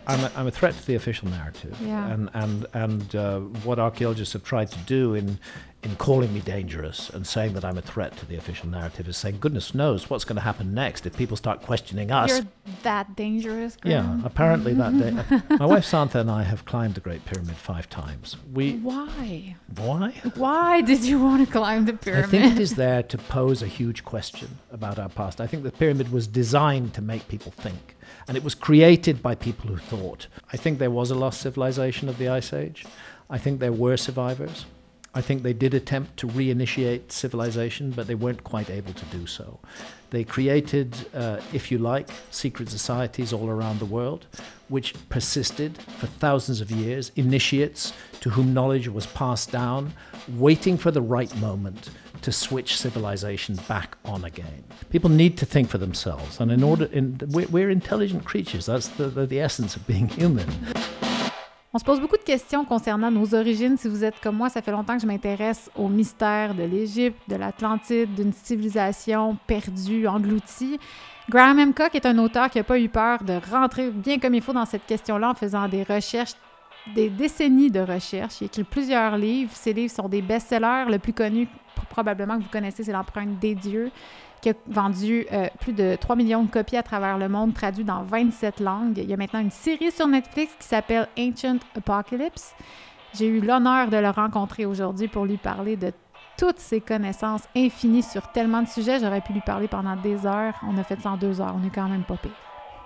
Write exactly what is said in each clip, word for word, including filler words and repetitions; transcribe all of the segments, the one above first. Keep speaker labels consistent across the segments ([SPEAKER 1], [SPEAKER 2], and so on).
[SPEAKER 1] I'm a, I'm a threat to the official narrative.
[SPEAKER 2] Yeah.
[SPEAKER 1] And and and uh, what archaeologists have tried to do in in calling me dangerous and saying that I'm a threat to the official narrative is saying, goodness knows what's going to happen next if people start questioning us.
[SPEAKER 2] You're that dangerous, Graham?
[SPEAKER 1] Yeah, apparently that day. My wife Santha and I have climbed the Great Pyramid five times. We
[SPEAKER 2] Why?
[SPEAKER 1] Why?
[SPEAKER 2] Why did you want to climb the pyramid?
[SPEAKER 1] I think it is there to pose a huge question about our past. I think the pyramid was designed to make people think. And it was created by people who thought. I think there was a lost civilization of the Ice Age. I think there were survivors. I think they did attempt to reinitiate civilization, but they weren't quite able to do so. They created, uh, if you like, secret societies all around the world, which persisted for thousands of years, initiates to whom knowledge was passed down, waiting for the right moment to switch civilization back on again. People need to think for themselves, and in order, in, we're, we're intelligent creatures. That's the, the, the essence of being human.
[SPEAKER 2] On se pose beaucoup de questions concernant nos origines. Si vous êtes comme moi, ça fait longtemps que je m'intéresse aux mystères de l'Égypte, de l'Atlantide, d'une civilisation perdue, engloutie. Graham M. Cook est un auteur qui n'a pas eu peur de rentrer bien comme il faut dans cette question-là en faisant des recherches, des décennies de recherches. Il a écrit plusieurs livres. Ces livres sont des best-sellers. Le plus connu, probablement que vous connaissez, c'est L'Empreinte des dieux, qui a vendu euh, plus de trois millions de copies à travers le monde, traduit dans vingt-sept langues. Il y a maintenant une série sur Netflix qui s'appelle Ancient Apocalypse. J'ai eu l'honneur de le rencontrer aujourd'hui pour lui parler de toutes ses connaissances infinies sur tellement de sujets. J'aurais pu lui parler pendant des heures. On a fait ça en deux heures. On est quand même pas pire.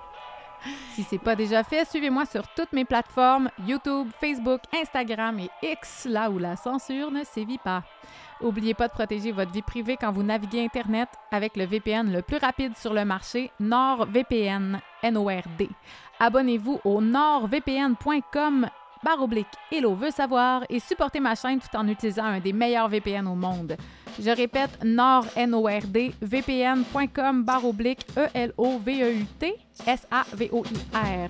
[SPEAKER 2] Si c'est pas déjà fait, suivez-moi sur toutes mes plateformes, YouTube, Facebook, Instagram et X, là où la censure ne sévit pas. N'oubliez pas de protéger votre vie privée quand vous naviguez Internet avec le V P N le plus rapide sur le marché, NordVPN, N O R D. Abonnez-vous au nordvpn point com barre oblique Hello veut savoir et supportez ma chaîne tout en utilisant un des meilleurs V P N au monde. Je répète, nord, N O R D, vpn point com barre oblique E L O V E U T S A V O I R.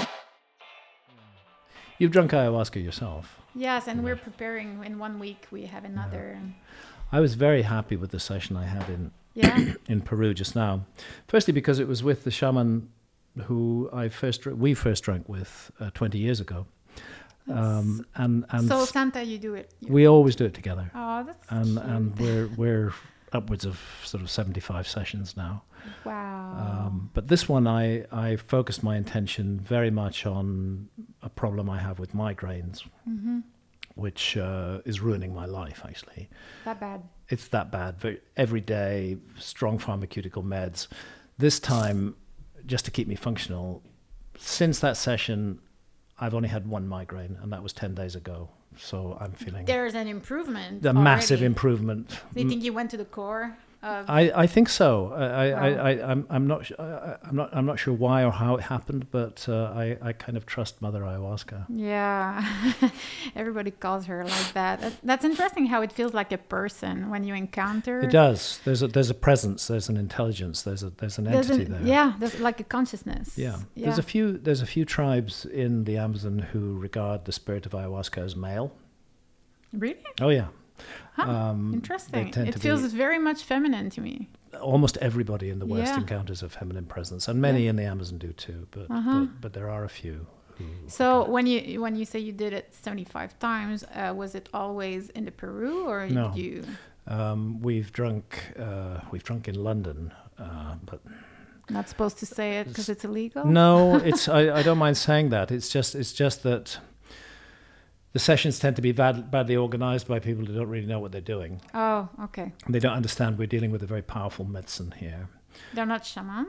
[SPEAKER 1] You've drunk ayahuasca yourself.
[SPEAKER 2] Yes, and we're preparing. In one week, we have another.
[SPEAKER 1] I was very happy with the session I had in
[SPEAKER 2] Yeah.
[SPEAKER 1] in Peru just now. Firstly, because it was with the shaman who I first we first drank with uh, twenty years ago, um, and and
[SPEAKER 2] So Santa, you do it.
[SPEAKER 1] we always do it together,
[SPEAKER 2] Oh, that's
[SPEAKER 1] and
[SPEAKER 2] cute.
[SPEAKER 1] and we're we're upwards of sort of seventy-five sessions now.
[SPEAKER 2] Wow.
[SPEAKER 1] Um, but this one, I, I focused my intention very much on a problem I have with migraines,
[SPEAKER 2] mm-hmm.
[SPEAKER 1] which uh, is ruining my life, actually.
[SPEAKER 2] That bad.
[SPEAKER 1] It's that bad. Very, every day, strong pharmaceutical meds. This time, just to keep me functional, since that session, I've only had one migraine, and that was ten days ago. So I'm feeling
[SPEAKER 2] There's an improvement.
[SPEAKER 1] a
[SPEAKER 2] already.
[SPEAKER 1] massive improvement.
[SPEAKER 2] Do you think you went to the core of?
[SPEAKER 1] I, I think so. I, I,
[SPEAKER 2] Wow.
[SPEAKER 1] I, I I'm I'm not I, I'm not I'm not sure why or how it happened, but uh, I I kind of trust Mother Ayahuasca.
[SPEAKER 2] Yeah, everybody calls her like that. That's, that's interesting. How it feels like a person when you encounter.
[SPEAKER 1] It does. There's a there's a presence. There's an intelligence. There's a there's an
[SPEAKER 2] There's
[SPEAKER 1] entity
[SPEAKER 2] an-
[SPEAKER 1] there.
[SPEAKER 2] Yeah, there's like a consciousness.
[SPEAKER 1] Yeah.
[SPEAKER 2] yeah.
[SPEAKER 1] There's a few there's a few tribes in the Amazon who regard the spirit of ayahuasca as male.
[SPEAKER 2] Really?
[SPEAKER 1] Oh yeah.
[SPEAKER 2] Huh,
[SPEAKER 1] Um,
[SPEAKER 2] Interesting.
[SPEAKER 1] they tend
[SPEAKER 2] It
[SPEAKER 1] to
[SPEAKER 2] feels
[SPEAKER 1] be-
[SPEAKER 2] very much feminine to me.
[SPEAKER 1] Almost everybody in the West
[SPEAKER 2] Yeah.
[SPEAKER 1] encounters a feminine presence, and many
[SPEAKER 2] Yeah.
[SPEAKER 1] in the Amazon do too. But,
[SPEAKER 2] Uh-huh.
[SPEAKER 1] but but there are a few who.
[SPEAKER 2] So when you when you say you did it seventy-five times, uh, was it always in the Peru or
[SPEAKER 1] No.
[SPEAKER 2] did you?
[SPEAKER 1] Um, we've drunk uh, we've drunk in London, uh, but
[SPEAKER 2] Not supposed to say it because it's illegal.
[SPEAKER 1] no, it's I, I don't mind saying that. It's just it's just that the sessions tend to be bad, badly organized by people who don't really know what they're doing.
[SPEAKER 2] Oh, okay.
[SPEAKER 1] They don't understand we're dealing with a very powerful medicine here.
[SPEAKER 2] They're not shaman.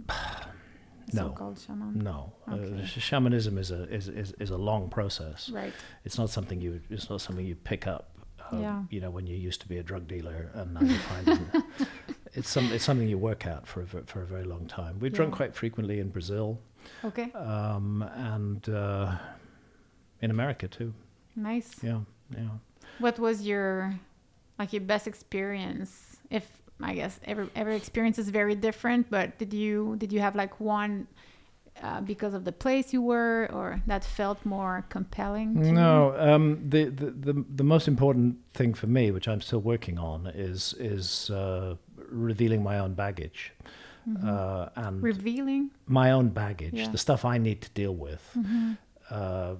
[SPEAKER 1] No.
[SPEAKER 2] So-called shaman.
[SPEAKER 1] No,
[SPEAKER 2] Okay.
[SPEAKER 1] uh, sh- shamanism is a is, is is a long process.
[SPEAKER 2] Right.
[SPEAKER 1] It's not something you it's not something you pick up. Um,
[SPEAKER 2] Yeah.
[SPEAKER 1] You know, when you used to be a drug dealer and now you find it. It's some it's something you work at for a, ve- for a very long time. We've drunk
[SPEAKER 2] Yeah.
[SPEAKER 1] quite frequently in Brazil,
[SPEAKER 2] Okay.
[SPEAKER 1] um, and uh, in America too.
[SPEAKER 2] Nice.
[SPEAKER 1] Yeah, yeah.
[SPEAKER 2] What was your like your best experience? If I guess every every experience is very different, but did you did you have like one uh, because of the place you were, or that felt more compelling? To
[SPEAKER 1] No, um, the, the the the most important thing for me, which I'm still working on, is is uh, revealing my own baggage. mm-hmm. uh, and
[SPEAKER 2] revealing
[SPEAKER 1] my own baggage,
[SPEAKER 2] yeah.
[SPEAKER 1] the stuff I need to deal with.
[SPEAKER 2] Mm-hmm.
[SPEAKER 1] Uh,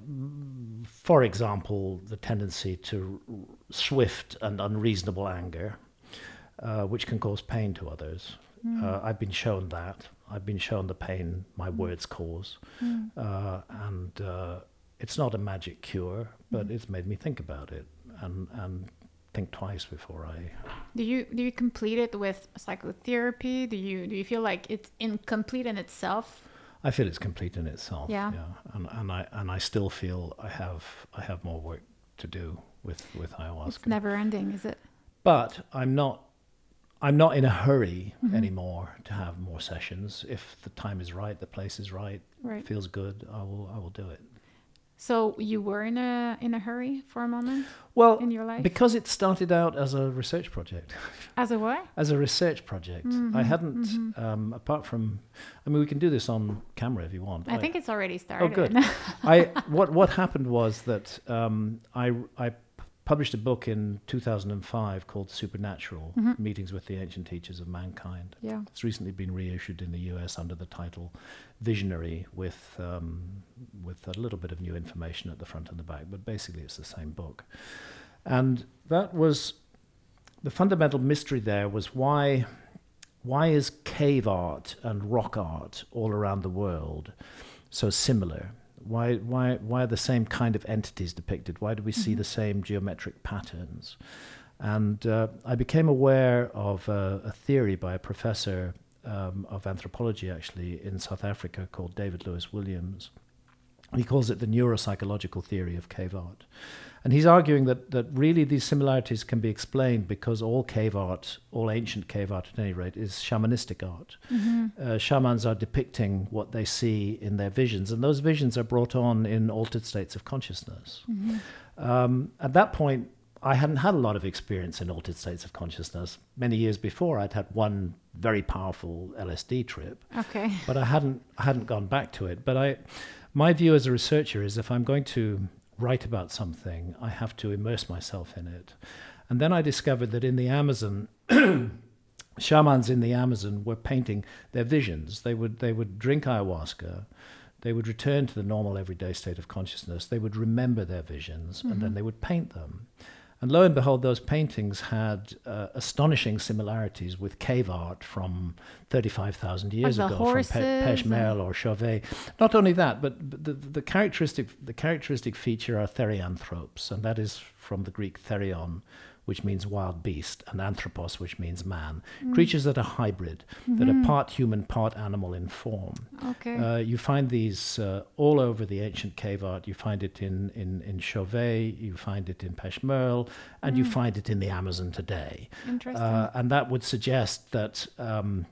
[SPEAKER 1] for example, the tendency to swift and unreasonable anger, uh, which can cause pain to others. Mm. Uh, I've been shown that. I've been shown the pain my mm. words cause. Mm. Uh, and uh, it's not a magic cure, but mm. it's made me think about it and, and think twice before I...
[SPEAKER 2] Do you do you complete it with psychotherapy? Do you do you feel like it's incomplete in itself?
[SPEAKER 1] I feel it's complete in itself.
[SPEAKER 2] Yeah.
[SPEAKER 1] yeah. And and I and I still feel I have I have more work to do with, with ayahuasca.
[SPEAKER 2] It's never ending, is it?
[SPEAKER 1] But I'm not I'm not in a hurry
[SPEAKER 2] mm-hmm.
[SPEAKER 1] anymore to have more sessions. If the time is right, the place is right,
[SPEAKER 2] right.
[SPEAKER 1] feels good, I will I will do it.
[SPEAKER 2] So you were in a in a hurry for a moment
[SPEAKER 1] well,
[SPEAKER 2] in your life?
[SPEAKER 1] Because it started out as a research project.
[SPEAKER 2] As a what?
[SPEAKER 1] As a research project.
[SPEAKER 2] Mm-hmm,
[SPEAKER 1] I hadn't,
[SPEAKER 2] mm-hmm.
[SPEAKER 1] um, apart from, I mean, we can do this on camera if you want.
[SPEAKER 2] I, I think it's already started.
[SPEAKER 1] Oh, good. I what what happened was that um, I I published a book in two thousand five called Supernatural, mm-hmm. Meetings with the Ancient Teachers of Mankind.
[SPEAKER 2] Yeah.
[SPEAKER 1] It's recently been reissued in the U S under the title Visionary, with um, with a little bit of new information at the front and the back, but basically it's the same book. And that was, the fundamental mystery there was why why is cave art and rock art all around the world so similar? Why why why are the same kind of entities depicted? Why do we mm-hmm. see the same geometric patterns? And uh, I became aware of uh, a theory by a professor um, of anthropology, actually, in South Africa called David Lewis Williams. He calls it the neuropsychological theory of cave art. And he's arguing that, that really these similarities can be explained because all cave art, all ancient cave art at any rate, is shamanistic art. Mm-hmm. Uh, shamans are depicting what they see in their visions, and those visions are brought on in altered states of consciousness. Mm-hmm. Um, at that point, I hadn't had a lot of experience in altered states of consciousness. Many years before, I'd had one very powerful L S D trip.
[SPEAKER 2] Okay.
[SPEAKER 1] But I hadn't I hadn't gone back to it. But I, my view as a researcher is if I'm going to write about something, I have to immerse myself in it. And then I discovered that in the Amazon, shamans in the Amazon were painting their visions. They would they would drink ayahuasca, they would return to the normal everyday state of consciousness, they would remember their visions, mm-hmm. and then they would paint them. And lo and behold, those paintings had uh, astonishing similarities with cave art from thirty-five thousand years
[SPEAKER 2] like
[SPEAKER 1] ago, from Pe- Peshmerl or Chauvet. Not only that, but, but the, the characteristic the characteristic feature are therianthropes, and that is from the Greek therion, which means wild beast, and anthropos, which means man. Mm. Creatures that are hybrid, mm-hmm. that are part human, part animal in form.
[SPEAKER 2] Okay.
[SPEAKER 1] Uh, you find these uh, all over the ancient cave art. You find it in, in, in Chauvet, you find it in Peshmerl, and mm. you find it in the Amazon today.
[SPEAKER 2] Interesting.
[SPEAKER 1] Uh, and that would suggest that um,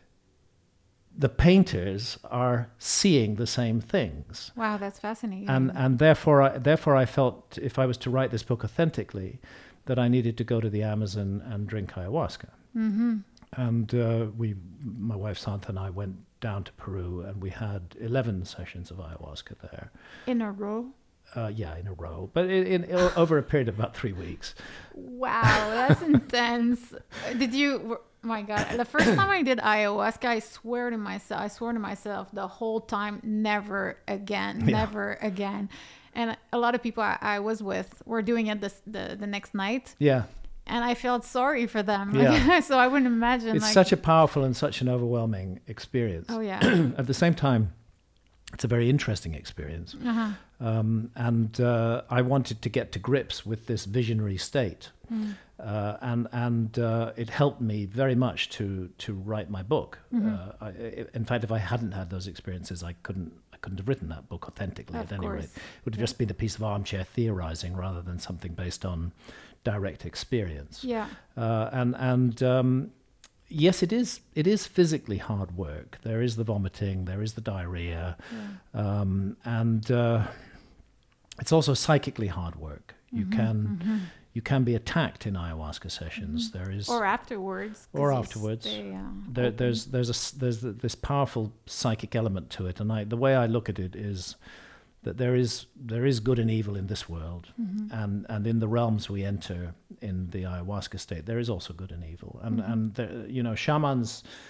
[SPEAKER 1] the painters are seeing the same things.
[SPEAKER 2] Wow, that's fascinating.
[SPEAKER 1] And and therefore, I, therefore, I felt if I was to write this book authentically, that I needed to go to the Amazon and drink ayahuasca. Mm-hmm. And uh, we, my wife Santa and I went down to Peru, and we had eleven sessions of ayahuasca there.
[SPEAKER 2] In a row?
[SPEAKER 1] Uh, yeah, in a row, but in, in over a period of about three weeks.
[SPEAKER 2] Wow, that's intense. Did you? My God, the first time I did ayahuasca, I swear to myself, I swore to myself the whole time, never again, yeah. never again. And a lot of people I, I was with were doing it this, the the next night.
[SPEAKER 1] Yeah.
[SPEAKER 2] And I felt sorry for them.
[SPEAKER 1] Yeah.
[SPEAKER 2] So I wouldn't imagine.
[SPEAKER 1] It's
[SPEAKER 2] like,
[SPEAKER 1] such a powerful and such an overwhelming experience.
[SPEAKER 2] Oh, yeah.
[SPEAKER 1] At the same time, it's a very interesting experience.
[SPEAKER 2] Uh-huh.
[SPEAKER 1] Um, and uh, I wanted to get to grips with this visionary state. Mm. Uh, and and uh, it helped me very much to to write my book. Mm-hmm. Uh, I, in fact, if I hadn't had those experiences, I couldn't I couldn't have written that book authentically.
[SPEAKER 2] Of
[SPEAKER 1] at any
[SPEAKER 2] course.
[SPEAKER 1] rate, it would have
[SPEAKER 2] yeah.
[SPEAKER 1] just been a piece of armchair theorizing rather than something based on direct experience.
[SPEAKER 2] Yeah.
[SPEAKER 1] Uh, and and um, yes, it is it is physically hard work. There is the vomiting, there is the diarrhea, yeah. um, and uh, it's also psychically hard work. You mm-hmm, can. Mm-hmm. You can be attacked in ayahuasca sessions. Mm-hmm. There is,
[SPEAKER 2] or afterwards,
[SPEAKER 1] or afterwards.
[SPEAKER 2] Stay, uh,
[SPEAKER 1] there, there's there's a there's this powerful psychic element to it, and I, the way I look at it is that there is there is good and evil in this world, mm-hmm. and and in the realms we enter in the ayahuasca state, there is also good and evil, and mm-hmm. and there, you know, shamans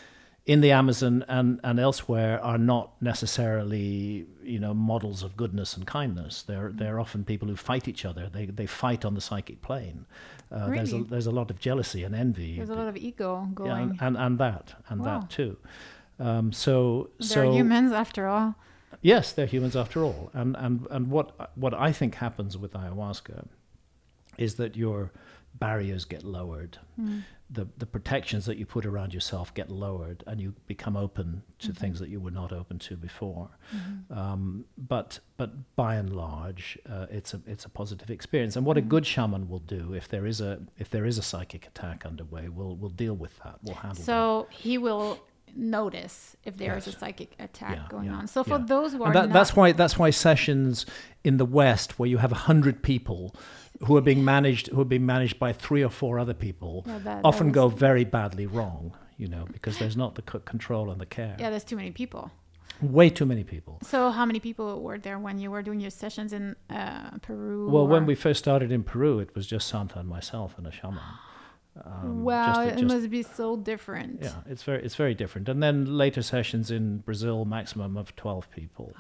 [SPEAKER 1] in the Amazon and, and elsewhere are not necessarily, you know, models of goodness and kindness. They're they're often people who fight each other. They they fight on the psychic plane. Uh,
[SPEAKER 2] Really?
[SPEAKER 1] There's a, there's a lot of jealousy and envy.
[SPEAKER 2] There's a lot of ego
[SPEAKER 1] Yeah,
[SPEAKER 2] going.
[SPEAKER 1] and, and and that and
[SPEAKER 2] Wow.
[SPEAKER 1] that too. Um, so
[SPEAKER 2] They're
[SPEAKER 1] so
[SPEAKER 2] humans after all.
[SPEAKER 1] yes, they're humans after all. And and and what what I think happens with ayahuasca is that your barriers get lowered.
[SPEAKER 2] Mm.
[SPEAKER 1] The the protections that you put around yourself get lowered, and you become open to
[SPEAKER 2] Mm-hmm.
[SPEAKER 1] things that you were not open to before.
[SPEAKER 2] Mm-hmm.
[SPEAKER 1] Um, but but by and large, uh, it's a it's a positive experience. And what
[SPEAKER 2] Mm-hmm.
[SPEAKER 1] a good shaman will do if there is a if there is a psychic attack underway, we'll we'll deal with that. We'll handle that.
[SPEAKER 2] So he will notice if there is
[SPEAKER 1] Yes.
[SPEAKER 2] a psychic attack
[SPEAKER 1] Yeah,
[SPEAKER 2] going
[SPEAKER 1] yeah,
[SPEAKER 2] on. So for
[SPEAKER 1] yeah.
[SPEAKER 2] those who are
[SPEAKER 1] And that,
[SPEAKER 2] not,
[SPEAKER 1] that's why that's why sessions in the West, where you have a hundred people who are being managed who are being managed by three or four other people,
[SPEAKER 2] Yeah, that- that
[SPEAKER 1] often
[SPEAKER 2] was-
[SPEAKER 1] go very badly wrong. You know, because there's not the c- control and the care.
[SPEAKER 2] yeah, there's too many people.
[SPEAKER 1] Way too many people.
[SPEAKER 2] So how many people were there when you were doing your sessions in uh, Peru?
[SPEAKER 1] Well, when
[SPEAKER 2] or-
[SPEAKER 1] we first started in Peru, it was just Santa and myself and a shaman. Um,
[SPEAKER 2] wow,
[SPEAKER 1] just-
[SPEAKER 2] it
[SPEAKER 1] just-
[SPEAKER 2] must be so different.
[SPEAKER 1] Yeah, it's very it's very different. And then later sessions in Brazil, maximum of twelve people.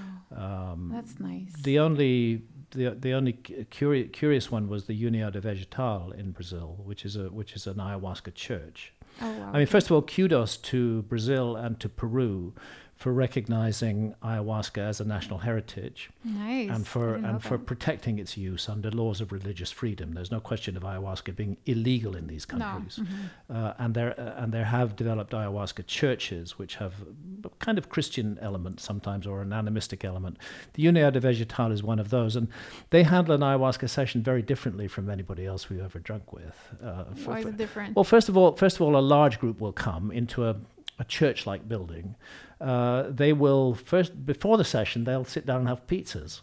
[SPEAKER 1] Um,
[SPEAKER 2] That's nice.
[SPEAKER 1] The only the the only curious curious one was the União Vegetal in Brazil, which is a which is an ayahuasca church.
[SPEAKER 2] oh wow.
[SPEAKER 1] I mean, first of all, kudos to Brazil and to Peru for recognizing ayahuasca as a national heritage
[SPEAKER 2] nice.
[SPEAKER 1] and
[SPEAKER 2] I
[SPEAKER 1] for
[SPEAKER 2] didn't know
[SPEAKER 1] and for
[SPEAKER 2] that.
[SPEAKER 1] protecting its use under laws of religious freedom. There's no question of ayahuasca being illegal in these
[SPEAKER 2] No.
[SPEAKER 1] countries,
[SPEAKER 2] Mhm.
[SPEAKER 1] uh, and there uh, and there have developed ayahuasca churches which have a kind of Christian element sometimes or an animistic element. The União de Vegetal is one of those, and they handle an ayahuasca session very differently from anybody else we've ever drunk with. Uh, for-
[SPEAKER 2] Why is
[SPEAKER 1] for-
[SPEAKER 2] it different?
[SPEAKER 1] well, first of all, first of all, a large group will come into a, a church-like building. Uh, they will first, before the session, they'll sit down and have pizzas,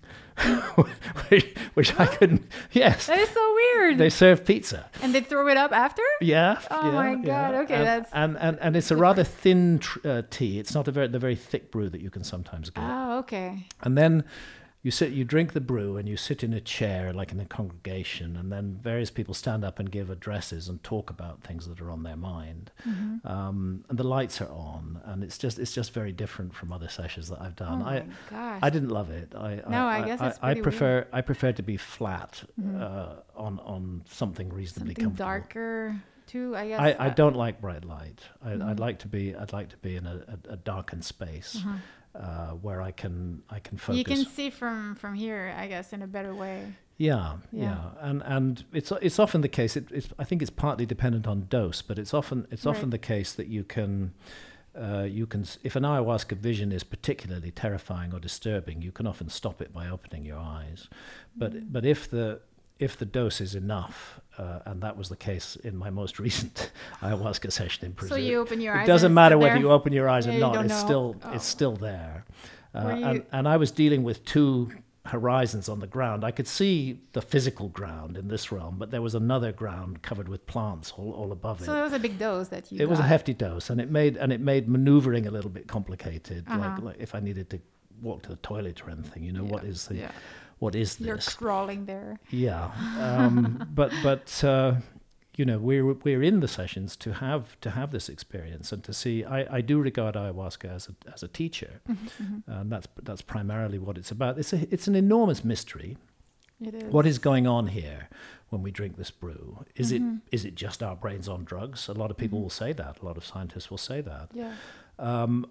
[SPEAKER 1] which, which I couldn't. Yes,
[SPEAKER 2] that is so weird.
[SPEAKER 1] they serve pizza.
[SPEAKER 2] and they throw it up after?
[SPEAKER 1] Yeah.
[SPEAKER 2] Oh
[SPEAKER 1] yeah,
[SPEAKER 2] my God,
[SPEAKER 1] yeah.
[SPEAKER 2] okay,
[SPEAKER 1] and,
[SPEAKER 2] that's
[SPEAKER 1] and and and it's a rather thin tr- uh, tea. It's not a very the very thick brew that you can sometimes get.
[SPEAKER 2] Oh, okay.
[SPEAKER 1] And then you sit, you drink the brew, and you sit in a chair like in a congregation, and then various people stand up and give addresses and talk about things that are on their mind.
[SPEAKER 2] Mm-hmm.
[SPEAKER 1] Um, and the lights are on, and it's just it's just very different from other sessions that I've
[SPEAKER 2] Oh
[SPEAKER 1] done.
[SPEAKER 2] my
[SPEAKER 1] I
[SPEAKER 2] gosh.
[SPEAKER 1] I didn't love it. I
[SPEAKER 2] No, I guess it's
[SPEAKER 1] I,
[SPEAKER 2] pretty
[SPEAKER 1] prefer I prefer to be flat
[SPEAKER 2] Mhm.
[SPEAKER 1] uh, on on something reasonably
[SPEAKER 2] Something
[SPEAKER 1] comfortable.
[SPEAKER 2] darker too, I guess.
[SPEAKER 1] I, I
[SPEAKER 2] uh,
[SPEAKER 1] don't like bright light. I,
[SPEAKER 2] Mhm.
[SPEAKER 1] I'd like to be I'd like to be in a, a, a darkened space
[SPEAKER 2] uh-huh.
[SPEAKER 1] uh, where I can I can focus.
[SPEAKER 2] You can see from from here, I guess, in a better way.
[SPEAKER 1] Yeah,
[SPEAKER 2] Yeah.
[SPEAKER 1] yeah, and and it's it's often the case. It, it's I think it's partly dependent on dose, but it's often it's often
[SPEAKER 2] Right.
[SPEAKER 1] the case that you can. Uh, you can, s- if an ayahuasca vision is particularly terrifying or disturbing, you can often stop it by opening your eyes. But
[SPEAKER 2] Mm.
[SPEAKER 1] but if the if the dose is enough, uh, and that was the case in my most recent ayahuasca session in Brazil.
[SPEAKER 2] So you open your eyes.
[SPEAKER 1] It doesn't
[SPEAKER 2] and
[SPEAKER 1] matter
[SPEAKER 2] sit
[SPEAKER 1] whether
[SPEAKER 2] there?
[SPEAKER 1] you open your eyes
[SPEAKER 2] Yeah,
[SPEAKER 1] or
[SPEAKER 2] you
[SPEAKER 1] not.
[SPEAKER 2] don't
[SPEAKER 1] It's
[SPEAKER 2] know.
[SPEAKER 1] still
[SPEAKER 2] Oh.
[SPEAKER 1] it's still there. Uh,
[SPEAKER 2] Were
[SPEAKER 1] and
[SPEAKER 2] you-
[SPEAKER 1] and I was dealing with two horizons on the ground. I could see the physical ground in this realm, but there was another ground covered with plants all, all above
[SPEAKER 2] So
[SPEAKER 1] it.
[SPEAKER 2] it was a big dose that you.
[SPEAKER 1] It was a
[SPEAKER 2] got.
[SPEAKER 1] hefty dose, and it made and it made maneuvering a little bit complicated. Like,
[SPEAKER 2] Uh-huh.
[SPEAKER 1] like if I needed to walk to the toilet or anything, you know, what
[SPEAKER 2] Yeah,
[SPEAKER 1] is the
[SPEAKER 2] Yeah.
[SPEAKER 1] what is
[SPEAKER 2] You're
[SPEAKER 1] this?
[SPEAKER 2] crawling there.
[SPEAKER 1] Yeah, um, but but uh, you know we're we're in the sessions to have to have this experience and to see. I, I do regard ayahuasca as a as a teacher,
[SPEAKER 2] Mhm.
[SPEAKER 1] and that's that's primarily what it's about. It's a it's an enormous mystery.
[SPEAKER 2] It is.
[SPEAKER 1] What is going on here when we drink this brew? Is
[SPEAKER 2] Mhm.
[SPEAKER 1] it is it just our brains on drugs? A lot of people
[SPEAKER 2] Mhm.
[SPEAKER 1] will say that. A lot of scientists will say that.
[SPEAKER 2] Yeah.
[SPEAKER 1] Um,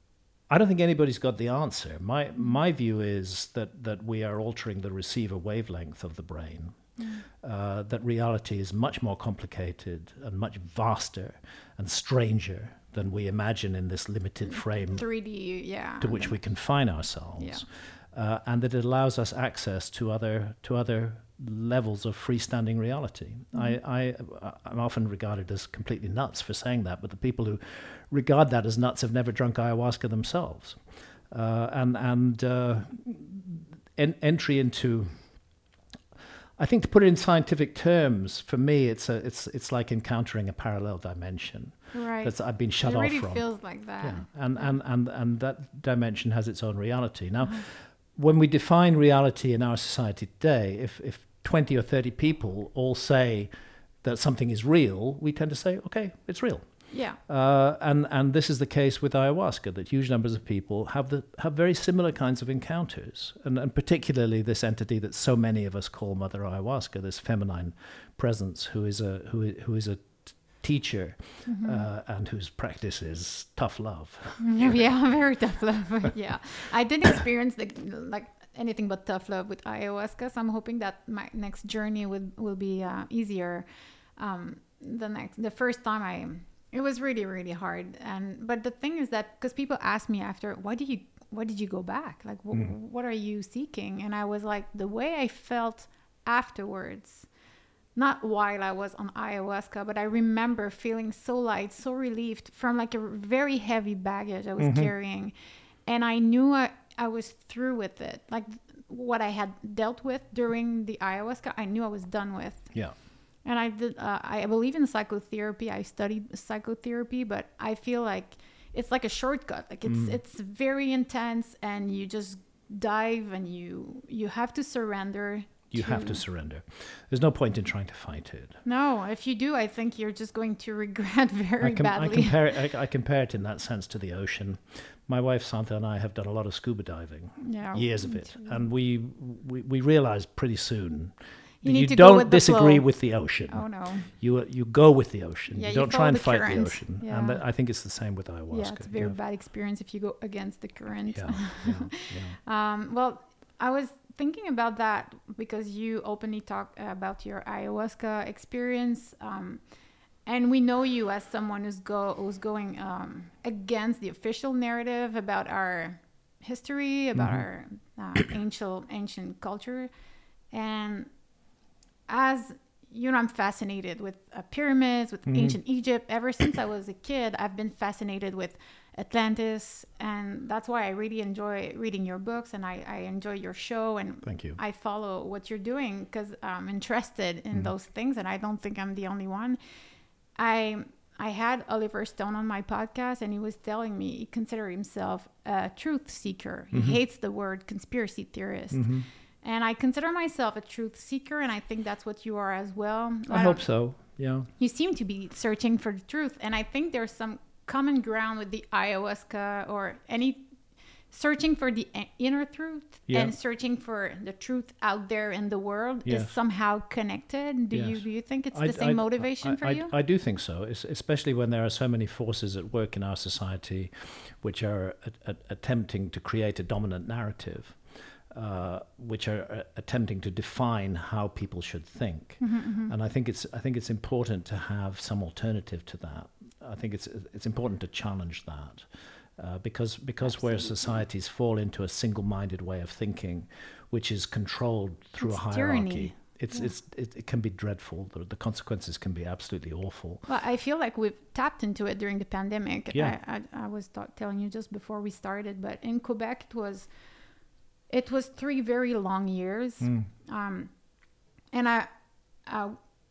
[SPEAKER 1] I don't think anybody's got the answer. My my view is that that we are altering the receiver wavelength of the brain.
[SPEAKER 2] Mm.
[SPEAKER 1] Uh, that reality is much more complicated and much vaster and stranger than we imagine in this limited frame
[SPEAKER 2] three D. Yeah.
[SPEAKER 1] to which we confine ourselves,
[SPEAKER 2] Yeah.
[SPEAKER 1] uh, and that it allows us access to other to other levels of freestanding reality.
[SPEAKER 2] Mhm.
[SPEAKER 1] I, I I'm often regarded as completely nuts for saying that, but the people who regard that as nuts have never drunk ayahuasca themselves, uh, and and uh, en- entry into. I think to put it in scientific terms, for me, it's a it's it's like encountering a parallel dimension
[SPEAKER 2] Right.
[SPEAKER 1] that's I've been shut
[SPEAKER 2] it
[SPEAKER 1] off
[SPEAKER 2] really
[SPEAKER 1] from.
[SPEAKER 2] feels like that.
[SPEAKER 1] Yeah, and, and, and, and that dimension has its own reality. Now,
[SPEAKER 2] Uh-huh.
[SPEAKER 1] when we define reality in our society today, if, if twenty or thirty people all say that something is real, we tend to say, okay, it's real.
[SPEAKER 2] Yeah.
[SPEAKER 1] Uh, and and this is the case with ayahuasca, that huge numbers of people have the have very similar kinds of encounters, and and particularly this entity that so many of us call Mother Ayahuasca, this feminine presence who is a who is, who is a t- teacher, mm-hmm. uh, and whose practice is tough love.
[SPEAKER 2] Yeah, very tough love. Yeah, I didn't experience the like anything but tough love with ayahuasca, so I'm hoping that my next journey will will be uh, easier. Um, the next the first time I. It was really, really hard. And but the thing is that because people ask me after, why did you why did you go back? Like, wh- mm. what are you seeking? And I was like, the way I felt afterwards, not while I was on ayahuasca, but I remember feeling so light, so relieved from like a very heavy baggage I was mm-hmm. carrying. And I knew I, I was through with it. Like what I had dealt with during the ayahuasca, I knew I was done with.
[SPEAKER 1] Yeah.
[SPEAKER 2] And I did. Uh, I believe in psychotherapy. I studied psychotherapy, but I feel like it's like a shortcut. Like it's mm. it's very intense, and you just dive, and you you have to surrender.
[SPEAKER 1] You to... have to surrender. There's no point in trying to fight it.
[SPEAKER 2] No, if you do, I think you're just going to regret very
[SPEAKER 1] I com-
[SPEAKER 2] badly.
[SPEAKER 1] I compare it. I, I compare it in that sense to the ocean. My wife Santa and I have done a lot of scuba diving.
[SPEAKER 2] Yeah,
[SPEAKER 1] years of it, and we we, we realized pretty soon.
[SPEAKER 2] You, need
[SPEAKER 1] you
[SPEAKER 2] to
[SPEAKER 1] don't
[SPEAKER 2] go with
[SPEAKER 1] disagree
[SPEAKER 2] the
[SPEAKER 1] with the ocean.
[SPEAKER 2] Oh no!
[SPEAKER 1] You you go with the ocean.
[SPEAKER 2] Yeah,
[SPEAKER 1] you
[SPEAKER 2] you
[SPEAKER 1] don't try and
[SPEAKER 2] the
[SPEAKER 1] fight
[SPEAKER 2] current.
[SPEAKER 1] the ocean.
[SPEAKER 2] Yeah.
[SPEAKER 1] And th- I think it's the same with ayahuasca.
[SPEAKER 2] Yeah, it's a very
[SPEAKER 1] yeah.
[SPEAKER 2] bad experience if you go against the current.
[SPEAKER 1] Yeah, yeah,
[SPEAKER 2] yeah. um, well, I was thinking about that because you openly talk about your ayahuasca experience, um, and we know you as someone who's go who's going um, against the official narrative about our history, about mm-hmm. our uh, ancient ancient culture, and as you know, I'm fascinated with uh, pyramids, with mm-hmm. ancient Egypt. Ever since I was a kid, I've been fascinated with Atlantis, and that's why I really enjoy reading your books, and I, I enjoy your show, and
[SPEAKER 1] Thank you.
[SPEAKER 2] I follow what you're doing because I'm interested in mm-hmm. those things, and I don't think I'm the only one. I I had Oliver Stone on my podcast, and he was telling me he considers himself a truth seeker. He mm-hmm. hates the word conspiracy theorist. Mm-hmm. And I consider myself a truth seeker, and I think that's what you are as well.
[SPEAKER 1] I, I hope so, yeah.
[SPEAKER 2] You seem to be searching for the truth, and I think there's some common ground with the ayahuasca or any searching for the inner truth yeah. and searching for the truth out there in the world yes. is somehow connected. Do yes. you do you think it's
[SPEAKER 1] I,
[SPEAKER 2] the same
[SPEAKER 1] I,
[SPEAKER 2] motivation
[SPEAKER 1] I,
[SPEAKER 2] for
[SPEAKER 1] I,
[SPEAKER 2] you?
[SPEAKER 1] I, I do think so, it's, especially when there are so many forces at work in our society which are a, a, attempting to create a dominant narrative. Uh, which are uh, attempting to define how people should think, mm-hmm, mm-hmm. and I think it's I think it's important to have some alternative to that. I think it's it's important to challenge that uh, because because
[SPEAKER 2] Absolutely.
[SPEAKER 1] where societies fall into a single-minded way of thinking, which is controlled through
[SPEAKER 2] it's
[SPEAKER 1] a hierarchy,
[SPEAKER 2] tyranny.
[SPEAKER 1] it's yeah. it's it, it can be dreadful. The, the consequences can be absolutely awful.
[SPEAKER 2] Well, I feel like we've tapped into it during the pandemic.
[SPEAKER 1] Yeah.
[SPEAKER 2] I, I, I was t- telling you just before we started, but in Quebec it was. It was three very long years, mm. um, and I, I,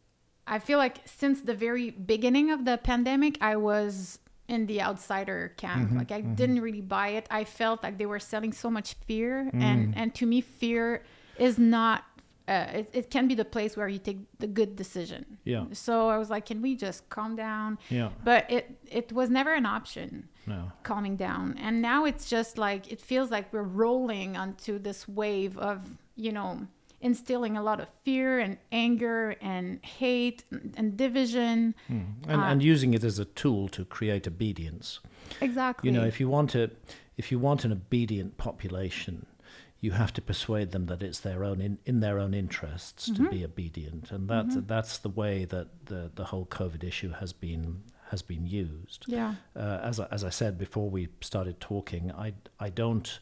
[SPEAKER 2] I feel like since the very beginning of the pandemic, I was in the outsider camp. Mm-hmm, like I mm-hmm. didn't really buy it. I felt like they were selling so much fear, mm. and and to me, fear is not. Uh, it, it can be the place where you take the good decision.
[SPEAKER 1] Yeah.
[SPEAKER 2] So I was like, can we just calm down?
[SPEAKER 1] Yeah.
[SPEAKER 2] But it it was never an option.
[SPEAKER 1] No.
[SPEAKER 2] Calming down. And now it's just like, it feels like we're rolling onto this wave of, you know, instilling a lot of fear and anger and hate and, and division.
[SPEAKER 1] Mm. And, uh, and using it as a tool to create obedience.
[SPEAKER 2] Exactly.
[SPEAKER 1] You know, if you want to, if you want an obedient population, you have to persuade them that it's their own in, in their own interests mm-hmm. to be obedient, and that's mm-hmm. that's the way that the the whole COVID issue has been has been used.
[SPEAKER 2] Yeah.
[SPEAKER 1] Uh, as I, as I said before we started talking, I I don't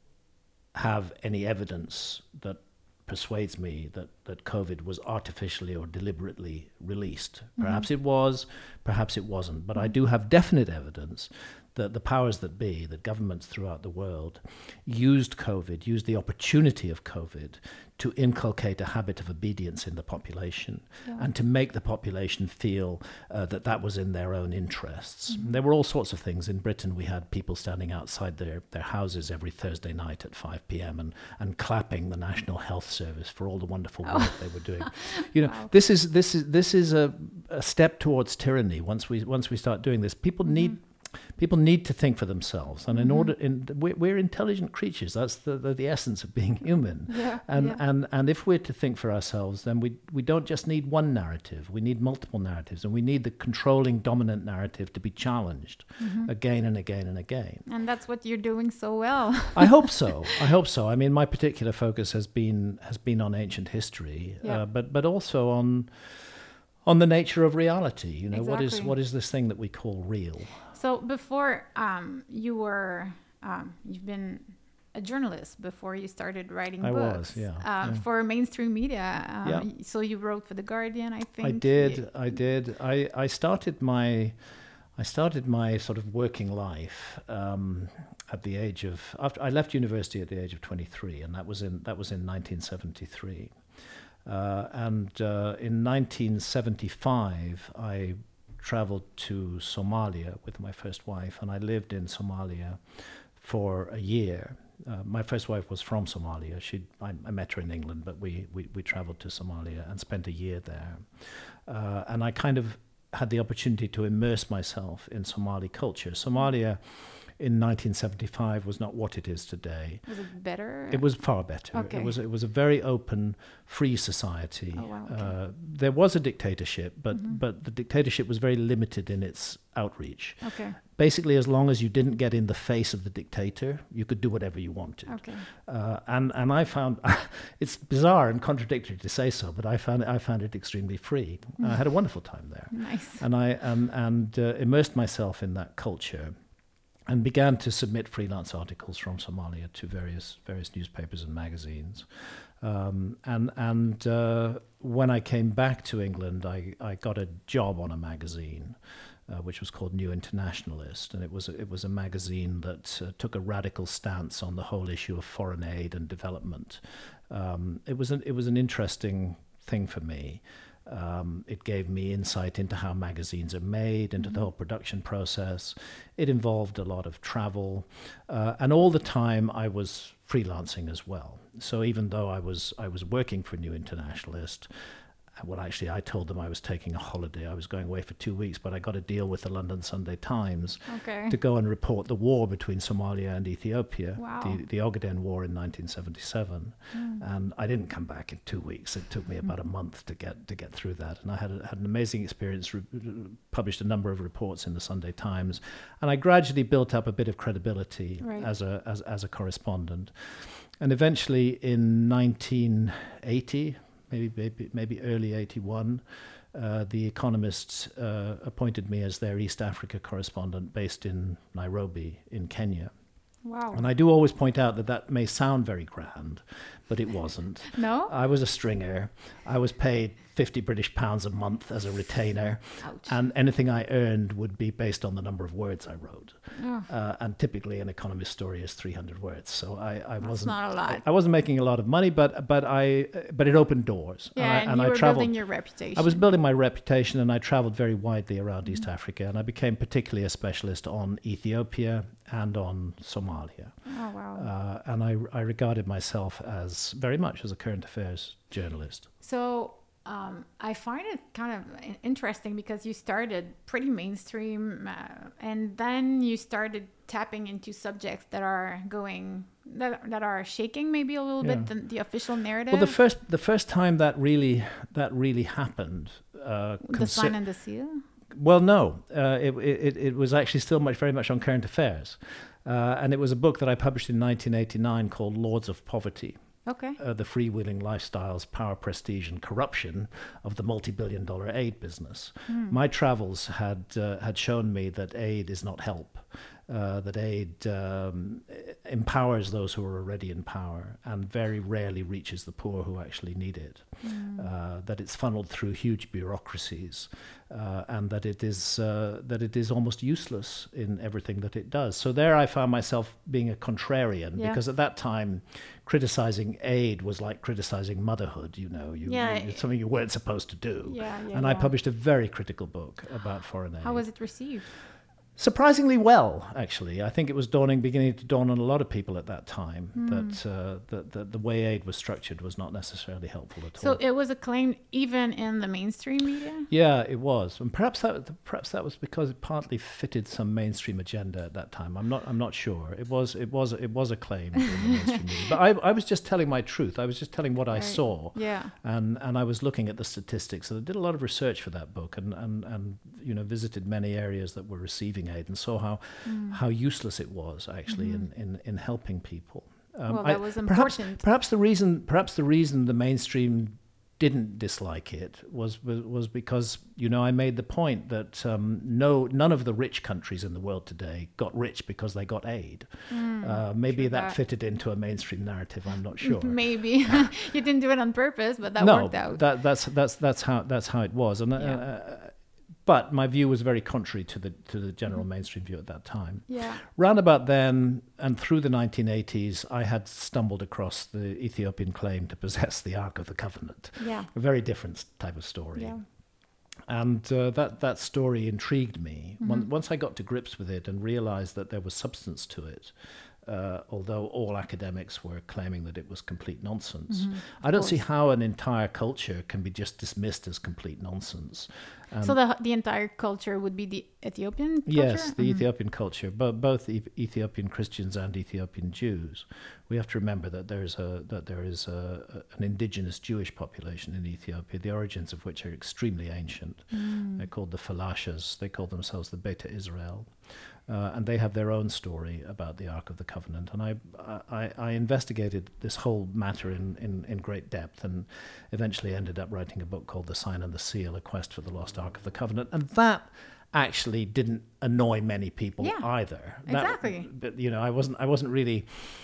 [SPEAKER 1] have any evidence that persuades me that, that COVID was artificially or deliberately released. Perhaps mm-hmm. it was, perhaps it wasn't, but mm-hmm. I do have definite evidence that the powers that be, that governments throughout the world, used COVID, used the opportunity of COVID to inculcate a habit of obedience in the population yeah. and to make the population feel uh, that that was in their own interests. Mm-hmm. There were all sorts of things. In Britain, we had people standing outside their, their houses every Thursday night at five p.m. and, and clapping the National Health Service for all the wonderful work oh. they were doing. You know, wow. this is this is this is a, a step towards tyranny. Once we once we start doing this, people mm-hmm. need. People need to think for themselves, and in mm-hmm. order, in we're, we're intelligent creatures. That's the, the the essence of being human.
[SPEAKER 2] Yeah,
[SPEAKER 1] and
[SPEAKER 2] yeah.
[SPEAKER 1] and and if we're to think for ourselves, then we we don't just need one narrative. We need multiple narratives, and we need the controlling, dominant narrative to be challenged mm-hmm. again and again and again.
[SPEAKER 2] And that's what you're doing so well.
[SPEAKER 1] I hope so. I hope so. I mean, my particular focus has been has been on ancient history, yeah. uh, but but also on on the nature of reality. You know,
[SPEAKER 2] exactly.
[SPEAKER 1] what is what is this thing that we call real?
[SPEAKER 2] So before um, you were, um, you've been a journalist before you started writing
[SPEAKER 1] I
[SPEAKER 2] books.
[SPEAKER 1] was, yeah,
[SPEAKER 2] uh,
[SPEAKER 1] yeah.
[SPEAKER 2] For mainstream media. Um,
[SPEAKER 1] yeah.
[SPEAKER 2] So you wrote for The Guardian, I think.
[SPEAKER 1] I did, I did. I, I started my, I started my sort of working life um, at the age of, after I left university at the age of twenty-three, and that was in, that was in nineteen seventy-three. Uh, and uh, in nineteen seventy-five, I traveled to Somalia with my first wife, and I lived in Somalia for a year. Uh, my first wife was from Somalia. She, I, I met her in England, but we, we, we traveled to Somalia and spent a year there. Uh, and I kind of had the opportunity to immerse myself in Somali culture. Somalia in nineteen seventy-five was not what it is today.
[SPEAKER 2] Was it better?
[SPEAKER 1] It was far better.
[SPEAKER 2] Okay.
[SPEAKER 1] It was it was a very open, free society.
[SPEAKER 2] Oh, wow, okay.
[SPEAKER 1] uh, there was a dictatorship, but
[SPEAKER 2] mm-hmm.
[SPEAKER 1] but the dictatorship was very limited in its outreach.
[SPEAKER 2] Okay.
[SPEAKER 1] Basically, as long as you didn't get in the face of the dictator, you could do whatever you wanted.
[SPEAKER 2] Okay.
[SPEAKER 1] Uh, and and I found it's bizarre and contradictory to say so, but I found it, I found it extremely free. Mm. I had a wonderful time there.
[SPEAKER 2] Nice.
[SPEAKER 1] And I um, and uh, immersed myself in that culture, and began to submit freelance articles from Somalia to various various newspapers and magazines. Um, and and uh, when I came back to England, I, I got a job on a magazine, uh, which was called New Internationalist, and it was a, it was a magazine that uh, took a radical stance on the whole issue of foreign aid and development. Um, it was an it was an interesting thing for me. Um, it gave me insight into how magazines are made, into mm-hmm. the whole production process. It involved a lot of travel, uh, and all the time I was freelancing as well. So even though I was I was working for New Internationalist, well, actually, I told them I was taking a holiday. I was going away for two weeks, but I got a deal with the London Sunday Times
[SPEAKER 2] okay.
[SPEAKER 1] to go and report the war between Somalia and Ethiopia,
[SPEAKER 2] wow.
[SPEAKER 1] the, the Ogaden War in nineteen seventy-seven.
[SPEAKER 2] Mm.
[SPEAKER 1] And I didn't come back in two weeks. It took me about mm. a month to get to get through that. And I had a, had an amazing experience, re- published a number of reports in the Sunday Times, and I gradually built up a bit of credibility
[SPEAKER 2] right.
[SPEAKER 1] as a as, as a correspondent. And eventually in nineteen eighty, Maybe, maybe maybe early eighty-one, uh, the Economist uh, appointed me as their East Africa correspondent based in Nairobi in Kenya.
[SPEAKER 2] Wow.
[SPEAKER 1] And I do always point out that that may sound very grand, but it wasn't.
[SPEAKER 2] No?
[SPEAKER 1] I was a stringer. I was paid fifty British pounds a month as a retainer.
[SPEAKER 2] Ouch.
[SPEAKER 1] And anything I earned would be based on the number of words I wrote.
[SPEAKER 2] Oh.
[SPEAKER 1] Uh, and typically an Economist story is three hundred words. So I, I
[SPEAKER 2] That's
[SPEAKER 1] wasn't
[SPEAKER 2] not a lot.
[SPEAKER 1] I, I wasn't making a lot of money, but but I but it opened doors.
[SPEAKER 2] Yeah,
[SPEAKER 1] and, I,
[SPEAKER 2] and,
[SPEAKER 1] and
[SPEAKER 2] you
[SPEAKER 1] I
[SPEAKER 2] were
[SPEAKER 1] traveled,
[SPEAKER 2] building your reputation.
[SPEAKER 1] I was building my reputation, and I traveled very widely around
[SPEAKER 2] Mm-hmm.
[SPEAKER 1] East Africa, and I became particularly a specialist on Ethiopia and on Somalia.
[SPEAKER 2] Oh, wow.
[SPEAKER 1] Uh, and I, I regarded myself as very much as a current affairs journalist.
[SPEAKER 2] So um, I find it kind of interesting because you started pretty mainstream uh, and then you started tapping into subjects that are going, that, that are shaking maybe a little
[SPEAKER 1] Yeah.
[SPEAKER 2] bit the, the official narrative.
[SPEAKER 1] Well, the first the first time that really that really happened. Uh,
[SPEAKER 2] the
[SPEAKER 1] consi-
[SPEAKER 2] Sign and the Seal?
[SPEAKER 1] Well, no, uh, it, it it was actually still much very much on current affairs, uh, and it was a book that I published in nineteen eighty-nine called Lords of Poverty.
[SPEAKER 2] Okay.
[SPEAKER 1] Uh, the freewheeling lifestyles, power, prestige, and corruption of the multi-billion-dollar aid business.
[SPEAKER 2] Mm.
[SPEAKER 1] My travels had uh, had shown me that aid is not help, uh, that aid um, empowers those who are already in power and very rarely reaches the poor who actually need it. Mm. Uh, that it's funneled through huge bureaucracies, uh, and that it is uh, that it is almost useless in everything that it does. So there I found myself being a contrarian, yeah. because at that time criticizing aid was like criticizing motherhood, you know, you,
[SPEAKER 2] yeah.
[SPEAKER 1] you, it's something you weren't supposed to do.
[SPEAKER 2] Yeah, yeah,
[SPEAKER 1] and
[SPEAKER 2] yeah.
[SPEAKER 1] I published a very critical book about foreign aid.
[SPEAKER 2] How was it received?
[SPEAKER 1] Surprisingly well, actually. I think it was dawning, beginning to dawn on a lot of people at that time mm. that, uh, that, that the way aid was structured was not necessarily helpful at
[SPEAKER 2] so
[SPEAKER 1] all.
[SPEAKER 2] So it was acclaimed even in the mainstream media?
[SPEAKER 1] Yeah, it was, and perhaps that perhaps that was because it partly fitted some mainstream agenda at that time. I'm not I'm not sure. It was it was it was acclaimed in the mainstream media, but I I was just telling my truth. I was just telling what I
[SPEAKER 2] right.
[SPEAKER 1] saw.
[SPEAKER 2] Yeah.
[SPEAKER 1] And and I was looking at the statistics, and I did a lot of research for that book, and and and you know visited many areas that were receiving aid, and saw how. Mm. how useless it was actually mm-hmm. in, in, in helping people.
[SPEAKER 2] Um, well, that
[SPEAKER 1] I,
[SPEAKER 2] was
[SPEAKER 1] perhaps,
[SPEAKER 2] important.
[SPEAKER 1] Perhaps the reason, perhaps the reason the mainstream didn't dislike it was was, was because you know I made the point that um, no none of the rich countries in the world today got rich because they got aid. Mm, uh, maybe that, that fitted into a mainstream narrative. I'm not sure.
[SPEAKER 2] Maybe you didn't do it on purpose, but that
[SPEAKER 1] no,
[SPEAKER 2] worked out.
[SPEAKER 1] that that's that's that's how that's how it was. And. Yeah. Uh, But my view was very contrary to the to the general mm-hmm. mainstream view at that time.
[SPEAKER 2] Yeah.
[SPEAKER 1] Round about then and through the nineteen eighties, I had stumbled across the Ethiopian claim to possess the Ark of the Covenant.
[SPEAKER 2] Yeah.
[SPEAKER 1] A very different type of story.
[SPEAKER 2] Yeah.
[SPEAKER 1] And uh, that, that story intrigued me.
[SPEAKER 2] Mm-hmm.
[SPEAKER 1] Once I got to grips with it and realized that there was substance to it, Uh, although all academics were claiming that it was complete nonsense. Mm-hmm. I don't see how an entire culture can be just dismissed as complete nonsense.
[SPEAKER 2] Um, so the the entire culture would be the Ethiopian culture?
[SPEAKER 1] Yes, the mm-hmm. Ethiopian culture, but both e- Ethiopian Christians and Ethiopian Jews. We have to remember that there is a that there is a, a, an indigenous Jewish population in Ethiopia, the origins of which are extremely ancient. Mm. They're called the Falashas. They call themselves the Beta Israel. Uh, and they have their own story about the Ark of the Covenant. And I, I, I investigated this whole matter in, in, in great depth and eventually ended up writing a book called The Sign and the Seal, A Quest for the Lost Ark of the Covenant. And that actually didn't annoy many people
[SPEAKER 2] yeah,
[SPEAKER 1] either.
[SPEAKER 2] Exactly.
[SPEAKER 1] That, but, you know, I wasn't, I wasn't really...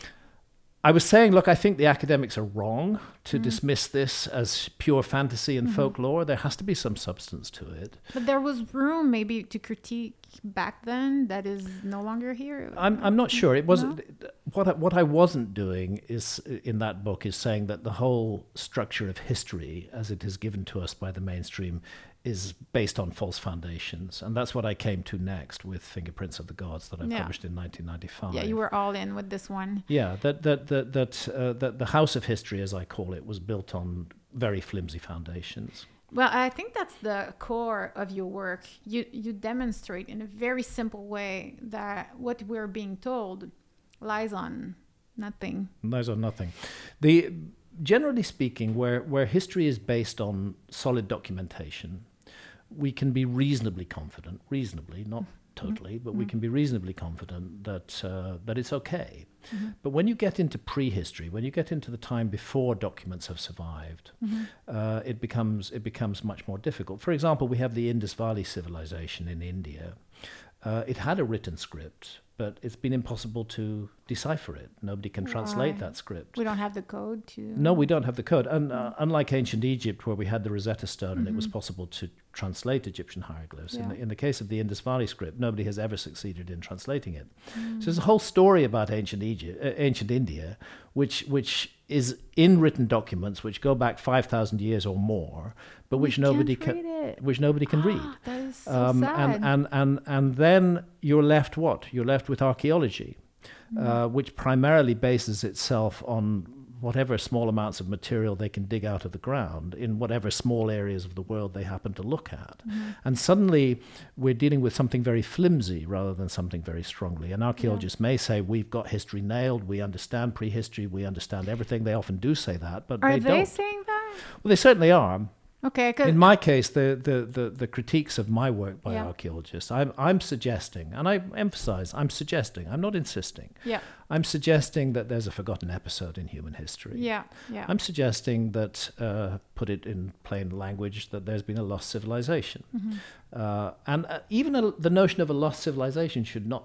[SPEAKER 1] I was saying, look, I think the academics are wrong to mm. dismiss this as pure fantasy and mm-hmm. folklore. There has to be some substance to it.
[SPEAKER 2] But there was room maybe to critique back then that is no longer here.
[SPEAKER 1] I'm I'm not sure. It wasn't
[SPEAKER 2] no?
[SPEAKER 1] what I, what I wasn't doing is in that book is saying that the whole structure of history as it is given to us by the mainstream is based on false foundations, and that's what I came to next with Fingerprints of the Gods that I yeah. published in nineteen ninety-five.
[SPEAKER 2] Yeah, you were all in with this one.
[SPEAKER 1] Yeah, that that that that uh, that the House of History, as I call it, was built on very flimsy foundations.
[SPEAKER 2] Well, I think that's the core of your work. You you demonstrate in a very simple way that what we're being told lies on nothing.
[SPEAKER 1] Lies on nothing. The generally speaking, where where history is based on solid documentation, we can be reasonably confident, reasonably, not totally, but mm-hmm. we can be reasonably confident that uh, that it's okay. Mm-hmm. But when you get into prehistory, when you get into the time before documents have survived, mm-hmm. uh, it becomes it becomes much more difficult. For example, we have the Indus Valley civilization in India. Uh, it had a written script, but it's been impossible to decipher it. Nobody can translate
[SPEAKER 2] Why?
[SPEAKER 1] that script.
[SPEAKER 2] We don't have the code to...
[SPEAKER 1] No, we don't have the code. And uh, unlike ancient Egypt, where we had the Rosetta Stone mm-hmm. and it was possible to translate Egyptian hieroglyphs,
[SPEAKER 2] yeah.
[SPEAKER 1] in, the, in the case of the Indus Valley script, nobody has ever succeeded in translating it. Mm. So there's a whole story about ancient Egypt, uh, ancient India, which which is in written documents which go back five thousand years or more, but which
[SPEAKER 2] we
[SPEAKER 1] nobody
[SPEAKER 2] can
[SPEAKER 1] can which nobody can read.
[SPEAKER 2] That is so
[SPEAKER 1] um,
[SPEAKER 2] sad.
[SPEAKER 1] And, and and and then you're left what? You're left with archaeology, mm. uh, which primarily bases itself on whatever small amounts of material they can dig out of the ground in whatever small areas of the world they happen to look at. Mm-hmm. And suddenly we're dealing with something very flimsy rather than something very strongly. And archaeologists yeah. may say, we've got history nailed, we understand prehistory, we understand everything. They often do say that, but
[SPEAKER 2] are
[SPEAKER 1] they,
[SPEAKER 2] they
[SPEAKER 1] don't.
[SPEAKER 2] saying that?
[SPEAKER 1] Well, they certainly are.
[SPEAKER 2] Okay.
[SPEAKER 1] In my case, the, the, the, the critiques of my work by
[SPEAKER 2] yeah.
[SPEAKER 1] archaeologists, I'm, I'm suggesting, and I emphasize, I'm suggesting, I'm not insisting.
[SPEAKER 2] Yeah.
[SPEAKER 1] I'm suggesting that there's a forgotten episode in human history.
[SPEAKER 2] Yeah, yeah.
[SPEAKER 1] I'm suggesting that, uh, put it in plain language, that there's been a lost civilization. Mm-hmm. Uh, and uh, even a, the notion of a lost civilization should not be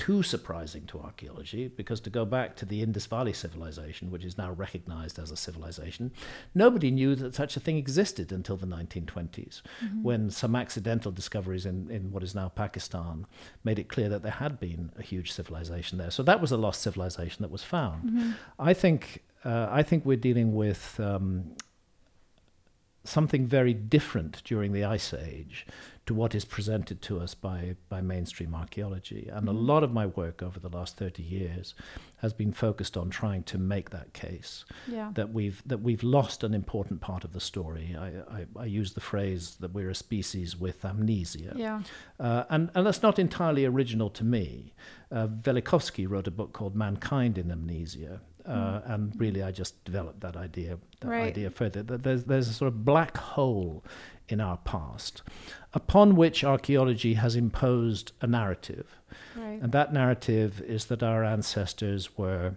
[SPEAKER 1] too surprising to archaeology, because to go back to the Indus Valley civilization, which is now recognized as a civilization, nobody knew that such a thing existed until the nineteen twenties, mm-hmm. when some accidental discoveries in, in what is now Pakistan made it clear that there had been a huge civilization there. So that was a lost civilization that was found. Mm-hmm. I think uh, I think we're dealing with um, something very different during the Ice Age to what is presented to us by, by mainstream archaeology. And mm-hmm. a lot of my work over the last thirty years has been focused on trying to make that case,
[SPEAKER 2] yeah.
[SPEAKER 1] that we've that we've lost an important part of the story. I, I, I use the phrase that we're a species with amnesia.
[SPEAKER 2] Yeah.
[SPEAKER 1] Uh, and, and that's not entirely original to me. Uh, Velikovsky wrote a book called Mankind in Amnesia. Uh, mm. And really, I just developed that idea, that
[SPEAKER 2] right.
[SPEAKER 1] idea further. That there's there's a sort of black hole in our past, upon which archaeology has imposed a narrative,
[SPEAKER 2] right.
[SPEAKER 1] and that narrative is that our ancestors were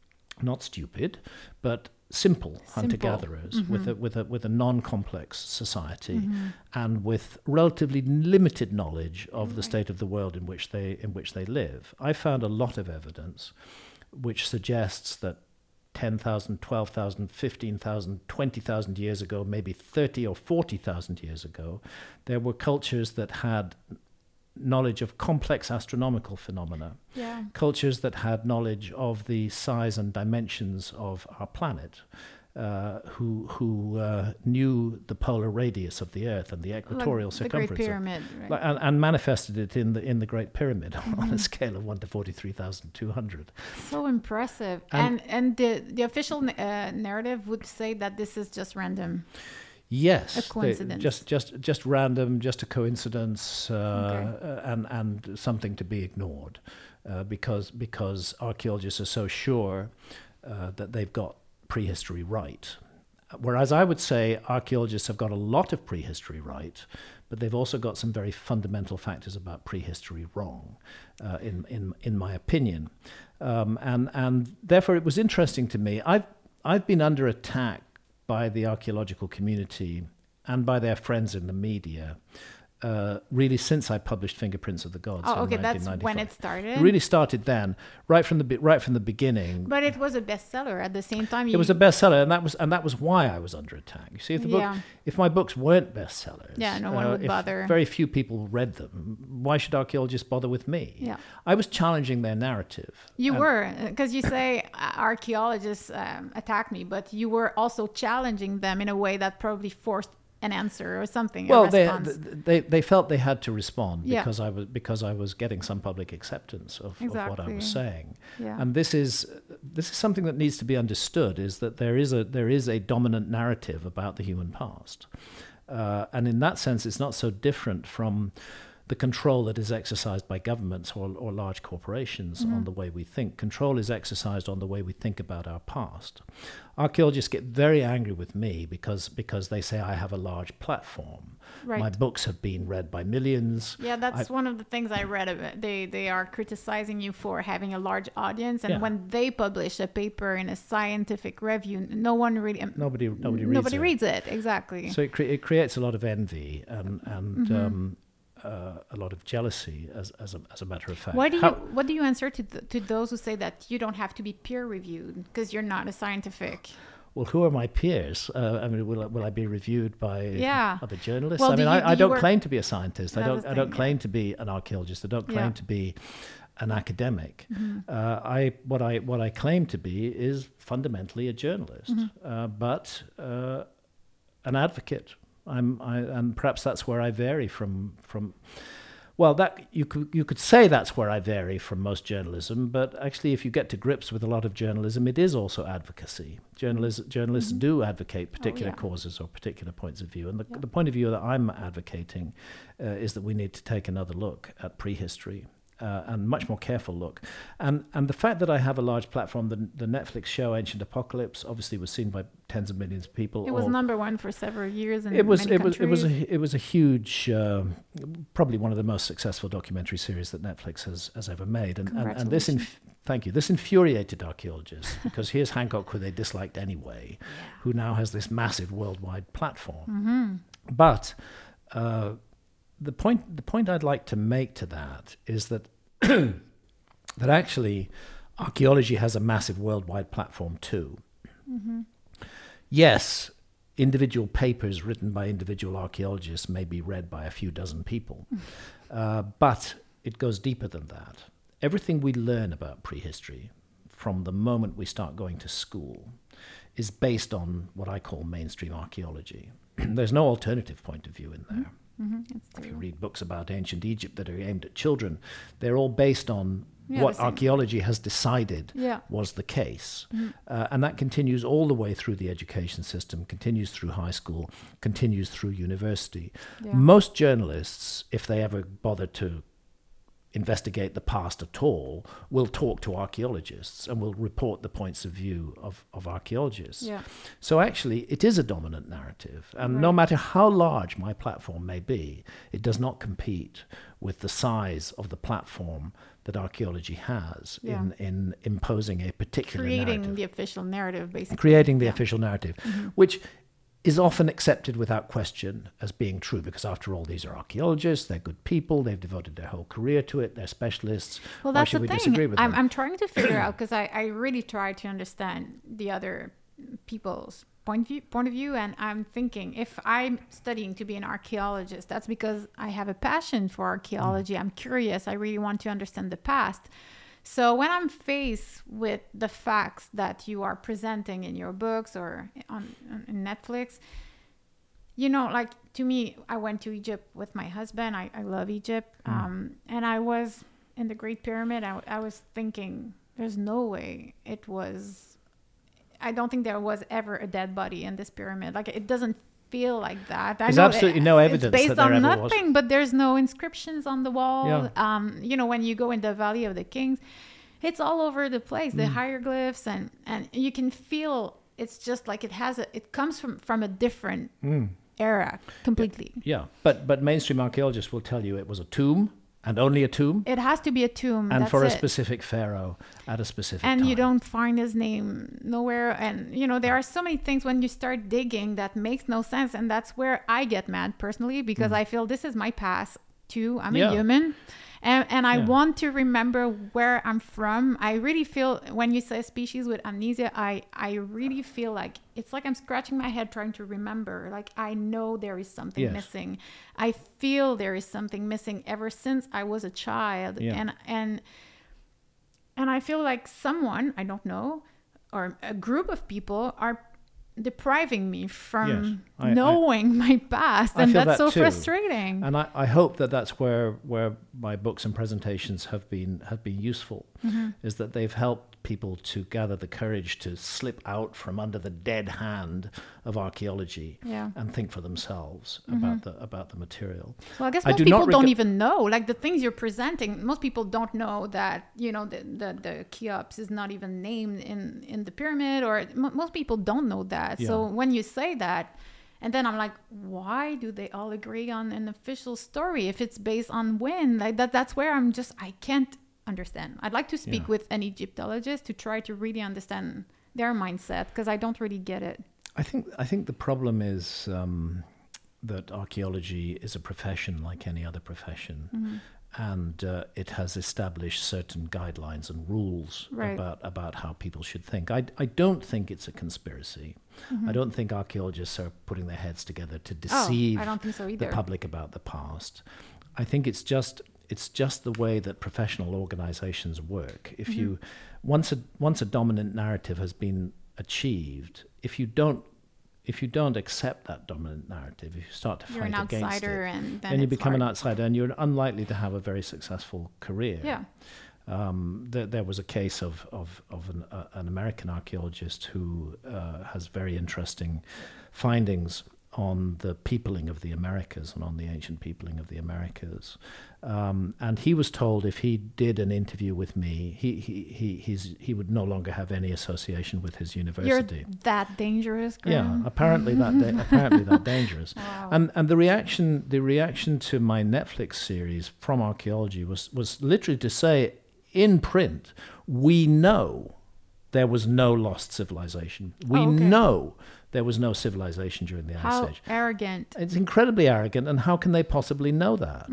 [SPEAKER 1] not stupid, but simple, simple. hunter-gatherers mm-hmm. with a with a with a non-complex society, mm-hmm. and with relatively limited knowledge of right. the state of the world in which they in which they live. I found a lot of evidence which suggests that ten thousand, twelve thousand, fifteen thousand, twenty thousand years ago, maybe thirty or forty thousand years ago, there were cultures that had knowledge of complex astronomical phenomena,
[SPEAKER 2] yeah.
[SPEAKER 1] cultures that had knowledge of the size and dimensions of our planet, uh, who who uh, knew the polar radius of the Earth and the equatorial
[SPEAKER 2] like
[SPEAKER 1] circumference,
[SPEAKER 2] the Great Pyramid,
[SPEAKER 1] of,
[SPEAKER 2] right.
[SPEAKER 1] and, and manifested it in the in the Great Pyramid mm-hmm. on a scale of one to forty-three thousand two hundred.
[SPEAKER 2] So impressive, and and, and the the official uh, narrative would say that this is just random.
[SPEAKER 1] Yes,
[SPEAKER 2] a coincidence.
[SPEAKER 1] They, just just just random, just a coincidence, uh,
[SPEAKER 2] okay.
[SPEAKER 1] uh, and and something to be ignored, uh, because because archaeologists are so sure uh, that they've got prehistory right, whereas I would say archaeologists have got a lot of prehistory right, but they've also got some very fundamental factors about prehistory wrong, uh, in in in my opinion, um, and and therefore it was interesting to me. I've I've been under attack by the archaeological community and by their friends in the media, uh, really since I published Fingerprints of the Gods.
[SPEAKER 2] Oh, okay,
[SPEAKER 1] in
[SPEAKER 2] that's when it started.
[SPEAKER 1] It really started then, right from the be- right from the beginning.
[SPEAKER 2] But it was a bestseller at the same time. You...
[SPEAKER 1] It was a bestseller, and that was and that was why I was under attack. You see, if the book,
[SPEAKER 2] yeah.
[SPEAKER 1] if my books weren't bestsellers,
[SPEAKER 2] yeah, no one
[SPEAKER 1] uh,
[SPEAKER 2] would
[SPEAKER 1] if
[SPEAKER 2] bother.
[SPEAKER 1] Very few people read them. Why should archaeologists bother with me?
[SPEAKER 2] Yeah,
[SPEAKER 1] I was challenging their narrative.
[SPEAKER 2] You were, because you say archaeologists um, attack me, but you were also challenging them in a way that probably forced an answer or something.
[SPEAKER 1] Well,
[SPEAKER 2] a
[SPEAKER 1] they,
[SPEAKER 2] response.
[SPEAKER 1] they they felt they had to respond
[SPEAKER 2] yeah.
[SPEAKER 1] because I was because I was getting some public acceptance of,
[SPEAKER 2] exactly.
[SPEAKER 1] of what I was saying.
[SPEAKER 2] Yeah.
[SPEAKER 1] And this is this is something that needs to be understood: is that there is a there is a dominant narrative about the human past, uh, and in that sense, it's not so different from the control that is exercised by governments or, or large corporations mm-hmm. on the way we think. Control is exercised on the way we think about our past. Archaeologists get very angry with me because because they say I have a large platform.
[SPEAKER 2] Right.
[SPEAKER 1] My books have been read by millions.
[SPEAKER 2] Yeah, that's
[SPEAKER 1] I,
[SPEAKER 2] one of the things I read of it. They they are criticizing you for having a large audience, and
[SPEAKER 1] yeah.
[SPEAKER 2] when they publish a paper in a scientific review, no one really um,
[SPEAKER 1] nobody nobody reads
[SPEAKER 2] nobody
[SPEAKER 1] it.
[SPEAKER 2] reads it exactly.
[SPEAKER 1] So it, cre- it creates a lot of envy and and.
[SPEAKER 2] Mm-hmm.
[SPEAKER 1] Um, Uh, a lot of jealousy, as as a, as a matter of fact.
[SPEAKER 2] Why do
[SPEAKER 1] How,
[SPEAKER 2] you what do you answer to th- to those who say that you don't have to be peer reviewed because you're not a scientific?
[SPEAKER 1] Well, who are my peers? Uh, I mean, will I, will I be reviewed by
[SPEAKER 2] yeah.
[SPEAKER 1] other journalists?
[SPEAKER 2] Well,
[SPEAKER 1] I mean,
[SPEAKER 2] do you,
[SPEAKER 1] I, I
[SPEAKER 2] do
[SPEAKER 1] don't
[SPEAKER 2] work...
[SPEAKER 1] claim to be a scientist. I don't.
[SPEAKER 2] thing,
[SPEAKER 1] I don't claim
[SPEAKER 2] yeah.
[SPEAKER 1] to be an archaeologist. I don't claim
[SPEAKER 2] yeah.
[SPEAKER 1] to be an academic.
[SPEAKER 2] Mm-hmm.
[SPEAKER 1] Uh, I what I what I claim to be is fundamentally a journalist,
[SPEAKER 2] mm-hmm.
[SPEAKER 1] uh, but uh, an advocate. I'm, I, and perhaps that's where I vary from from. Well, that you could you could say that's where I vary from most journalism, but actually, if you get to grips with a lot of journalism, it is also advocacy. Journalists journalists
[SPEAKER 2] mm-hmm.
[SPEAKER 1] do advocate particular
[SPEAKER 2] oh, yeah.
[SPEAKER 1] causes or particular points of view, and the,
[SPEAKER 2] yeah.
[SPEAKER 1] the point of view that I'm advocating uh, is that we need to take another look at prehistory. Uh, and much more careful look, and and the fact that I have a large platform, the the Netflix show Ancient Apocalypse, obviously was seen by tens of millions of people.
[SPEAKER 2] It was number one for several years in
[SPEAKER 1] it was
[SPEAKER 2] many
[SPEAKER 1] it was
[SPEAKER 2] countries.
[SPEAKER 1] it was a it was a huge, uh, probably one of the most successful documentary series that Netflix has has ever made, and and, and this inf- thank you this infuriated archaeologists because here's Hancock, who they disliked anyway,
[SPEAKER 2] yeah.
[SPEAKER 1] who now has this massive worldwide platform,
[SPEAKER 2] mm-hmm.
[SPEAKER 1] but. Uh, The point, the point I'd like to make to that is that that actually archaeology has a massive worldwide platform too.
[SPEAKER 2] Mm-hmm.
[SPEAKER 1] Yes, individual papers written by individual archaeologists may be read by a few dozen people, uh, but it goes deeper than that. Everything we learn about prehistory from the moment we start going to school is based on what I call mainstream archaeology. There's no alternative point of view in there.
[SPEAKER 2] Mm-hmm.
[SPEAKER 1] If you read books about ancient Egypt that are aimed at children, they're all based on
[SPEAKER 2] Yeah,
[SPEAKER 1] what
[SPEAKER 2] the same.
[SPEAKER 1] archaeology has decided
[SPEAKER 2] Yeah.
[SPEAKER 1] was the case.
[SPEAKER 2] Mm-hmm.
[SPEAKER 1] Uh, and that continues all the way through the education system, continues through high school, continues through university.
[SPEAKER 2] Yeah.
[SPEAKER 1] Most journalists, if they ever bother to investigate the past at all, will talk to archaeologists and will report the points of view of, of archaeologists.
[SPEAKER 2] Yeah.
[SPEAKER 1] So actually, it is a dominant narrative. And
[SPEAKER 2] Right.
[SPEAKER 1] no matter how large my platform may be, it does not compete with the size of the platform that archaeology has
[SPEAKER 2] Yeah.
[SPEAKER 1] in, in imposing a particular
[SPEAKER 2] Creating
[SPEAKER 1] narrative.
[SPEAKER 2] the official narrative, basically.
[SPEAKER 1] Creating the
[SPEAKER 2] Yeah.
[SPEAKER 1] official narrative,
[SPEAKER 2] Mm-hmm.
[SPEAKER 1] which is often accepted without question as being true, because after all, these are archaeologists, they're good people, they've devoted their whole career to it, they're specialists.
[SPEAKER 2] Well,
[SPEAKER 1] Why
[SPEAKER 2] that's
[SPEAKER 1] should
[SPEAKER 2] the
[SPEAKER 1] we
[SPEAKER 2] thing.
[SPEAKER 1] disagree with
[SPEAKER 2] I'm,
[SPEAKER 1] them?
[SPEAKER 2] I'm trying to figure out, because I, I really try to understand the other people's point of view, point of view, and I'm thinking, if I'm studying to be an archaeologist, that's because I have a passion for archaeology. I'm curious. I really want to understand the past. So when I'm faced with the facts that you are presenting in your books or on, on Netflix, you know, like, to me, I went to Egypt with my husband. I, I love Egypt.
[SPEAKER 1] Mm.
[SPEAKER 2] Um, and I was in the Great Pyramid. I, I was thinking, there's no way it was, I don't think there was ever a dead body in this pyramid. Like, it doesn't feel like that. I
[SPEAKER 1] There's
[SPEAKER 2] know
[SPEAKER 1] absolutely
[SPEAKER 2] it-
[SPEAKER 1] no evidence
[SPEAKER 2] It's based
[SPEAKER 1] that there
[SPEAKER 2] on
[SPEAKER 1] ever was.
[SPEAKER 2] nothing, but there's no inscriptions on the wall.
[SPEAKER 1] Yeah.
[SPEAKER 2] Um, you know, when you go in the Valley of the Kings, it's all over the place, the
[SPEAKER 1] Mm.
[SPEAKER 2] hieroglyphs, and, and you can feel it's just like it has a, it comes from, from a different
[SPEAKER 1] Mm.
[SPEAKER 2] era completely.
[SPEAKER 1] Yeah, but but mainstream archaeologists will tell you it was a tomb, and only a tomb,
[SPEAKER 2] It has to be a tomb.
[SPEAKER 1] and
[SPEAKER 2] that's
[SPEAKER 1] for a
[SPEAKER 2] it.
[SPEAKER 1] specific pharaoh at a specific
[SPEAKER 2] And
[SPEAKER 1] time.
[SPEAKER 2] you don't find his name nowhere. And, you know, there are so many things when you start digging that makes no sense. And that's where I get mad personally, because I feel this is my past too. I'm
[SPEAKER 1] Mm. Yeah.
[SPEAKER 2] a human. And, and I
[SPEAKER 1] Yeah.
[SPEAKER 2] want to remember where I'm from. I really feel, when you say species with amnesia, I, I really feel like it's like I'm scratching my head trying to remember. Like, I know there is something
[SPEAKER 1] Yes.
[SPEAKER 2] missing. I feel there is something missing ever since I was a child.
[SPEAKER 1] Yeah.
[SPEAKER 2] And, and, and I feel like someone, I don't know, or a group of people are depriving me from
[SPEAKER 1] Yes, I- I-
[SPEAKER 2] knowing my past.
[SPEAKER 1] I
[SPEAKER 2] And
[SPEAKER 1] feel
[SPEAKER 2] that's
[SPEAKER 1] that
[SPEAKER 2] so
[SPEAKER 1] too.
[SPEAKER 2] frustrating.
[SPEAKER 1] And I, I hope that that's where where my books and presentations have been have been useful,
[SPEAKER 2] Mm-hmm.
[SPEAKER 1] is that they've helped people to gather the courage to slip out from under the dead hand of archaeology
[SPEAKER 2] Yeah.
[SPEAKER 1] and think for themselves
[SPEAKER 2] Mm-hmm.
[SPEAKER 1] about the about the material.
[SPEAKER 2] Well, I guess
[SPEAKER 1] I
[SPEAKER 2] most
[SPEAKER 1] do not
[SPEAKER 2] people don't
[SPEAKER 1] rega-
[SPEAKER 2] even know. Like, the things you're presenting, most people don't know that, you know, the, the, the Cheops is not even named in, in the pyramid, or m- most people don't know that. So
[SPEAKER 1] Yeah.
[SPEAKER 2] when you say that, and then I'm like, why do they all agree on an official story if it's based on when? Like, that that's where I'm just, I can't understand. I'd like to speak
[SPEAKER 1] Yeah.
[SPEAKER 2] with an Egyptologist to try to really understand their mindset, because I don't really get it.
[SPEAKER 1] I think I think the problem is um, that archaeology is a profession like any other profession,
[SPEAKER 2] Mm-hmm.
[SPEAKER 1] and uh, it has established certain guidelines and rules
[SPEAKER 2] Right.
[SPEAKER 1] about about how people should think. I I don't think it's a conspiracy.
[SPEAKER 2] Mm-hmm.
[SPEAKER 1] I don't think archaeologists are putting their heads together to
[SPEAKER 2] Oh,
[SPEAKER 1] deceive
[SPEAKER 2] I don't think so
[SPEAKER 1] the
[SPEAKER 2] either.
[SPEAKER 1] public about the past. I think it's just it's just the way that professional organizations work. If you once a once a dominant narrative has been achieved, if you don't if you don't accept that dominant narrative, if you start to
[SPEAKER 2] You're an
[SPEAKER 1] fight against
[SPEAKER 2] outsider,
[SPEAKER 1] it,
[SPEAKER 2] and then,
[SPEAKER 1] then you
[SPEAKER 2] it's
[SPEAKER 1] become an
[SPEAKER 2] hard.
[SPEAKER 1] outsider, and you're unlikely to have a very successful career.
[SPEAKER 2] Yeah.
[SPEAKER 1] Um, there, there was a case of of, of an, uh, an American archaeologist who uh, has very interesting findings on the peopling of the Americas and on the ancient peopling of the Americas. Um, and he was told if he did an interview with me, he he he he's, he would no longer have any association with his
[SPEAKER 2] You're
[SPEAKER 1] university.
[SPEAKER 2] that dangerous,
[SPEAKER 1] Yeah,
[SPEAKER 2] Graham?
[SPEAKER 1] apparently that da- apparently that dangerous.
[SPEAKER 2] Wow.
[SPEAKER 1] And and the reaction the reaction to my Netflix series from archaeology was was literally to say in print, we know there was no lost civilization. We
[SPEAKER 2] Oh, okay.
[SPEAKER 1] know there was no civilization during the
[SPEAKER 2] How
[SPEAKER 1] Ice Age.
[SPEAKER 2] arrogant.
[SPEAKER 1] It's incredibly arrogant, and how can they possibly know that?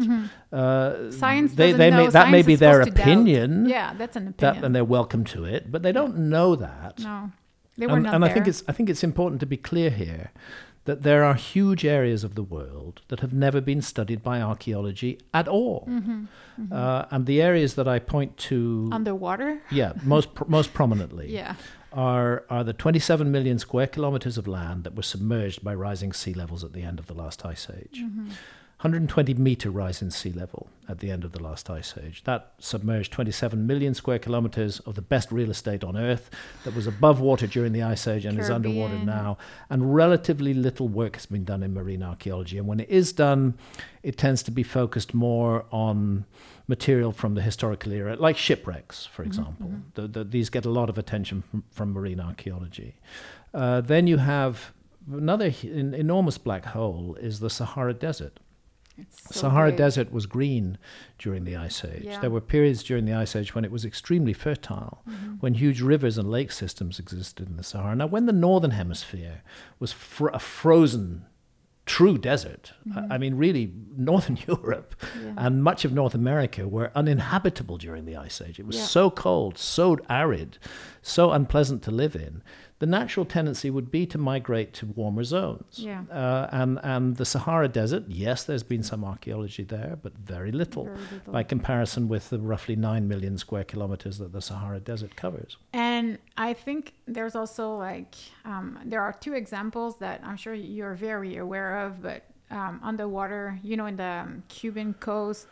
[SPEAKER 1] Uh,
[SPEAKER 2] Science
[SPEAKER 1] they,
[SPEAKER 2] doesn't
[SPEAKER 1] they
[SPEAKER 2] know.
[SPEAKER 1] may, that may
[SPEAKER 2] Science
[SPEAKER 1] be
[SPEAKER 2] is
[SPEAKER 1] their
[SPEAKER 2] supposed to doubt.
[SPEAKER 1] opinion,
[SPEAKER 2] Yeah, that's an
[SPEAKER 1] that,
[SPEAKER 2] opinion.
[SPEAKER 1] and they're welcome to it, but they don't know that.
[SPEAKER 2] no, they were
[SPEAKER 1] And,
[SPEAKER 2] not
[SPEAKER 1] and
[SPEAKER 2] there.
[SPEAKER 1] I think it's I think it's important to be clear here that there are huge areas of the world that have never been studied by archaeology at all.
[SPEAKER 2] Mm-hmm,
[SPEAKER 1] Uh, and the areas that I point to,
[SPEAKER 2] underwater.
[SPEAKER 1] yeah, most pr- most prominently,
[SPEAKER 2] Yeah.
[SPEAKER 1] are are the twenty-seven million square kilometers of land that were submerged by rising sea levels at the end of the last ice age.
[SPEAKER 2] Mm-hmm.
[SPEAKER 1] one hundred twenty meter rise in sea level at the end of the last ice age. That submerged twenty-seven million square kilometers of the best real estate on Earth that was above water during the ice age and is underwater
[SPEAKER 2] Caribbean.
[SPEAKER 1] now. And relatively little work has been done in marine archaeology. And when it is done, it tends to be focused more on material from the historical era, like shipwrecks, for example. The, the, these get a lot of attention from, from marine archaeology. Uh, then you have another h- en- enormous black hole is the Sahara Desert.
[SPEAKER 2] It's so
[SPEAKER 1] Sahara
[SPEAKER 2] big.
[SPEAKER 1] Desert was green during the Ice Age.
[SPEAKER 2] Yeah.
[SPEAKER 1] There were periods during the Ice Age when it was extremely fertile,
[SPEAKER 2] Mm-hmm.
[SPEAKER 1] when huge rivers and lake systems existed in the Sahara. Now, when the Northern Hemisphere was fr- a frozen, true desert, I I mean, really, Northern Europe
[SPEAKER 2] Mm-hmm. Yeah.
[SPEAKER 1] and much of North America were uninhabitable during the Ice Age. It was
[SPEAKER 2] Yeah.
[SPEAKER 1] so cold, so arid, so unpleasant to live in. The natural tendency would be to migrate to warmer zones.
[SPEAKER 2] Yeah.
[SPEAKER 1] Uh, and, and the Sahara Desert, yes, there's been some archaeology there, but very little,
[SPEAKER 2] Very little.
[SPEAKER 1] by comparison with the roughly nine million square kilometers that the Sahara Desert covers.
[SPEAKER 2] And I think there's also like um, there are two examples that I'm sure you're very aware of, but um, underwater, you know, in the um, Cuban coast,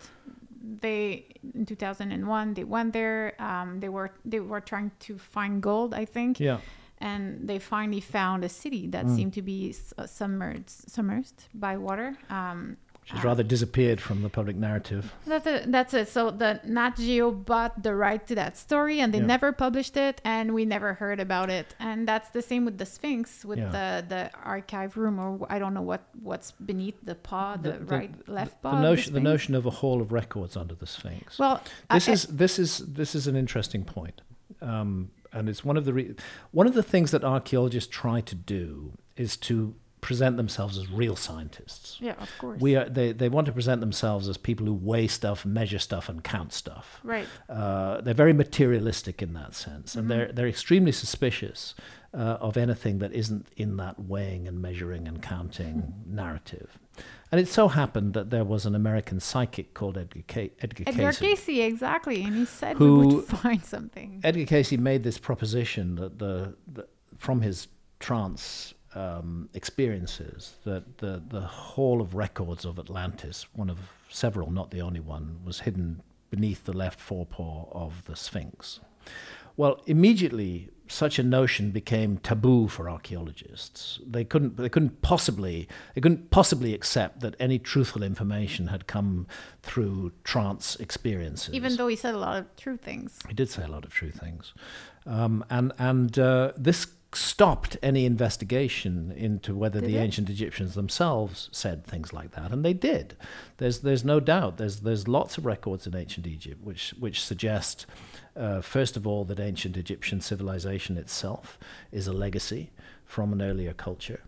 [SPEAKER 2] they in two thousand one they went there. Um, they were they were trying to find gold, I think.
[SPEAKER 1] Yeah.
[SPEAKER 2] And they finally found a city that
[SPEAKER 1] Mm.
[SPEAKER 2] seemed to be s- uh, submerged, submerged by water. Um,
[SPEAKER 1] She's
[SPEAKER 2] uh,
[SPEAKER 1] rather disappeared from the public narrative.
[SPEAKER 2] That's it. That's it. So the Nat Geo bought the right to that story, and they
[SPEAKER 1] Yeah.
[SPEAKER 2] never published it, and we never heard about it. And that's the same with the Sphinx, with
[SPEAKER 1] Yeah.
[SPEAKER 2] the the archive room, or I don't know what what's beneath the paw, the,
[SPEAKER 1] The- the-
[SPEAKER 2] right, left paw.
[SPEAKER 1] The
[SPEAKER 2] of
[SPEAKER 1] notion, the
[SPEAKER 2] Sphinx.
[SPEAKER 1] notion of a hall of records under the Sphinx.
[SPEAKER 2] Well,
[SPEAKER 1] this
[SPEAKER 2] I-
[SPEAKER 1] is this is this is an interesting point, um, and it's one of the re- one of the things that archaeologists try to do is to present themselves as real scientists.
[SPEAKER 2] yeah, of course.
[SPEAKER 1] We are they, they want to present themselves as people who weigh stuff, measure stuff, and count stuff.
[SPEAKER 2] right.
[SPEAKER 1] Uh, they're very materialistic in that sense, and they're they're extremely suspicious uh, of anything that isn't in that weighing and measuring and counting narrative. And it so happened that there was an American psychic called Edgar, Ca- Edgar,
[SPEAKER 2] Edgar
[SPEAKER 1] Casey.
[SPEAKER 2] Casey, exactly, and he said
[SPEAKER 1] Who-
[SPEAKER 2] we would find something.
[SPEAKER 1] Edgar Casey made this proposition that the, the from his trance um, experiences that the the Hall of Records of Atlantis, one of several, not the only one, was hidden beneath the left forepaw of the Sphinx. Well, immediately such a notion became taboo for archaeologists. They couldn't they couldn't possibly they couldn't possibly accept that any truthful information had come through trance experiences.
[SPEAKER 2] Even though he said a lot of true things.
[SPEAKER 1] He did say a lot of true things. Um, and and uh, this stopped any investigation into whether
[SPEAKER 2] Did
[SPEAKER 1] the
[SPEAKER 2] it?
[SPEAKER 1] ancient Egyptians themselves said things like that. And they did. There's there's no doubt. There's there's lots of records in ancient Egypt which, which suggest, uh, first of all, that ancient Egyptian civilization itself is a legacy from an earlier culture.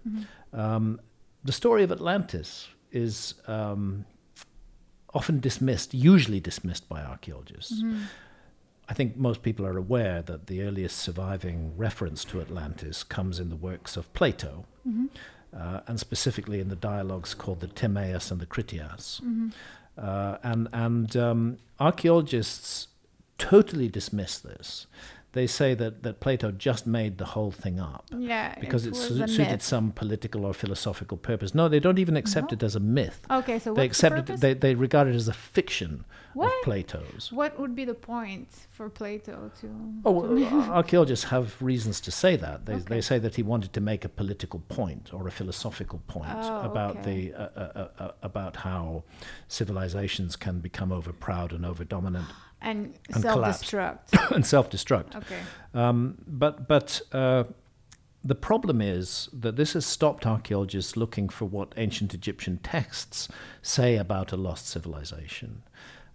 [SPEAKER 1] Um, the story of Atlantis is um, often dismissed, usually dismissed by archaeologists. I think most people are aware that the earliest surviving reference to Atlantis comes in the works of Plato, uh, and specifically in the dialogues called the Timaeus and the Critias. Uh, and and um, archaeologists totally dismiss this. They say that, that Plato just made the whole thing up
[SPEAKER 2] Yeah,
[SPEAKER 1] because
[SPEAKER 2] it
[SPEAKER 1] it,
[SPEAKER 2] was
[SPEAKER 1] su-
[SPEAKER 2] a
[SPEAKER 1] suited
[SPEAKER 2] myth.
[SPEAKER 1] some political or philosophical purpose. No, they don't even accept
[SPEAKER 2] No?
[SPEAKER 1] it as a myth.
[SPEAKER 2] Okay, so
[SPEAKER 1] They
[SPEAKER 2] what's the
[SPEAKER 1] accept it.
[SPEAKER 2] purpose?
[SPEAKER 1] They, they regard it as a fiction
[SPEAKER 2] What?
[SPEAKER 1] of Plato's.
[SPEAKER 2] What would be the point for Plato to?
[SPEAKER 1] Oh,
[SPEAKER 2] to-
[SPEAKER 1] well, archaeologists have reasons to say that. They,
[SPEAKER 2] Okay.
[SPEAKER 1] they say that he wanted to make a political point or a philosophical point
[SPEAKER 2] Oh,
[SPEAKER 1] about
[SPEAKER 2] okay.
[SPEAKER 1] the uh, uh, uh, uh, about how civilizations can become over proud and over dominant
[SPEAKER 2] and
[SPEAKER 1] and collapse.
[SPEAKER 2] self-destruct.
[SPEAKER 1] and self-destruct.
[SPEAKER 2] Okay.
[SPEAKER 1] Um, but but uh, the problem is that this has stopped archaeologists looking for what ancient Egyptian texts say about a lost civilization.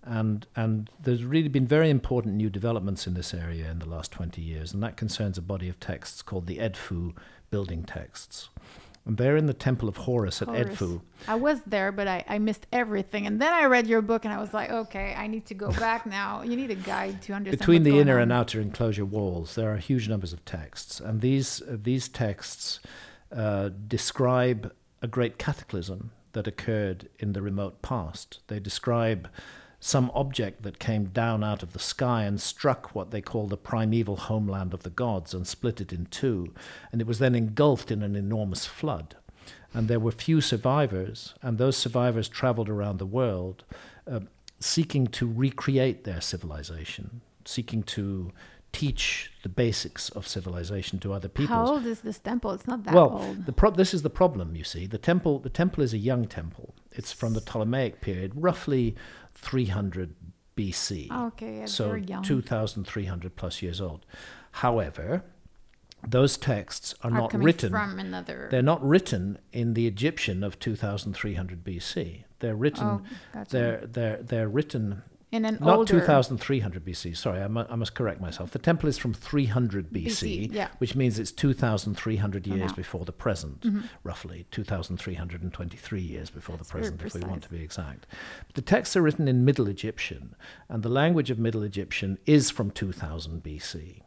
[SPEAKER 1] And and there's really been very important new developments in this area in the last twenty years, and that concerns a body of texts called the Edfu building texts. And they're in the Temple of Horus at
[SPEAKER 2] Horus.
[SPEAKER 1] Edfu.
[SPEAKER 2] I was there, but I, I missed everything. And then I read your book, and I was like, okay, I need to go back now. You need a guide to understand
[SPEAKER 1] Between
[SPEAKER 2] what's
[SPEAKER 1] the
[SPEAKER 2] going
[SPEAKER 1] inner
[SPEAKER 2] on.
[SPEAKER 1] and outer enclosure walls, there are huge numbers of texts. And these, uh, these texts uh, describe a great cataclysm that occurred in the remote past. They describe some object that came down out of the sky and struck what they call the primeval homeland of the gods and split it in two. And it was then engulfed in an enormous flood. And there were few survivors, and those survivors traveled around the world uh, seeking to recreate their civilization, seeking to teach the basics of civilization to other people.
[SPEAKER 2] How old is this temple? It's not that
[SPEAKER 1] well,
[SPEAKER 2] old.
[SPEAKER 1] the pro- this is the problem, you see. The temple, the temple is a young temple. It's from the Ptolemaic period, roughly three hundred B C.
[SPEAKER 2] Okay, it's
[SPEAKER 1] So
[SPEAKER 2] very young.
[SPEAKER 1] two thousand three hundred plus years old. However, those texts are,
[SPEAKER 2] Are
[SPEAKER 1] not
[SPEAKER 2] coming
[SPEAKER 1] written.
[SPEAKER 2] from another.
[SPEAKER 1] They're not written in the Egyptian of two thousand three hundred B C. They're written.
[SPEAKER 2] Oh, gotcha.
[SPEAKER 1] They're they're they're written.
[SPEAKER 2] In an
[SPEAKER 1] Not
[SPEAKER 2] older.
[SPEAKER 1] two thousand three hundred B C. Sorry, I, mu- I must correct myself. The temple is from three hundred B C,
[SPEAKER 2] B C, yeah.
[SPEAKER 1] which means it's two thousand three hundred years
[SPEAKER 2] now.
[SPEAKER 1] before the present,
[SPEAKER 2] Mm-hmm.
[SPEAKER 1] roughly two thousand three hundred twenty-three years before
[SPEAKER 2] That's
[SPEAKER 1] the
[SPEAKER 2] very
[SPEAKER 1] present, if we want to
[SPEAKER 2] precise.
[SPEAKER 1] be exact. But the texts are written in Middle Egyptian, and the language of Middle Egyptian is from two thousand B C.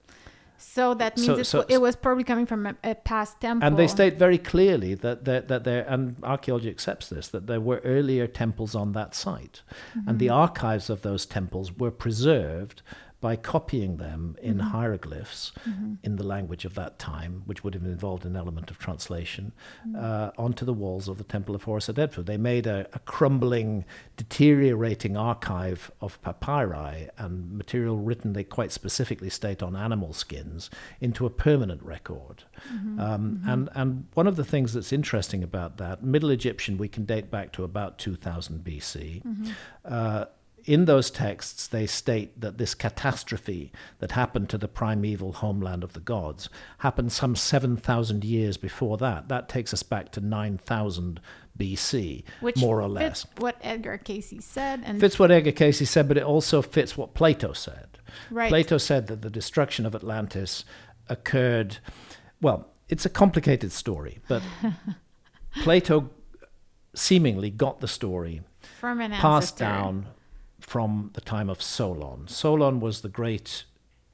[SPEAKER 2] So that means
[SPEAKER 1] So-
[SPEAKER 2] it's,
[SPEAKER 1] so-
[SPEAKER 2] it was probably coming from a, a past temple.
[SPEAKER 1] And they state very clearly that that, that there, and archaeology accepts this, that there were earlier temples on that site. And the archives of those temples were preserved by copying them in hieroglyphs in the language of that time, which would have involved an element of translation, uh, onto the walls of the Temple of Horus at Edfu. They made a, a crumbling, deteriorating archive of papyri and material written, they quite specifically state, on animal skins, into a permanent record. Um, and, and one of the things that's interesting about that, Middle Egyptian, we can date back to about two thousand B C. Uh, in those texts, they state that this catastrophe that happened to the primeval homeland of the gods happened some seven thousand years before that. That takes us back to nine thousand B C,
[SPEAKER 2] Which
[SPEAKER 1] more or
[SPEAKER 2] fits
[SPEAKER 1] less.
[SPEAKER 2] what Edgar Casey said. And
[SPEAKER 1] Fits what Edgar Casey said, but it also fits what Plato said.
[SPEAKER 2] right.
[SPEAKER 1] Plato said that the destruction of Atlantis occurred, well, it's a complicated story, but Plato seemingly got the story
[SPEAKER 2] from an
[SPEAKER 1] passed
[SPEAKER 2] ancestor.
[SPEAKER 1] down from the time of Solon. Solon was the great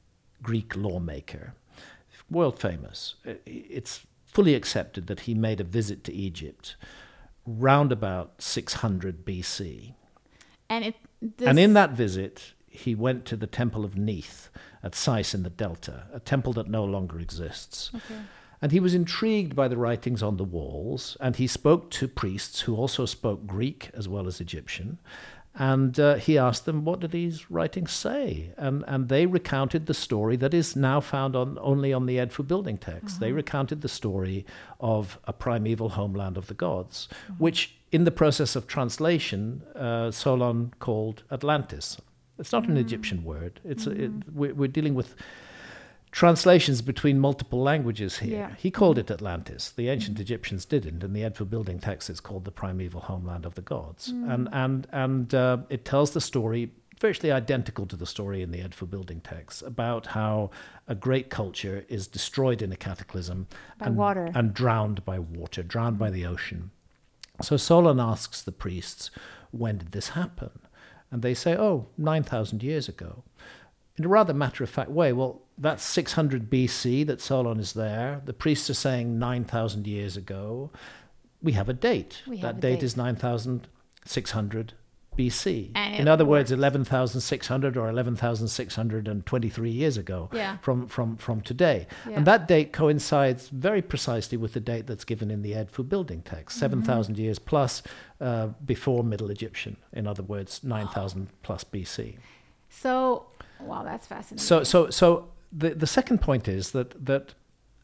[SPEAKER 1] Greek lawmaker, world famous. I- It's fully accepted that he made a visit to Egypt round about six hundred B C.
[SPEAKER 2] And it. This,
[SPEAKER 1] And in that visit, he went to the Temple of Neith at Sais in the Delta, a temple that no longer exists.
[SPEAKER 2] Okay.
[SPEAKER 1] And he was intrigued by the writings on the walls, and he spoke to priests who also spoke Greek as well as Egyptian. And uh, he asked them, what do these writings say? And, and they recounted the story that is now found on only on the Edfu building text. They recounted the story of a primeval homeland of the gods, which in the process of translation, uh, Solon called Atlantis. It's not an Egyptian word. It's a, it, we're, we're dealing with translations between multiple languages here.
[SPEAKER 2] Yeah.
[SPEAKER 1] He called it Atlantis. The ancient Egyptians didn't. In the Edfu building text, it's called the primeval homeland of the gods. And and and uh, it tells the story virtually identical to the story in the Edfu building text about how a great culture is destroyed in a cataclysm
[SPEAKER 2] By
[SPEAKER 1] and,
[SPEAKER 2] water.
[SPEAKER 1] and drowned by water, drowned by the ocean. So Solon asks the priests, when did this happen? And they say, oh, nine thousand years ago. In a rather matter-of-fact way, well, that's six hundred B C that Solon is there. The priests are saying nine thousand years ago. We have a date.
[SPEAKER 2] We have
[SPEAKER 1] that
[SPEAKER 2] a
[SPEAKER 1] date
[SPEAKER 2] date.
[SPEAKER 1] is nine thousand six hundred B C.
[SPEAKER 2] And
[SPEAKER 1] In
[SPEAKER 2] it
[SPEAKER 1] other words,
[SPEAKER 2] works.
[SPEAKER 1] eleven thousand six hundred or eleven thousand six hundred twenty-three years ago
[SPEAKER 2] Yeah.
[SPEAKER 1] from, from, from today.
[SPEAKER 2] Yeah.
[SPEAKER 1] And that date coincides very precisely with the date that's given in the Edfu building text, seven thousand years plus uh, before Middle Egyptian. In other words, nine thousand plus B C.
[SPEAKER 2] So, wow, that's fascinating.
[SPEAKER 1] So, so, so the the second point is that that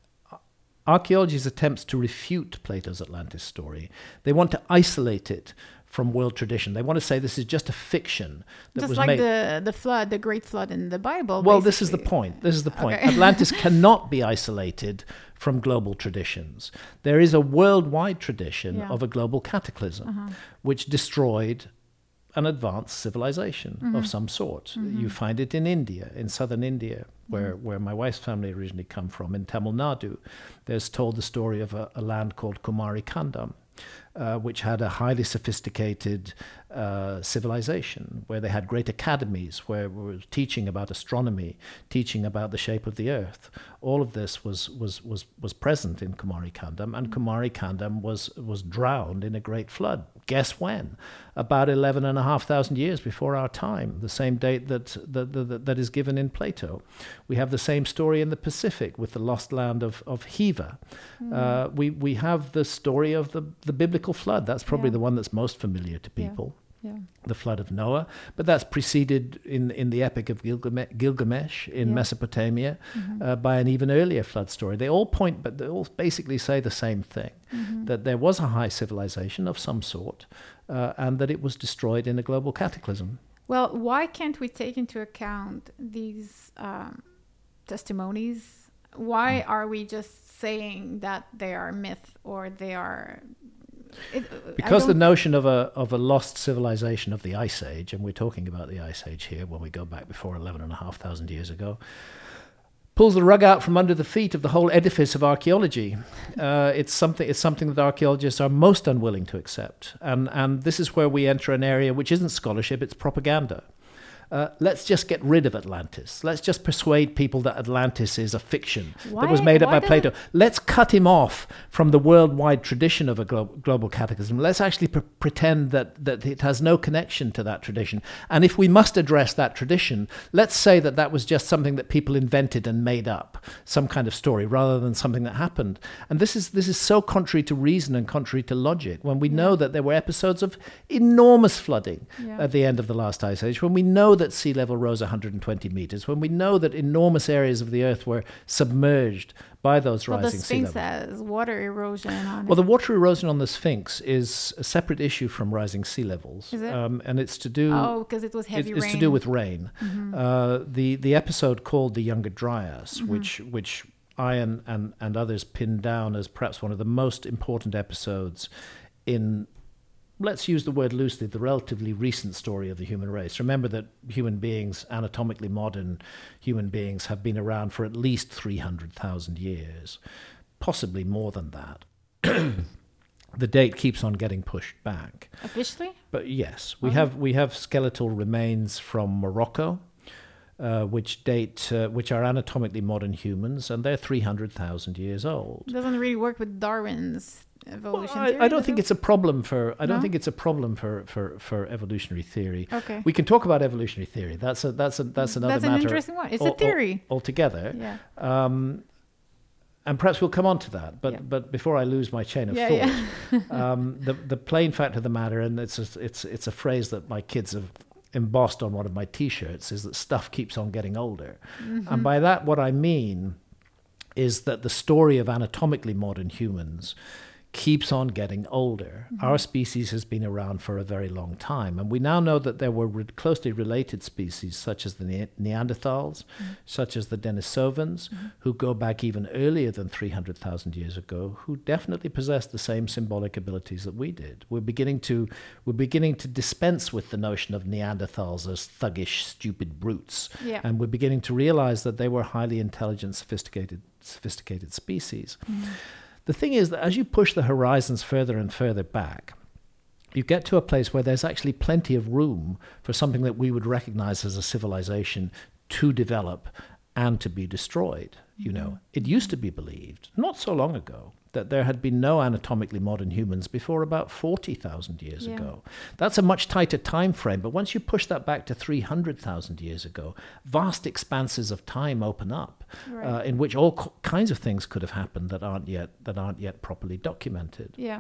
[SPEAKER 1] archaeology's attempts to refute Plato's Atlantis story, they want to isolate it from world tradition. They want to say this is just a fiction that
[SPEAKER 2] Just
[SPEAKER 1] was
[SPEAKER 2] like
[SPEAKER 1] made.
[SPEAKER 2] the the flood, the great flood in the Bible.
[SPEAKER 1] Well, this is the
[SPEAKER 2] basically.
[SPEAKER 1] point. This is the point.
[SPEAKER 2] Okay.
[SPEAKER 1] Atlantis cannot be isolated from global traditions. There is a worldwide tradition
[SPEAKER 2] Yeah.
[SPEAKER 1] of a global cataclysm which destroyed an advanced civilization
[SPEAKER 2] Mm-hmm.
[SPEAKER 1] of some sort.
[SPEAKER 2] Mm-hmm.
[SPEAKER 1] You find it in India, in southern India, where, mm-hmm. where my wife's family originally come from, in Tamil Nadu. There's told the story of a, a land called Kumari Kandam, uh, which had a highly sophisticated uh, civilization, where they had great academies, where we were teaching about astronomy, teaching about the shape of the earth. All of this was was was was present in Kumari Kandam, and Kumari Kandam was was drowned in a great flood. Guess when? About eleven and a half thousand years before our time, the same date that that, that that is given in Plato. We have the same story in the Pacific with the lost land of, of Hiva. Mm. Uh, we, we have the story of the, the biblical flood. That's probably yeah. the one that's most familiar to people.
[SPEAKER 2] Yeah. Yeah.
[SPEAKER 1] The flood of Noah. But that's preceded in, in the Epic of Gilgamesh, Gilgamesh in yeah. Mesopotamia mm-hmm. uh, by an even earlier flood story. They all point, but they all basically say the same thing, mm-hmm. that there was a high civilization of some sort uh, and that it was destroyed in a global cataclysm.
[SPEAKER 2] Well, why can't we take into account these um, testimonies? Why mm. are we just saying that they are myth or they are... It,
[SPEAKER 1] because the notion of a of a lost civilization of the Ice Age, and we're talking about the Ice Age here when we go back before eleven and a half thousand years ago, pulls the rug out from under the feet of the whole edifice of archaeology. Uh, it's something it's something that archaeologists are most unwilling to accept, and and this is where we enter an area which isn't scholarship, it's propaganda. Uh, let's just get rid of Atlantis. Let's just persuade people that Atlantis is a fiction
[SPEAKER 2] why,
[SPEAKER 1] that was made up by
[SPEAKER 2] does...
[SPEAKER 1] Plato. Let's cut him off from the worldwide tradition of a glo- global cataclysm. Let's actually pre- pretend that, that it has no connection to that tradition. And if we must address that tradition, let's say that that was just something that people invented and made up, some kind of story, rather than something that happened. And this is this is so contrary to reason and contrary to logic, when we yeah. know that there were episodes of enormous flooding yeah. at the end of the last Ice Age, when we know that sea level rose one hundred twenty meters, when we know that enormous areas of the earth were submerged by those
[SPEAKER 2] well,
[SPEAKER 1] rising sea levels.
[SPEAKER 2] The Sphinx has water erosion on it.
[SPEAKER 1] Well, the water erosion on the Sphinx is a separate issue from rising sea levels.
[SPEAKER 2] Is it?
[SPEAKER 1] Um, and it's to do...
[SPEAKER 2] Oh, because it was heavy
[SPEAKER 1] it,
[SPEAKER 2] rain.
[SPEAKER 1] It's to do with rain.
[SPEAKER 2] Mm-hmm.
[SPEAKER 1] Uh, the, the episode called The Younger Dryas,
[SPEAKER 2] mm-hmm.
[SPEAKER 1] which which I and, and, and others pinned down as perhaps one of the most important episodes in... Let's use the word loosely, the relatively recent story of the human race. Remember that human beings, anatomically modern human beings, have been around for at least three hundred thousand years, possibly more than that. The date keeps on getting pushed back.
[SPEAKER 2] Officially?
[SPEAKER 1] But yes, we
[SPEAKER 2] oh.
[SPEAKER 1] have we have skeletal remains from Morocco, uh, which date uh, which are anatomically modern humans, and they're three hundred thousand years old.
[SPEAKER 2] It doesn't really work with Darwin's evolution
[SPEAKER 1] well,
[SPEAKER 2] theory,
[SPEAKER 1] I, I don't think
[SPEAKER 2] it?
[SPEAKER 1] it's a problem for I don't
[SPEAKER 2] no?
[SPEAKER 1] think it's a problem for, for, for evolutionary theory.
[SPEAKER 2] Okay.
[SPEAKER 1] We can talk about evolutionary theory. That's a that's a that's another
[SPEAKER 2] that's an
[SPEAKER 1] matter.
[SPEAKER 2] interesting one. It's
[SPEAKER 1] al-
[SPEAKER 2] a theory
[SPEAKER 1] al- altogether.
[SPEAKER 2] Yeah.
[SPEAKER 1] Um, and perhaps we'll come on to that. But
[SPEAKER 2] yeah.
[SPEAKER 1] but before I lose my chain of
[SPEAKER 2] yeah,
[SPEAKER 1] thought,
[SPEAKER 2] yeah.
[SPEAKER 1] um, the the plain fact of the matter, and it's a, it's it's a phrase that my kids have embossed on one of my T-shirts, is that stuff keeps on getting older. Mm-hmm. And by that, what I mean is that the story of anatomically modern humans keeps on getting older. Mm-hmm. Our species has been around for a very long time, and we now know that there were re- closely related species such as the ne- Neanderthals, mm-hmm. such as the Denisovans, mm-hmm. who go back even earlier than three hundred thousand years ago, who definitely possessed the same symbolic abilities that we did. We're beginning to we're beginning to dispense with the notion of Neanderthals as thuggish, stupid brutes,
[SPEAKER 2] yeah.
[SPEAKER 1] and we're beginning to realize that they were highly intelligent, sophisticated, sophisticated species. Mm-hmm. The thing is that as you push the horizons further and further back, you get to a place where there's actually plenty of room for something that we would recognize as a civilization to develop and to be destroyed. You know, it used to be believed, not so long ago, that there had been no anatomically modern humans before about forty thousand years
[SPEAKER 2] yeah.
[SPEAKER 1] ago. That's a much tighter time frame, but once you push that back to three hundred thousand years ago, vast expanses of time open up, right. uh, in which all co- kinds of things could have happened that aren't yet that aren't yet properly documented.
[SPEAKER 2] Yeah.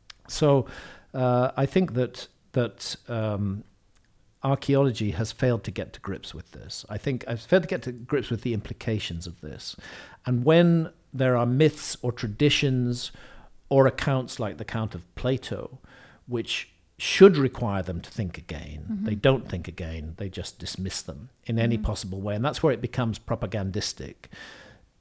[SPEAKER 1] So uh, I think that that um, archaeology has failed to get to grips with this. I think I've failed to get to grips with the implications of this. And when there are myths or traditions or accounts like the account of Plato, which should require them to think again, mm-hmm. they don't think again, they just dismiss them in any mm-hmm. possible way. And that's where it becomes propagandistic.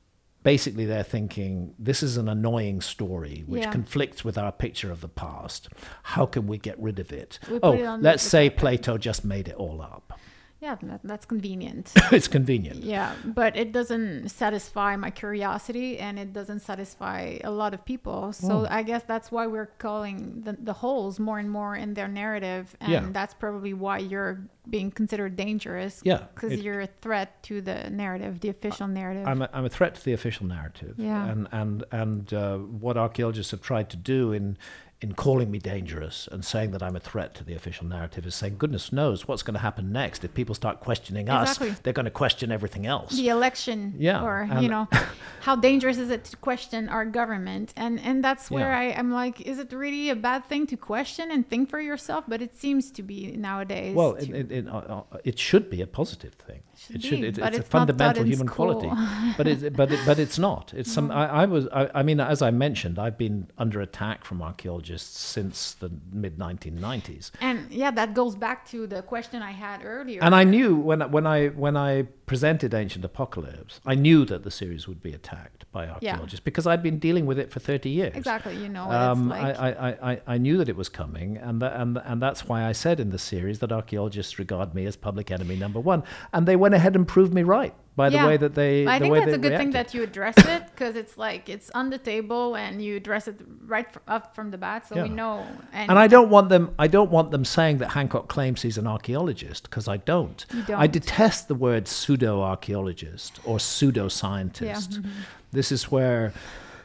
[SPEAKER 1] basically they're thinking, this is an annoying story which
[SPEAKER 2] Yeah.
[SPEAKER 1] conflicts with our picture of the past. How can we get rid of it?
[SPEAKER 2] We put
[SPEAKER 1] Oh,
[SPEAKER 2] it on the-
[SPEAKER 1] let's
[SPEAKER 2] the
[SPEAKER 1] say
[SPEAKER 2] carpet.
[SPEAKER 1] Plato just made it all up.
[SPEAKER 2] Yeah, that, that's convenient.
[SPEAKER 1] It's convenient.
[SPEAKER 2] Yeah, but it doesn't satisfy my curiosity, and it doesn't satisfy a lot of people. So
[SPEAKER 1] Oh.
[SPEAKER 2] I guess that's why we're calling the, the holes more and more in their narrative, and
[SPEAKER 1] Yeah.
[SPEAKER 2] that's probably why you're being considered dangerous.
[SPEAKER 1] Yeah,
[SPEAKER 2] because
[SPEAKER 1] it-
[SPEAKER 2] you're a threat to the narrative, the official narrative.
[SPEAKER 1] I'm a, I'm a threat to the official narrative.
[SPEAKER 2] Yeah.
[SPEAKER 1] And and and uh, what archaeologists have tried to do in in calling me dangerous and saying that I'm a threat to the official narrative is saying, goodness knows what's going to happen next. If people start questioning
[SPEAKER 2] Exactly.
[SPEAKER 1] us, they're going to question everything else.
[SPEAKER 2] the election,
[SPEAKER 1] Yeah,
[SPEAKER 2] or
[SPEAKER 1] and-
[SPEAKER 2] you know, how dangerous is it to question our government? And and that's where
[SPEAKER 1] Yeah.
[SPEAKER 2] I, I'm like, is it really a bad thing to question and think for yourself? But it seems to be nowadays.
[SPEAKER 1] Well,
[SPEAKER 2] to-
[SPEAKER 1] it, it, it, uh, uh, it should be a positive thing.
[SPEAKER 2] Should
[SPEAKER 1] it
[SPEAKER 2] be,
[SPEAKER 1] should. It,
[SPEAKER 2] but
[SPEAKER 1] it's,
[SPEAKER 2] it's
[SPEAKER 1] a
[SPEAKER 2] not taught
[SPEAKER 1] fundamental
[SPEAKER 2] in
[SPEAKER 1] human
[SPEAKER 2] school.
[SPEAKER 1] quality. But it, but it, but it's not. It's some. I, I was. I, I mean, as I mentioned, I've been under attack from archaeologists since the mid nineteen nineties.
[SPEAKER 2] And yeah, that goes back to the question I had earlier.
[SPEAKER 1] And I knew when when I when I presented Ancient Apocalypse, I knew that the series would be attacked by archaeologists because I'd been dealing with it for thirty years.
[SPEAKER 2] Exactly, you know what
[SPEAKER 1] Um,
[SPEAKER 2] it's like.
[SPEAKER 1] I, I, I, I knew that it was coming, and that, and and that's why I said in the series that archaeologists regard me as public enemy number one, and they went ahead and proved me right by the
[SPEAKER 2] Yeah.
[SPEAKER 1] way that they.
[SPEAKER 2] I
[SPEAKER 1] the
[SPEAKER 2] think
[SPEAKER 1] way
[SPEAKER 2] that's
[SPEAKER 1] they
[SPEAKER 2] a good thing
[SPEAKER 1] reacted.
[SPEAKER 2] that you address it, because it's like it's on the table and you address it right f- up from the bat, so we
[SPEAKER 1] Yeah.
[SPEAKER 2] know. And,
[SPEAKER 1] And I don't want them. I don't want them saying that Hancock claims he's an archaeologist, because I don't.
[SPEAKER 2] You
[SPEAKER 1] I
[SPEAKER 2] don't.
[SPEAKER 1] detest the word pseudo-archaeologist or pseudo-scientist.
[SPEAKER 2] Yeah, mhm.
[SPEAKER 1] This is where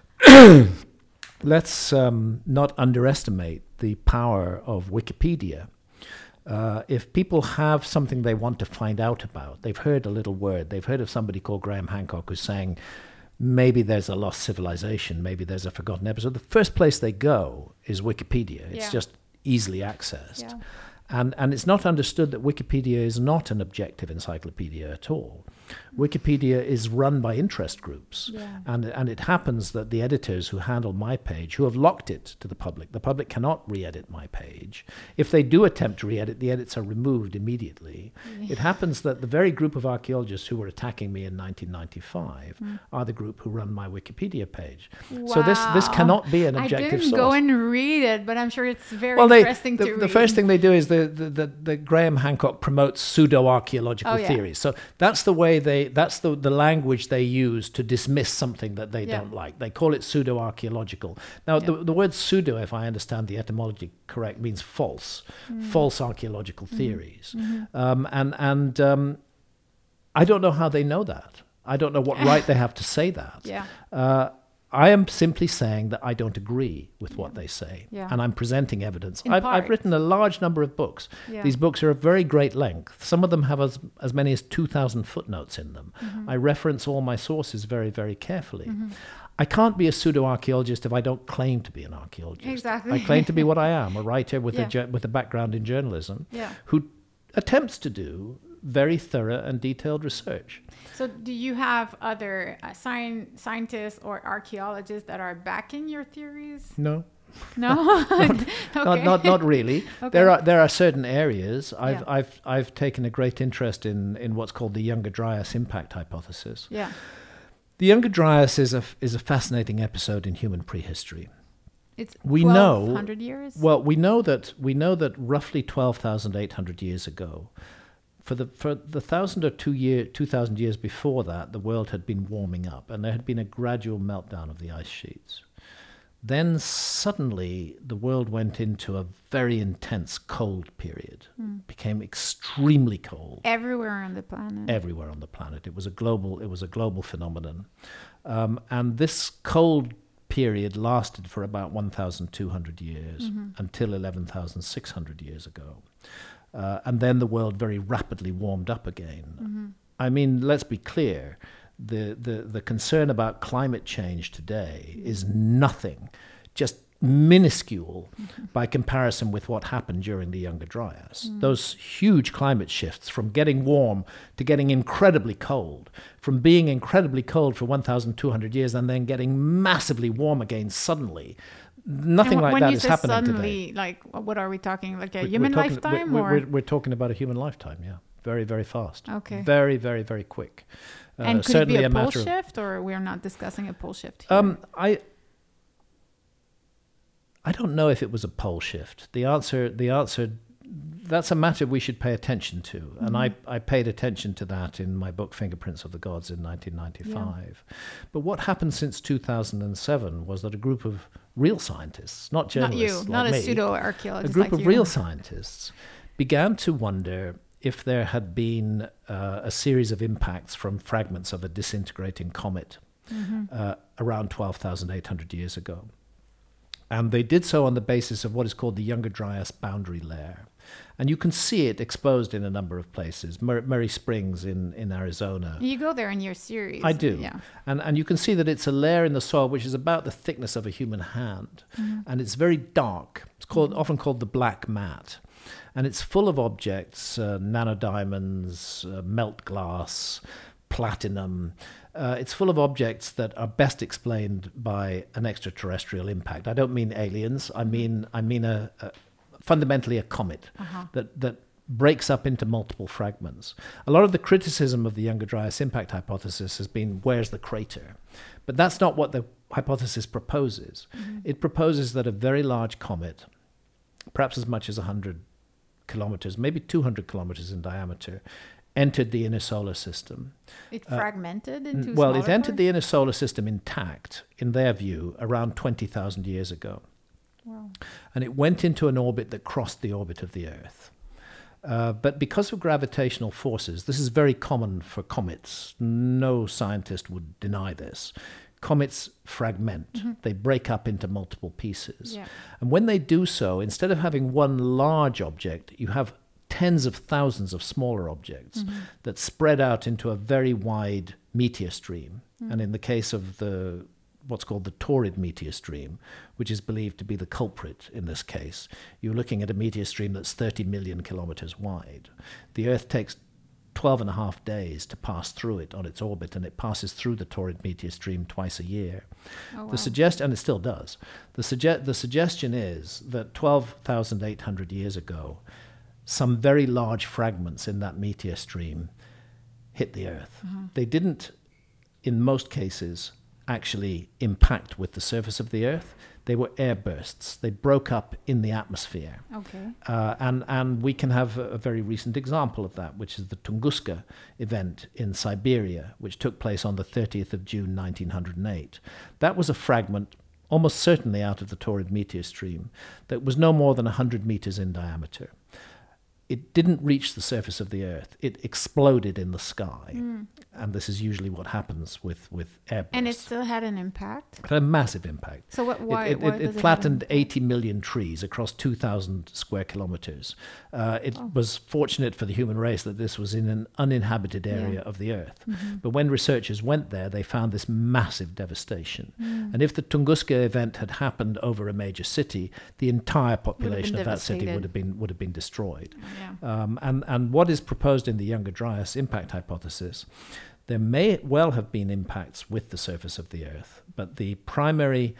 [SPEAKER 1] let's um, not underestimate the power of Wikipedia. Uh, if people have something they want to find out about, they've heard a little word, they've heard of somebody called Graham Hancock who's saying, maybe there's a lost civilization, maybe there's a forgotten episode. The first place they go is Wikipedia. It's
[SPEAKER 2] Yeah.
[SPEAKER 1] just easily accessed.
[SPEAKER 2] Yeah.
[SPEAKER 1] And, and it's not understood that Wikipedia is not an objective encyclopedia at all. Wikipedia is run by interest groups.
[SPEAKER 2] Yeah.
[SPEAKER 1] And, and it happens that the editors who handle my page, who have locked it to the public, the public cannot re-edit my page. If they do attempt to re-edit, the edits are removed immediately. It happens that the very group of archaeologists who were attacking me in nineteen ninety-five
[SPEAKER 2] Mm.
[SPEAKER 1] are the group who run my Wikipedia page. So this, this
[SPEAKER 2] Wow.
[SPEAKER 1] cannot be an
[SPEAKER 2] I
[SPEAKER 1] objective
[SPEAKER 2] didn't
[SPEAKER 1] source.
[SPEAKER 2] go and read it, but I'm sure it's very
[SPEAKER 1] Well, they,
[SPEAKER 2] interesting
[SPEAKER 1] the,
[SPEAKER 2] to read.
[SPEAKER 1] the first thing they do is the, the, the, the Graham Hancock promotes pseudo-archaeological
[SPEAKER 2] Oh, yeah.
[SPEAKER 1] theories. So that's the way they, that's the, the language they use to dismiss something that they
[SPEAKER 2] Yeah.
[SPEAKER 1] don't like. They call it pseudo-archaeological. Now,
[SPEAKER 2] Yeah.
[SPEAKER 1] the, the word pseudo, if I understand the etymology correct, means false,
[SPEAKER 2] Mm.
[SPEAKER 1] false archaeological
[SPEAKER 2] Mm-hmm.
[SPEAKER 1] theories. Um, and and um, I don't know how they know that. I don't know what right they have to say that.
[SPEAKER 2] Yeah.
[SPEAKER 1] Uh, I am simply saying that I don't agree with what they say,
[SPEAKER 2] Yeah.
[SPEAKER 1] and I'm presenting evidence.
[SPEAKER 2] In
[SPEAKER 1] I've,
[SPEAKER 2] part.
[SPEAKER 1] I've written a large number of books.
[SPEAKER 2] Yeah.
[SPEAKER 1] These books are of very great length. Some of them have as, as many as two thousand footnotes in them.
[SPEAKER 2] Mm-hmm.
[SPEAKER 1] I reference all my sources very, very carefully. I can't be a pseudo-archaeologist if I don't claim to be an archaeologist.
[SPEAKER 2] Exactly.
[SPEAKER 1] I claim to be what I am, a writer with,
[SPEAKER 2] Yeah.
[SPEAKER 1] a, ju- with a background in journalism
[SPEAKER 2] Yeah.
[SPEAKER 1] who attempts to do very thorough and detailed research.
[SPEAKER 2] So, do you have other uh, sci- scientists or archaeologists that are backing your theories?
[SPEAKER 1] No.
[SPEAKER 2] No, okay.
[SPEAKER 1] Not, not, not really.
[SPEAKER 2] Okay.
[SPEAKER 1] There are there are certain areas. I've
[SPEAKER 2] Yeah.
[SPEAKER 1] I've I've taken a great interest in in what's called the Younger Dryas impact hypothesis.
[SPEAKER 2] Yeah.
[SPEAKER 1] The Younger Dryas is a is a fascinating episode in human prehistory.
[SPEAKER 2] It's
[SPEAKER 1] We know-
[SPEAKER 2] twelve hundred years.
[SPEAKER 1] Well, we know that we know that roughly twelve thousand eight hundred years ago, for the for the thousand or two year two thousand years before that, the world had been warming up, and there had been a gradual meltdown of the ice sheets. Then suddenly the world went into a very intense cold period, became extremely cold
[SPEAKER 2] Everywhere on the planet.
[SPEAKER 1] everywhere on the planet. It was a global, it was a global phenomenon. Um, and this cold period lasted for about one thousand two hundred years until eleven thousand six hundred years ago. Uh, and then the world very rapidly warmed up again. I mean, let's be clear. The, the, the concern about climate change today is nothing, just minuscule by comparison with what happened during the Younger Dryas. Those huge climate shifts from getting warm to getting incredibly cold, from being incredibly cold for one thousand two hundred years and then getting massively warm again suddenly. Nothing
[SPEAKER 2] And wh-
[SPEAKER 1] like
[SPEAKER 2] when
[SPEAKER 1] that
[SPEAKER 2] you
[SPEAKER 1] is
[SPEAKER 2] say
[SPEAKER 1] happening
[SPEAKER 2] suddenly,
[SPEAKER 1] today.
[SPEAKER 2] like, what are we talking? Like a
[SPEAKER 1] We-
[SPEAKER 2] human
[SPEAKER 1] we're talking,
[SPEAKER 2] lifetime,
[SPEAKER 1] we're,
[SPEAKER 2] or
[SPEAKER 1] we're, we're talking about a human lifetime, yeah. Very, very fast.
[SPEAKER 2] Okay.
[SPEAKER 1] Very, very, very quick. Uh,
[SPEAKER 2] and could it
[SPEAKER 1] certainly
[SPEAKER 2] be a,
[SPEAKER 1] a
[SPEAKER 2] pole
[SPEAKER 1] matter of-
[SPEAKER 2] shift, or we're not discussing a pole shift here?
[SPEAKER 1] Um, I I don't know if it was a pole shift. The answer, the answer, that's a matter we should pay attention to, mm-hmm. and I, I paid attention to that in my book Fingerprints of the Gods in nineteen ninety-five. Yeah. But what happened since two thousand seven was that a group of real scientists, not journalists,
[SPEAKER 2] not you,
[SPEAKER 1] like
[SPEAKER 2] not
[SPEAKER 1] me,
[SPEAKER 2] a pseudo archaeologist,
[SPEAKER 1] a group
[SPEAKER 2] like
[SPEAKER 1] of
[SPEAKER 2] you.
[SPEAKER 1] real scientists began to wonder if there had been uh, a series of impacts from fragments of a disintegrating comet mm-hmm. uh, around twelve thousand eight hundred years ago. And they did so on the basis of what is called the Younger Dryas boundary layer. And you can see it exposed in a number of places. Mur- Murray Springs in, in Arizona.
[SPEAKER 2] You go there in your series.
[SPEAKER 1] I do.
[SPEAKER 2] Yeah.
[SPEAKER 1] And, and you can see that it's a layer in the soil which is about the thickness of a human hand. Mm-hmm. And it's very dark. It's called mm-hmm. often called the black mat. And it's full of objects, uh, nanodiamonds, uh, melt glass, platinum. Uh, it's full of objects that are best explained by an extraterrestrial impact. I don't mean aliens. I mean I mean a, a fundamentally a comet uh-huh. that that breaks up into multiple fragments. A lot of the criticism of the Younger Dryas impact hypothesis has been, where's the crater? But that's not what the hypothesis proposes. Mm-hmm. It proposes that a very large comet, perhaps as much as one hundred kilometers, maybe two hundred kilometers in diameter, entered the inner solar system.
[SPEAKER 2] It fragmented uh, into
[SPEAKER 1] Well, it entered
[SPEAKER 2] parts?
[SPEAKER 1] the inner solar system intact, in their view, around twenty thousand years ago.
[SPEAKER 2] Wow.
[SPEAKER 1] And it went into an orbit that crossed the orbit of the Earth. Uh, but because of gravitational forces, this is very common for comets. No scientist would deny this. Comets fragment. Mm-hmm. They break up into multiple pieces.
[SPEAKER 2] Yeah.
[SPEAKER 1] And when they do so, instead of having one large object, you have tens of thousands of smaller objects mm-hmm. that spread out into a very wide meteor stream. Mm-hmm. And in the case of the what's called the Taurid meteor stream, which is believed to be the culprit in this case, you're looking at a meteor stream that's thirty million kilometers wide. The Earth takes twelve and a half days to pass through it on its orbit, and it passes through the Taurid meteor stream twice a year.
[SPEAKER 2] Oh, wow.
[SPEAKER 1] The suggest and it still does. The suge- the suggestion is that twelve thousand eight hundred years ago, some very large fragments in that meteor stream hit the Earth. Mm-hmm. They didn't, in most cases, actually impact with the surface of the Earth. They were air bursts. They broke up in the atmosphere.
[SPEAKER 2] Okay.
[SPEAKER 1] Uh, and, and we can have a, a very recent example of that, which is the Tunguska event in Siberia, which took place on the thirtieth of June, nineteen oh eight. That was a fragment, almost certainly out of the Taurid meteor stream, that was no more than one hundred meters in diameter. It didn't reach the surface of the Earth. It exploded in the sky. Mm. And this is usually what happens with, with airbursts.
[SPEAKER 2] And it still had an impact?
[SPEAKER 1] It had a massive impact.
[SPEAKER 2] So what, why,
[SPEAKER 1] it, it,
[SPEAKER 2] why
[SPEAKER 1] it,
[SPEAKER 2] does
[SPEAKER 1] it
[SPEAKER 2] it
[SPEAKER 1] flattened eighty million trees across two thousand square kilometers. Uh, it oh. was fortunate for the human race that this was in an uninhabited area yeah. of the Earth. Mm-hmm. But when researchers went there, they found this massive devastation. Mm. And if the Tunguska event had happened over a major city, the entire population of that city would have been would have been destroyed.
[SPEAKER 2] Yeah.
[SPEAKER 1] Um, and, and what is proposed in the Younger Dryas impact hypothesis, there may well have been impacts with the surface of the Earth, but the primary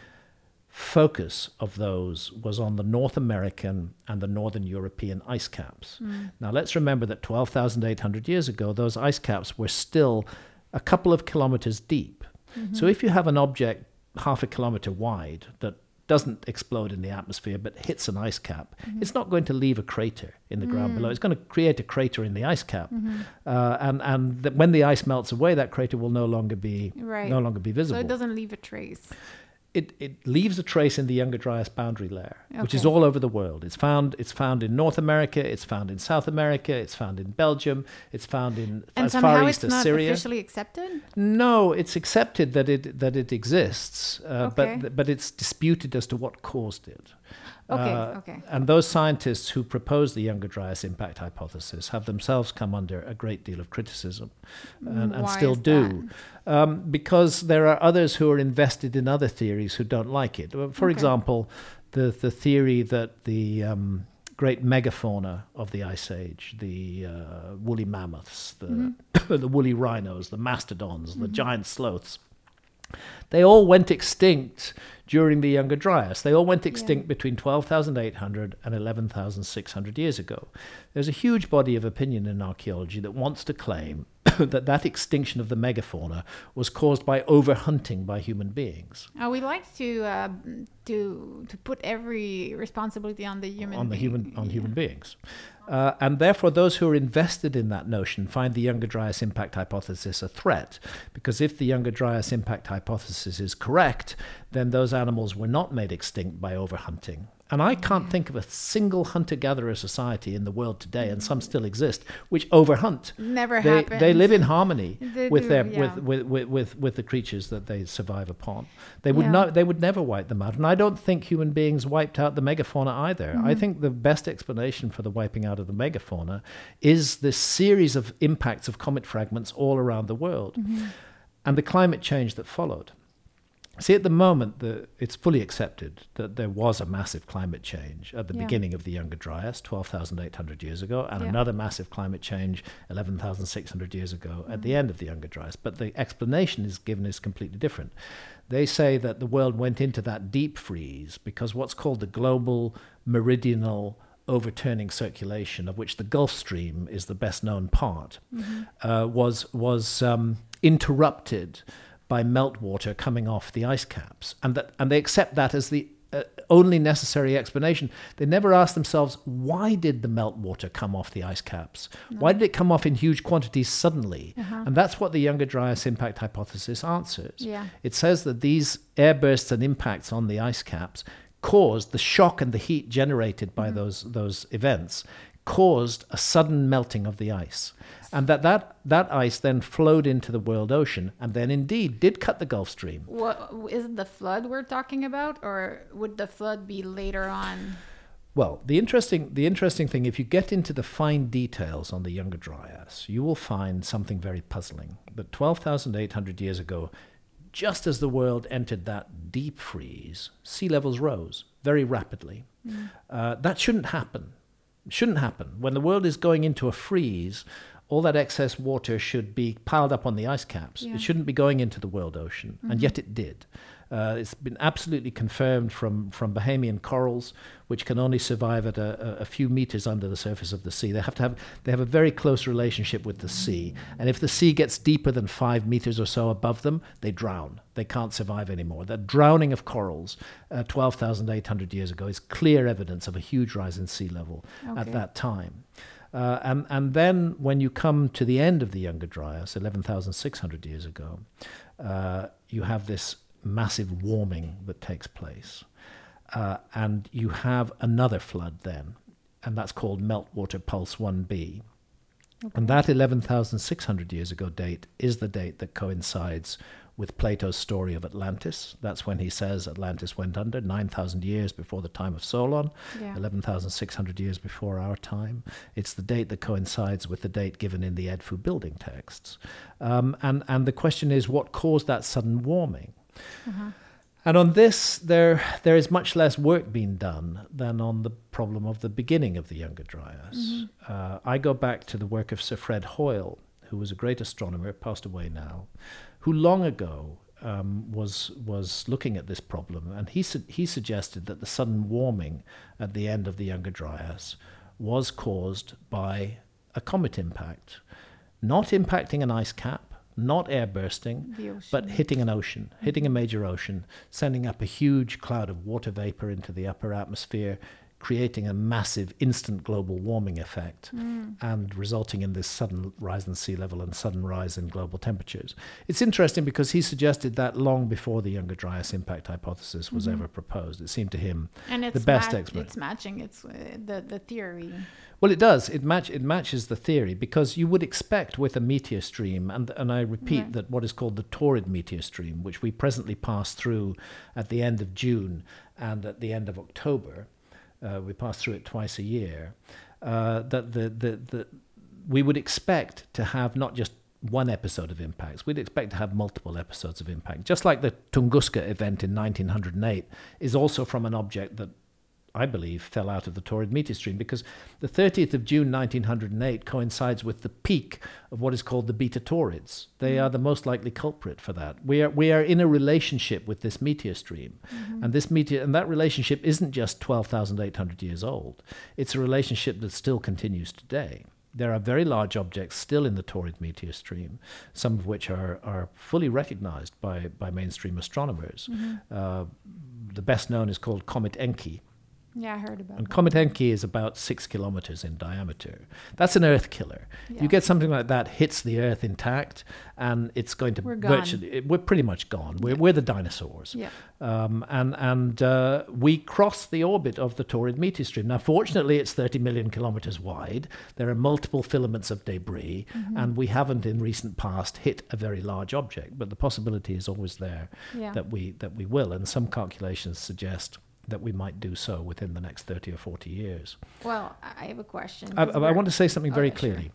[SPEAKER 1] focus of those was on the North American and the Northern European ice caps. Mm. Now, let's remember that twelve thousand eight hundred years ago, those ice caps were still a couple of kilometers deep. Mm-hmm. So if you have an object half a kilometer wide that doesn't explode in the atmosphere but hits an ice cap, mm-hmm. it's not going to leave a crater in the mm. ground below. It's going to create a crater in the ice cap. Mm-hmm. Uh, and and th- when the ice melts away, that crater will no longer be
[SPEAKER 2] right.
[SPEAKER 1] no longer be visible.
[SPEAKER 2] So it doesn't leave a trace.
[SPEAKER 1] It it leaves a trace in the Younger Dryas boundary layer,
[SPEAKER 2] okay.
[SPEAKER 1] which is all over the world. It's found it's found in North America, it's found in South America, it's found in Belgium, it's found in
[SPEAKER 2] and
[SPEAKER 1] as
[SPEAKER 2] somehow
[SPEAKER 1] far east
[SPEAKER 2] it's
[SPEAKER 1] as
[SPEAKER 2] not
[SPEAKER 1] Syria.
[SPEAKER 2] Officially accepted?
[SPEAKER 1] No, it's accepted that it that it exists, uh,
[SPEAKER 2] okay.
[SPEAKER 1] but but it's disputed as to what caused it.
[SPEAKER 2] Okay,
[SPEAKER 1] uh,
[SPEAKER 2] okay.
[SPEAKER 1] And those scientists who proposed the Younger Dryas impact hypothesis have themselves come under a great deal of criticism, and, and
[SPEAKER 2] Why
[SPEAKER 1] still
[SPEAKER 2] is
[SPEAKER 1] do, um, because there are others who are invested in other theories who don't like it. For
[SPEAKER 2] okay.
[SPEAKER 1] example, the the theory that the um, great megafauna of the Ice Age, the uh, woolly mammoths, the mm-hmm. the woolly rhinos, the mastodons, mm-hmm. the giant sloths, they all went extinct during the Younger Dryas. They all went extinct yeah. between twelve thousand eight hundred and eleven thousand six hundred years ago. There's a huge body of opinion in archaeology that wants to claim that that extinction of the megafauna was caused by overhunting by human beings.
[SPEAKER 2] Uh, we like to uh, to to put every responsibility on the human
[SPEAKER 1] on the
[SPEAKER 2] being.
[SPEAKER 1] human on
[SPEAKER 2] Yeah.
[SPEAKER 1] human beings, uh, and therefore those who are invested in that notion find the Younger Dryas impact hypothesis a threat, because if the Younger Dryas impact hypothesis is correct, then those animals were not made extinct by overhunting. And I can't
[SPEAKER 2] Yeah.
[SPEAKER 1] think of a single hunter-gatherer society in the world today, and some still exist, which overhunt.
[SPEAKER 2] Never
[SPEAKER 1] They,
[SPEAKER 2] happens.
[SPEAKER 1] they live in harmony
[SPEAKER 2] They
[SPEAKER 1] with
[SPEAKER 2] do,
[SPEAKER 1] their
[SPEAKER 2] yeah.
[SPEAKER 1] with, with, with, with, with the creatures that they survive upon. They would
[SPEAKER 2] Yeah.
[SPEAKER 1] not they would never wipe them out. And I don't think human beings wiped out the megafauna either. I
[SPEAKER 2] Mm-hmm.
[SPEAKER 1] think the best explanation for the wiping out of the megafauna is this series of impacts of comet fragments all around the world,
[SPEAKER 2] Mm-hmm.
[SPEAKER 1] and the climate change that followed. See, at the moment, the, it's fully accepted that there was a massive climate change at the
[SPEAKER 2] Yeah.
[SPEAKER 1] beginning of the Younger Dryas, twelve thousand eight hundred years ago, and
[SPEAKER 2] Yeah.
[SPEAKER 1] another massive climate change eleven thousand six hundred years ago
[SPEAKER 2] Mm-hmm.
[SPEAKER 1] at the end of the Younger Dryas. But the explanation is given is completely different. They say that the world went into that deep freeze because what's called the global meridional overturning circulation, of which the Gulf Stream is the best known part,
[SPEAKER 2] Mm-hmm.
[SPEAKER 1] uh, was, was um, interrupted by meltwater coming off the ice caps, and that and they accept that as the uh, only necessary explanation. They never ask themselves, why did the meltwater come off the ice caps? Why did it come off in huge quantities suddenly?
[SPEAKER 2] Uh-huh.
[SPEAKER 1] And that's what the Younger Dryas impact hypothesis answers.
[SPEAKER 2] Yeah.
[SPEAKER 1] It says that these airbursts and impacts on the ice caps caused the shock and the heat generated by
[SPEAKER 2] Mm-hmm.
[SPEAKER 1] those those events caused a sudden melting of the ice, and that, that that ice then flowed into the world ocean and then indeed did cut the Gulf Stream.
[SPEAKER 2] What is it the flood we're talking about, or would the flood be later on?
[SPEAKER 1] Well, the interesting the interesting thing, if you get into the fine details on the Younger Dryas, you will find something very puzzling. That twelve thousand eight hundred years ago, just as the world entered that deep freeze, sea levels rose very rapidly.
[SPEAKER 2] Mm.
[SPEAKER 1] Uh, that shouldn't happen. Shouldn't happen. When the world is going into a freeze, all that excess water should be piled up on the ice caps.
[SPEAKER 2] Yeah.
[SPEAKER 1] It shouldn't be going into the world ocean, and yet it did. Uh, it's been absolutely confirmed from, from Bahamian corals, which can only survive at a, a, a few meters under the surface of the sea. They have to have they have a very close relationship with the sea, and if the sea gets deeper than five meters or so above them, they drown. They can't survive anymore. The drowning of corals, uh, twelve thousand eight hundred years ago, is clear evidence of a huge rise in sea level
[SPEAKER 2] Okay.
[SPEAKER 1] at that time. Uh, and, and then when you come to the end of the Younger Dryas, eleven thousand six hundred years ago, uh, you have this massive warming that takes place. Uh, and you have another flood then, and that's called Meltwater Pulse one b.
[SPEAKER 2] Okay.
[SPEAKER 1] And that eleven thousand six hundred years ago date is the date that coincides with Plato's story of Atlantis. That's when he says Atlantis went under, nine thousand years before the time of Solon,
[SPEAKER 2] Yeah.
[SPEAKER 1] eleven thousand six hundred years before our time. It's the date that coincides with the date given in the Edfu building texts. Um, and, and the question is, what caused that sudden warming?
[SPEAKER 2] Uh-huh.
[SPEAKER 1] And on this, there there is much less work being done than on the problem of the beginning of the Younger Dryas.
[SPEAKER 2] Mm-hmm.
[SPEAKER 1] Uh, I go back to the work of Sir Fred Hoyle, who was a great astronomer, passed away now, who long ago um, was was looking at this problem, and he su- he suggested that the sudden warming at the end of the Younger Dryas was caused by a comet impact, not impacting an ice cap, not air bursting,
[SPEAKER 2] The ocean.
[SPEAKER 1] but hitting an ocean, hitting a major ocean, sending up a huge cloud of water vapor into the upper atmosphere, creating a massive instant global warming effect,
[SPEAKER 2] Mm.
[SPEAKER 1] and resulting in this sudden rise in sea level and sudden rise in global temperatures. It's interesting because he suggested that long before the Younger Dryas impact hypothesis was
[SPEAKER 2] Mhm.
[SPEAKER 1] ever proposed. It seemed to him
[SPEAKER 2] And it's
[SPEAKER 1] the best
[SPEAKER 2] ma-
[SPEAKER 1] explanation.
[SPEAKER 2] It's matching. It's uh, the the theory.
[SPEAKER 1] Well, it does. It match it matches the theory, because you would expect with a meteor stream, and and I repeat
[SPEAKER 2] Right.
[SPEAKER 1] that what is called the torrid meteor stream, which we presently pass through at the end of June and at the end of October, uh, we pass through it twice a year. Uh, that the, the the we would expect to have not just one episode of impacts. We'd expect to have multiple episodes of impact, just like the Tunguska event in nineteen oh eight is also from an object that I believe fell out of the torrid meteor stream, because the thirtieth of June nineteen oh eight coincides with the peak of what is called the beta Taurids. They
[SPEAKER 2] Mm.
[SPEAKER 1] are the most likely culprit for that. We are we are in a relationship with this meteor stream,
[SPEAKER 2] Mm-hmm.
[SPEAKER 1] and this meteor and that relationship isn't just twelve thousand eight hundred years old. It's a relationship that still continues today. there are very large objects still in the Taurid meteor stream, some of which are, are fully recognized by, by mainstream astronomers. Mm-hmm. Uh, the best known is called Comet Encke.
[SPEAKER 2] Yeah, I heard about
[SPEAKER 1] And
[SPEAKER 2] that.
[SPEAKER 1] Comet Encke is about six kilometers in diameter. That's an Earth killer.
[SPEAKER 2] Yeah.
[SPEAKER 1] You get something like that, hits the Earth intact, and it's going to
[SPEAKER 2] We're gone.
[SPEAKER 1] virtually, it, we're pretty much gone. We're, we're the dinosaurs.
[SPEAKER 2] Yeah.
[SPEAKER 1] Um, and and uh, we cross the orbit of the Taurid meteor stream. Now, fortunately, it's thirty million kilometers wide. There are multiple filaments of debris, mm-hmm. and we haven't in recent past hit a very large object, but the possibility is always there
[SPEAKER 2] Yeah.
[SPEAKER 1] that we that we will. And some calculations suggest that we might do so within the next thirty or forty years.
[SPEAKER 2] Well, I have a question.
[SPEAKER 1] I,
[SPEAKER 2] 'cause
[SPEAKER 1] I
[SPEAKER 2] we're-
[SPEAKER 1] want to say something very
[SPEAKER 2] Oh, yeah, sure.
[SPEAKER 1] clearly.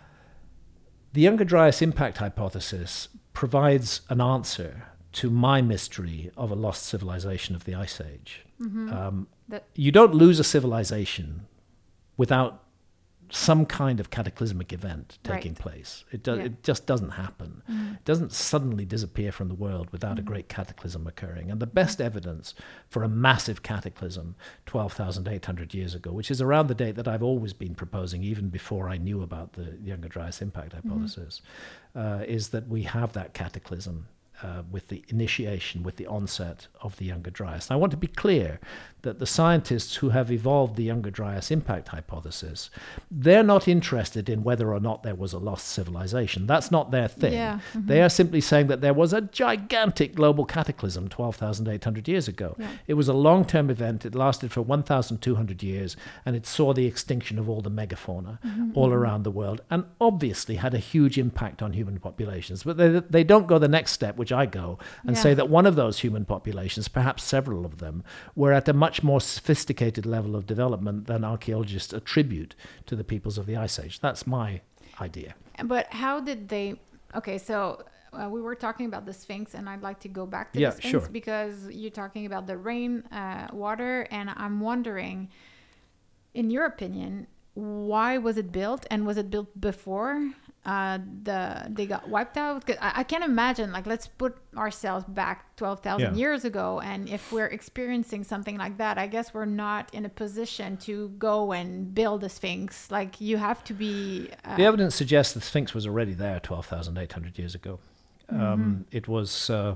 [SPEAKER 1] The Younger Dryas impact hypothesis provides an answer to my mystery of a lost civilization of the Ice Age.
[SPEAKER 2] Mm-hmm.
[SPEAKER 1] Um,
[SPEAKER 2] That-
[SPEAKER 1] you don't lose a civilization without some kind of cataclysmic event taking
[SPEAKER 2] Right.
[SPEAKER 1] place. It, do,
[SPEAKER 2] Yeah.
[SPEAKER 1] it just doesn't happen.
[SPEAKER 2] Mm.
[SPEAKER 1] It doesn't suddenly disappear from the world without
[SPEAKER 2] Mm.
[SPEAKER 1] a great cataclysm occurring. And the best evidence for a massive cataclysm twelve thousand eight hundred years ago, which is around the date that I've always been proposing, even before I knew about the Younger Dryas impact hypothesis, uh, is that we have that cataclysm uh, with the initiation, with the onset of the Younger Dryas. And I want to be clear that the scientists who have evolved the Younger Dryas impact hypothesis, they're not interested in whether or not there was a lost civilization. That's not their thing.
[SPEAKER 2] Yeah, mhm.
[SPEAKER 1] They are simply saying that there was a gigantic global cataclysm twelve thousand eight hundred years ago.
[SPEAKER 2] Yeah.
[SPEAKER 1] It was a long-term event. It lasted for one thousand two hundred years, and it saw the extinction of all the megafauna
[SPEAKER 2] Mm-hmm,
[SPEAKER 1] all around the world, and obviously had a huge impact on human populations. But they, they don't go the next step, which I go, and
[SPEAKER 2] Yeah.
[SPEAKER 1] say that one of those human populations, perhaps several of them, were at a much more sophisticated level of development than archaeologists attribute to the peoples of the Ice Age. That's my idea.
[SPEAKER 2] But how did they? Okay, so uh, we were talking about the Sphinx, and I'd like to go back to
[SPEAKER 1] Yeah,
[SPEAKER 2] the Sphinx
[SPEAKER 1] sure.
[SPEAKER 2] because you're talking about the rain uh, water, and I'm wondering, in your opinion, why was it built, and was it built before uh, the they got wiped out? 'Cause I, I can't imagine. Like, let's put ourselves back twelve thousand
[SPEAKER 1] Yeah.
[SPEAKER 2] years ago, and if we're experiencing something like that, I guess we're not in a position to go and build a Sphinx. Like, you have to be. Uh,
[SPEAKER 1] The evidence suggests the Sphinx was already there twelve thousand eight hundred years ago. Um, it was uh,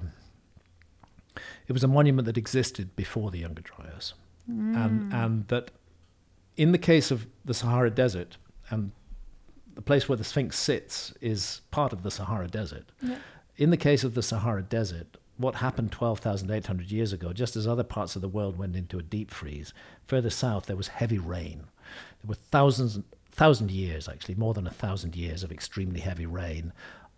[SPEAKER 1] it was a monument that existed before the Younger Dryas, and and that in the case of the Sahara Desert, and the place where the Sphinx sits is part of the Sahara Desert.
[SPEAKER 2] Yeah.
[SPEAKER 1] In the case of the Sahara Desert, what happened twelve thousand eight hundred years ago, just as other parts of the world went into a deep freeze, further south there was heavy rain. There were thousands, thousand years actually, more than a thousand years of extremely heavy rain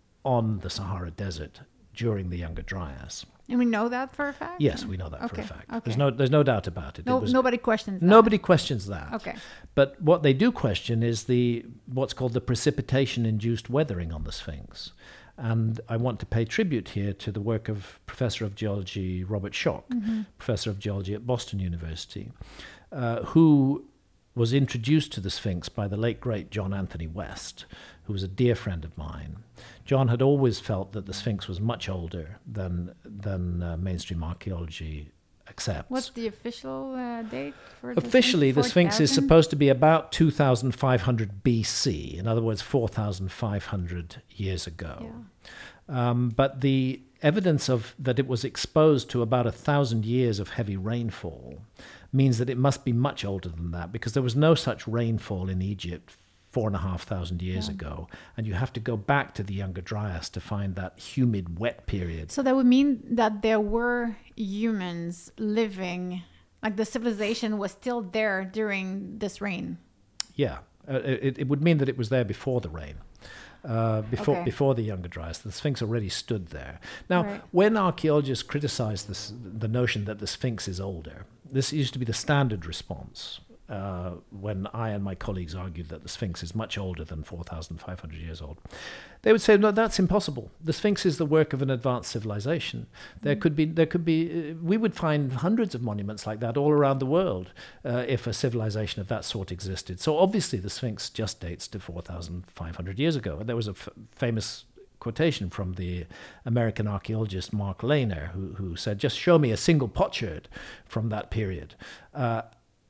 [SPEAKER 1] on the Sahara Desert during the Younger Dryas.
[SPEAKER 2] And we know that for a fact?
[SPEAKER 1] Yes, we know that for
[SPEAKER 2] Okay,
[SPEAKER 1] a fact.
[SPEAKER 2] okay.
[SPEAKER 1] There's no, there's no doubt about it.
[SPEAKER 2] No,
[SPEAKER 1] it was,
[SPEAKER 2] nobody questions that.
[SPEAKER 1] Nobody questions that.
[SPEAKER 2] Okay.
[SPEAKER 1] But what they do question is the what's called the precipitation-induced weathering on the Sphinx. And I want to pay tribute here to the work of Professor of Geology Robert Schoch,
[SPEAKER 2] Mm-hmm.
[SPEAKER 1] Professor of Geology at Boston University, uh, who was introduced to the Sphinx by the late, great John Anthony West, who was a dear friend of mine. John had always felt that the Sphinx was much older than, than uh, mainstream archaeology accepts.
[SPEAKER 2] What's the official uh, date for the
[SPEAKER 1] Officially, the Sphinx is
[SPEAKER 2] four thousand?
[SPEAKER 1] supposed to be about two thousand five hundred B C, in other words, four thousand five hundred years ago.
[SPEAKER 2] Yeah.
[SPEAKER 1] Um, but the evidence of that it was exposed to about a thousand years of heavy rainfall means that it must be much older than that, because there was no such rainfall in Egypt four and a half thousand years
[SPEAKER 2] Yeah.
[SPEAKER 1] ago, and you have to go back to the Younger Dryas to find that humid, wet period.
[SPEAKER 2] So that would mean that there were humans living, like the civilization was still there during this rain.
[SPEAKER 1] Yeah, uh, it, it would mean that it was there before the rain, uh, before
[SPEAKER 2] Okay.
[SPEAKER 1] before the Younger Dryas. The Sphinx already stood there. Now,
[SPEAKER 2] Right.
[SPEAKER 1] when archaeologists criticize this, the notion that the Sphinx is older, this used to be the standard response uh, when I and my colleagues argued that the Sphinx is much older than four thousand five hundred years old. They would say, no, that's impossible. The Sphinx is the work of an advanced civilization. There could be, there could be, uh, we would find hundreds of monuments like that all around the world uh, if a civilization of that sort existed. So obviously the Sphinx just dates to four thousand five hundred years ago. And there was a f- famous quotation from the American archaeologist Mark Lehner, who, who said, just show me a single potsherd from that period. Uh,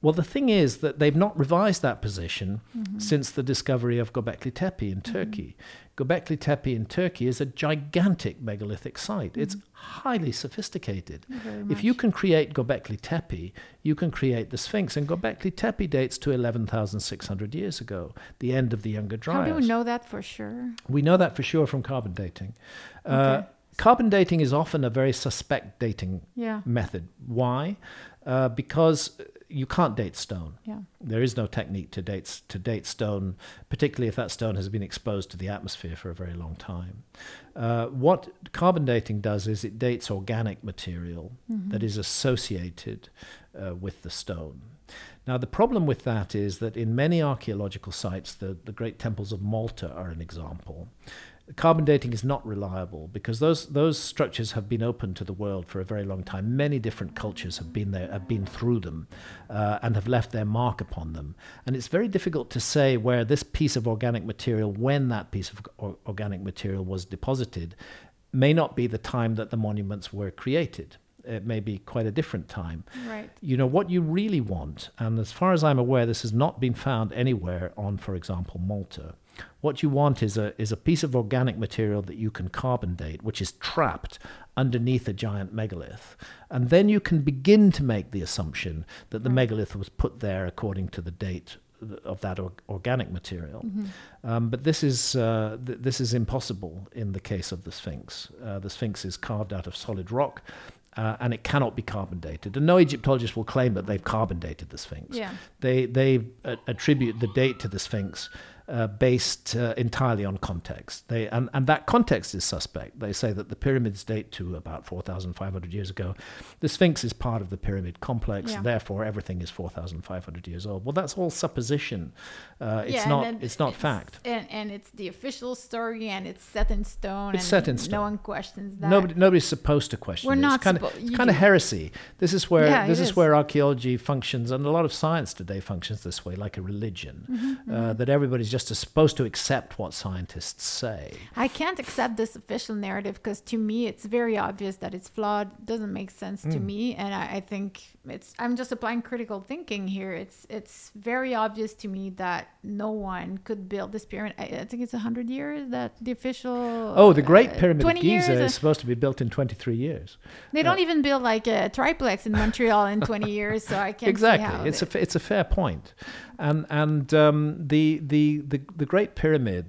[SPEAKER 1] Well, the thing is that they've not revised that position
[SPEAKER 2] Mm-hmm.
[SPEAKER 1] since the discovery of Göbekli Tepe in Turkey. Göbekli Tepe in Turkey is a gigantic megalithic site.
[SPEAKER 2] Mm-hmm.
[SPEAKER 1] It's highly sophisticated.
[SPEAKER 2] Very
[SPEAKER 1] If
[SPEAKER 2] much.
[SPEAKER 1] you can create Göbekli Tepe, you can create the Sphinx. And Göbekli Tepe dates to eleven thousand six hundred years ago, the end of the Younger Dryas.
[SPEAKER 2] How do we know that for sure?
[SPEAKER 1] We know that for sure from carbon dating. Uh,
[SPEAKER 2] Okay.
[SPEAKER 1] Carbon dating is often a very suspect dating
[SPEAKER 2] Yeah.
[SPEAKER 1] method. Why? Uh, because you can't date stone.
[SPEAKER 2] Yeah.
[SPEAKER 1] There is no technique to date to date stone, particularly if that stone has been exposed to the atmosphere for a very long time. Uh, what carbon dating does is it dates organic material
[SPEAKER 2] Mm-hmm.
[SPEAKER 1] that is associated uh, with the stone. Now, the problem with that is that in many archaeological sites, the, the great temples of Malta are an example. Carbon dating is not reliable because those those structures have been open to the world for a very long time. Many different cultures have been there, have been through them, uh, and have left their mark upon them. And it's very difficult to say where this piece of organic material, when that piece of or- organic material was deposited, may not be the time that the monuments were created. It may be quite a different time.
[SPEAKER 2] Right.
[SPEAKER 1] You know, what you really want, and as far as I'm aware, this has not been found anywhere on, for example, Malta. What you want is a is a piece of organic material that you can carbon date, which is trapped underneath a giant megalith. And then you can begin to make the assumption that the megalith was put there according to the date of that or- organic material.
[SPEAKER 2] Mm-hmm.
[SPEAKER 1] Um, but this is uh, th- this is impossible in the case of the Sphinx. Uh, the Sphinx is carved out of solid rock. Uh, and it cannot be carbon dated. And no Egyptologist will claim that they've carbon dated the Sphinx.
[SPEAKER 2] Yeah.
[SPEAKER 1] They they uh, attribute the date to the Sphinx uh, based uh, entirely on context. They and, and that context is suspect. They say that the pyramids date to about four thousand five hundred years ago. The Sphinx is part of the pyramid complex.
[SPEAKER 2] Yeah.
[SPEAKER 1] Therefore, everything is four thousand five hundred years old. Well, that's all supposition. Uh, it's
[SPEAKER 2] Yeah, and
[SPEAKER 1] not.
[SPEAKER 2] then
[SPEAKER 1] It's not fact.
[SPEAKER 2] And, and it's the official story, and it's set in stone.
[SPEAKER 1] It's
[SPEAKER 2] and
[SPEAKER 1] set in
[SPEAKER 2] No
[SPEAKER 1] stone.
[SPEAKER 2] one questions that.
[SPEAKER 1] Nobody, nobody's supposed to question.
[SPEAKER 2] We're
[SPEAKER 1] it.
[SPEAKER 2] not
[SPEAKER 1] It's kind of,
[SPEAKER 2] suppo-
[SPEAKER 1] it's
[SPEAKER 2] you
[SPEAKER 1] kind of
[SPEAKER 2] do.
[SPEAKER 1] heresy. This is where
[SPEAKER 2] Yeah,
[SPEAKER 1] this
[SPEAKER 2] it
[SPEAKER 1] is,
[SPEAKER 2] is.
[SPEAKER 1] where archaeology functions, and a lot of science today functions this way, like a religion.
[SPEAKER 2] Mm-hmm,
[SPEAKER 1] Uh, that everybody's just supposed to accept what scientists say.
[SPEAKER 2] I can't accept this official narrative because to me it's very obvious that it's flawed. Doesn't make sense to
[SPEAKER 1] Mm.
[SPEAKER 2] me, and I, I think it's. I'm just applying critical thinking here. It's it's very obvious to me that no one could build this pyramid. I, I think it's a hundred years that the official.
[SPEAKER 1] Oh, the Great
[SPEAKER 2] uh,
[SPEAKER 1] Pyramid of
[SPEAKER 2] twenty
[SPEAKER 1] Giza
[SPEAKER 2] years, uh,
[SPEAKER 1] is supposed to be built in twenty-three years.
[SPEAKER 2] They don't even build like a triplex in Montreal in twenty years, so I can't
[SPEAKER 1] Exactly,
[SPEAKER 2] see how
[SPEAKER 1] it's
[SPEAKER 2] they-
[SPEAKER 1] a fa- it's a fair point, and and um, the, the the the Great Pyramid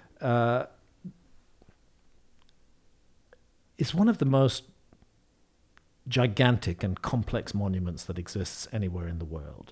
[SPEAKER 1] uh, is one of the most gigantic and complex monuments that exists anywhere in the world.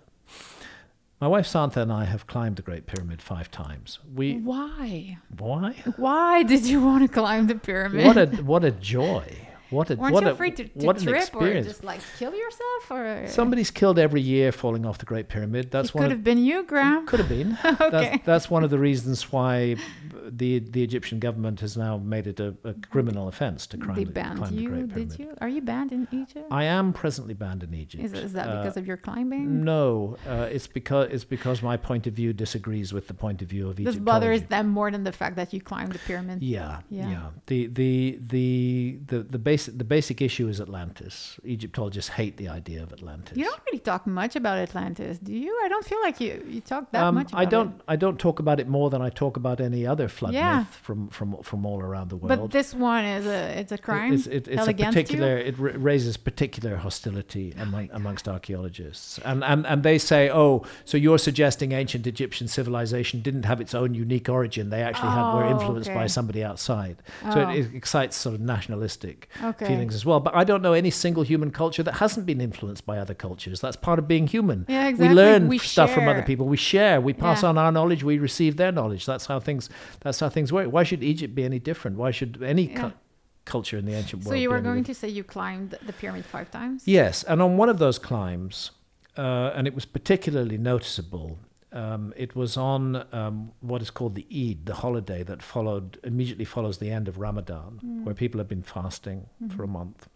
[SPEAKER 1] My wife Santha and I have climbed the Great Pyramid five times. We
[SPEAKER 2] Why?
[SPEAKER 1] why?
[SPEAKER 2] Why did you want to climb the pyramid?
[SPEAKER 1] What a what a joy! What a
[SPEAKER 2] Weren't
[SPEAKER 1] what
[SPEAKER 2] you
[SPEAKER 1] a,
[SPEAKER 2] afraid to, to
[SPEAKER 1] what an
[SPEAKER 2] trip or
[SPEAKER 1] experience.
[SPEAKER 2] just like kill yourself? Or
[SPEAKER 1] Somebody's killed every year falling off the Great Pyramid. That's
[SPEAKER 2] it
[SPEAKER 1] one
[SPEAKER 2] could
[SPEAKER 1] of
[SPEAKER 2] have been you, Graham.
[SPEAKER 1] Could have been.
[SPEAKER 2] Okay.
[SPEAKER 1] That's, that's one of the reasons why the the Egyptian government has now made it a, a criminal offence to climb,
[SPEAKER 2] They
[SPEAKER 1] the,
[SPEAKER 2] banned
[SPEAKER 1] climb the
[SPEAKER 2] you,
[SPEAKER 1] Great Pyramid.
[SPEAKER 2] did you? Are you banned in Egypt?
[SPEAKER 1] I am presently banned in Egypt.
[SPEAKER 2] Is, is that
[SPEAKER 1] Uh,
[SPEAKER 2] because of your climbing?
[SPEAKER 1] No, uh, it's because it's because my point of view disagrees with the point of view of
[SPEAKER 2] This
[SPEAKER 1] Egyptology.
[SPEAKER 2] bothers them more than the fact that you climbed the pyramid.
[SPEAKER 1] Yeah,
[SPEAKER 2] Yeah.
[SPEAKER 1] yeah. The the the the the basic the basic issue is Atlantis. Egyptologists hate the idea of Atlantis.
[SPEAKER 2] You don't really talk much about Atlantis, do you? I don't feel like you you talk that
[SPEAKER 1] Um,
[SPEAKER 2] much about
[SPEAKER 1] I don't.
[SPEAKER 2] it.
[SPEAKER 1] I don't talk about it more than I talk about any other flood
[SPEAKER 2] Yeah.
[SPEAKER 1] myth from from from all around the world.
[SPEAKER 2] But this one is a it's a crime.
[SPEAKER 1] It's, it, it's
[SPEAKER 2] held
[SPEAKER 1] a
[SPEAKER 2] against
[SPEAKER 1] particular. It ra- raises particular hostility among, amongst archaeologists, and, and and they say, oh, so you're suggesting ancient Egyptian civilization didn't have its own unique origin? They actually had, were
[SPEAKER 2] Oh,
[SPEAKER 1] influenced by
[SPEAKER 2] okay.
[SPEAKER 1] somebody outside. So
[SPEAKER 2] Oh.
[SPEAKER 1] it, it excites sort of nationalistic
[SPEAKER 2] Okay.
[SPEAKER 1] feelings as well. But I don't know any single human culture that hasn't been influenced by otter cultures. That's part of being human.
[SPEAKER 2] Yeah, exactly.
[SPEAKER 1] We learn
[SPEAKER 2] We
[SPEAKER 1] stuff from other
[SPEAKER 2] share.
[SPEAKER 1] people. We share. We pass
[SPEAKER 2] Yeah.
[SPEAKER 1] on our knowledge. We receive their knowledge. That's how things. That's how things work. Why should Egypt be any different? Why should any
[SPEAKER 2] Yeah.
[SPEAKER 1] cu- culture in the ancient
[SPEAKER 2] So
[SPEAKER 1] world?
[SPEAKER 2] you
[SPEAKER 1] be
[SPEAKER 2] were
[SPEAKER 1] any
[SPEAKER 2] going
[SPEAKER 1] different?
[SPEAKER 2] to say you climbed the pyramid five times?
[SPEAKER 1] Yes, and on one of those climbs, uh, and it was particularly noticeable. Um, it was on um, what is called the Eid, the holiday that followed immediately follows the end of Ramadan, where people have been fasting for a month.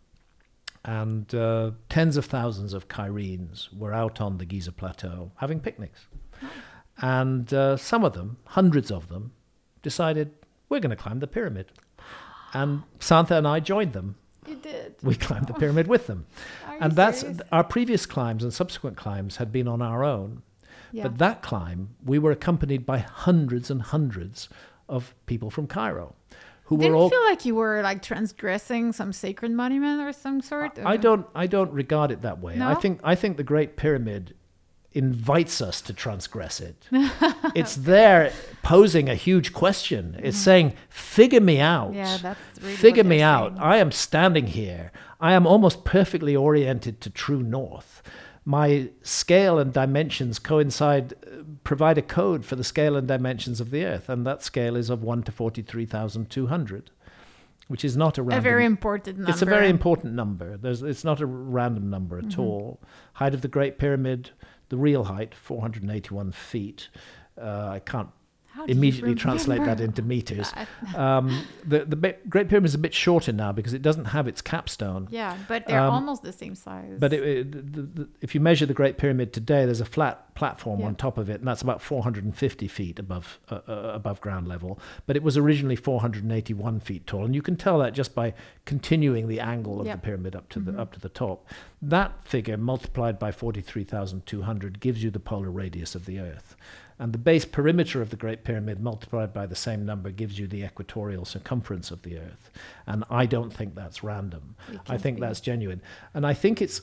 [SPEAKER 1] And uh, tens of thousands of Cairenes were out on the Giza Plateau having picnics. And uh, some of them, hundreds of them, decided, we're going to climb the pyramid. And Santha and I joined them.
[SPEAKER 2] You did.
[SPEAKER 1] We climbed the pyramid with them.
[SPEAKER 2] Are
[SPEAKER 1] and
[SPEAKER 2] you
[SPEAKER 1] that's
[SPEAKER 2] serious?
[SPEAKER 1] our previous climbs and subsequent climbs had been on our own.
[SPEAKER 2] Yeah.
[SPEAKER 1] But that climb, we were accompanied by hundreds and hundreds of people from Cairo, who
[SPEAKER 2] Didn't
[SPEAKER 1] were all.
[SPEAKER 2] feel like you were like transgressing some sacred monument or some sort?
[SPEAKER 1] I don't. I don't regard it that way. I
[SPEAKER 2] No?
[SPEAKER 1] think. I think the Great Pyramid invites us to transgress it. It's there posing a huge question. It's saying, "Figure me out.
[SPEAKER 2] Yeah, that's really
[SPEAKER 1] Figure
[SPEAKER 2] what
[SPEAKER 1] me
[SPEAKER 2] they're
[SPEAKER 1] out.
[SPEAKER 2] saying.
[SPEAKER 1] I am standing here. I am almost perfectly oriented to true north. My scale and dimensions coincide, uh, provide a code for the scale and dimensions of the Earth, and that scale is of one to forty-three thousand two hundred, which is not a random.
[SPEAKER 2] A very important number.
[SPEAKER 1] It's a very important number. There's, it's not a random number at
[SPEAKER 2] Mm-hmm.
[SPEAKER 1] all. Height of the Great Pyramid, the real height, four hundred eighty-one feet. Uh, I can't
[SPEAKER 2] How do you
[SPEAKER 1] immediately translate that
[SPEAKER 2] remember
[SPEAKER 1] into meters.
[SPEAKER 2] that?
[SPEAKER 1] Um, the the Be- Great Pyramid is a bit shorter now because it doesn't have its capstone.
[SPEAKER 2] Yeah, but they're
[SPEAKER 1] Um,
[SPEAKER 2] almost the same size.
[SPEAKER 1] But it, it, the, the, if you measure the Great Pyramid today, there's a flat platform
[SPEAKER 2] Yeah.
[SPEAKER 1] on top of it, and that's about four hundred fifty feet above uh, uh, above ground level. But it was originally four hundred eighty-one feet tall, and you can tell that just by continuing the angle of
[SPEAKER 2] Yep.
[SPEAKER 1] the pyramid up to
[SPEAKER 2] Mhm.
[SPEAKER 1] the up to the top. That figure multiplied by forty-three thousand two hundred gives you the polar radius of the Earth. And the base perimeter of the Great Pyramid multiplied by the same number gives you the equatorial circumference of the Earth. And I don't think that's random.
[SPEAKER 2] It
[SPEAKER 1] I
[SPEAKER 2] can't
[SPEAKER 1] think
[SPEAKER 2] be.
[SPEAKER 1] that's genuine. And I think it's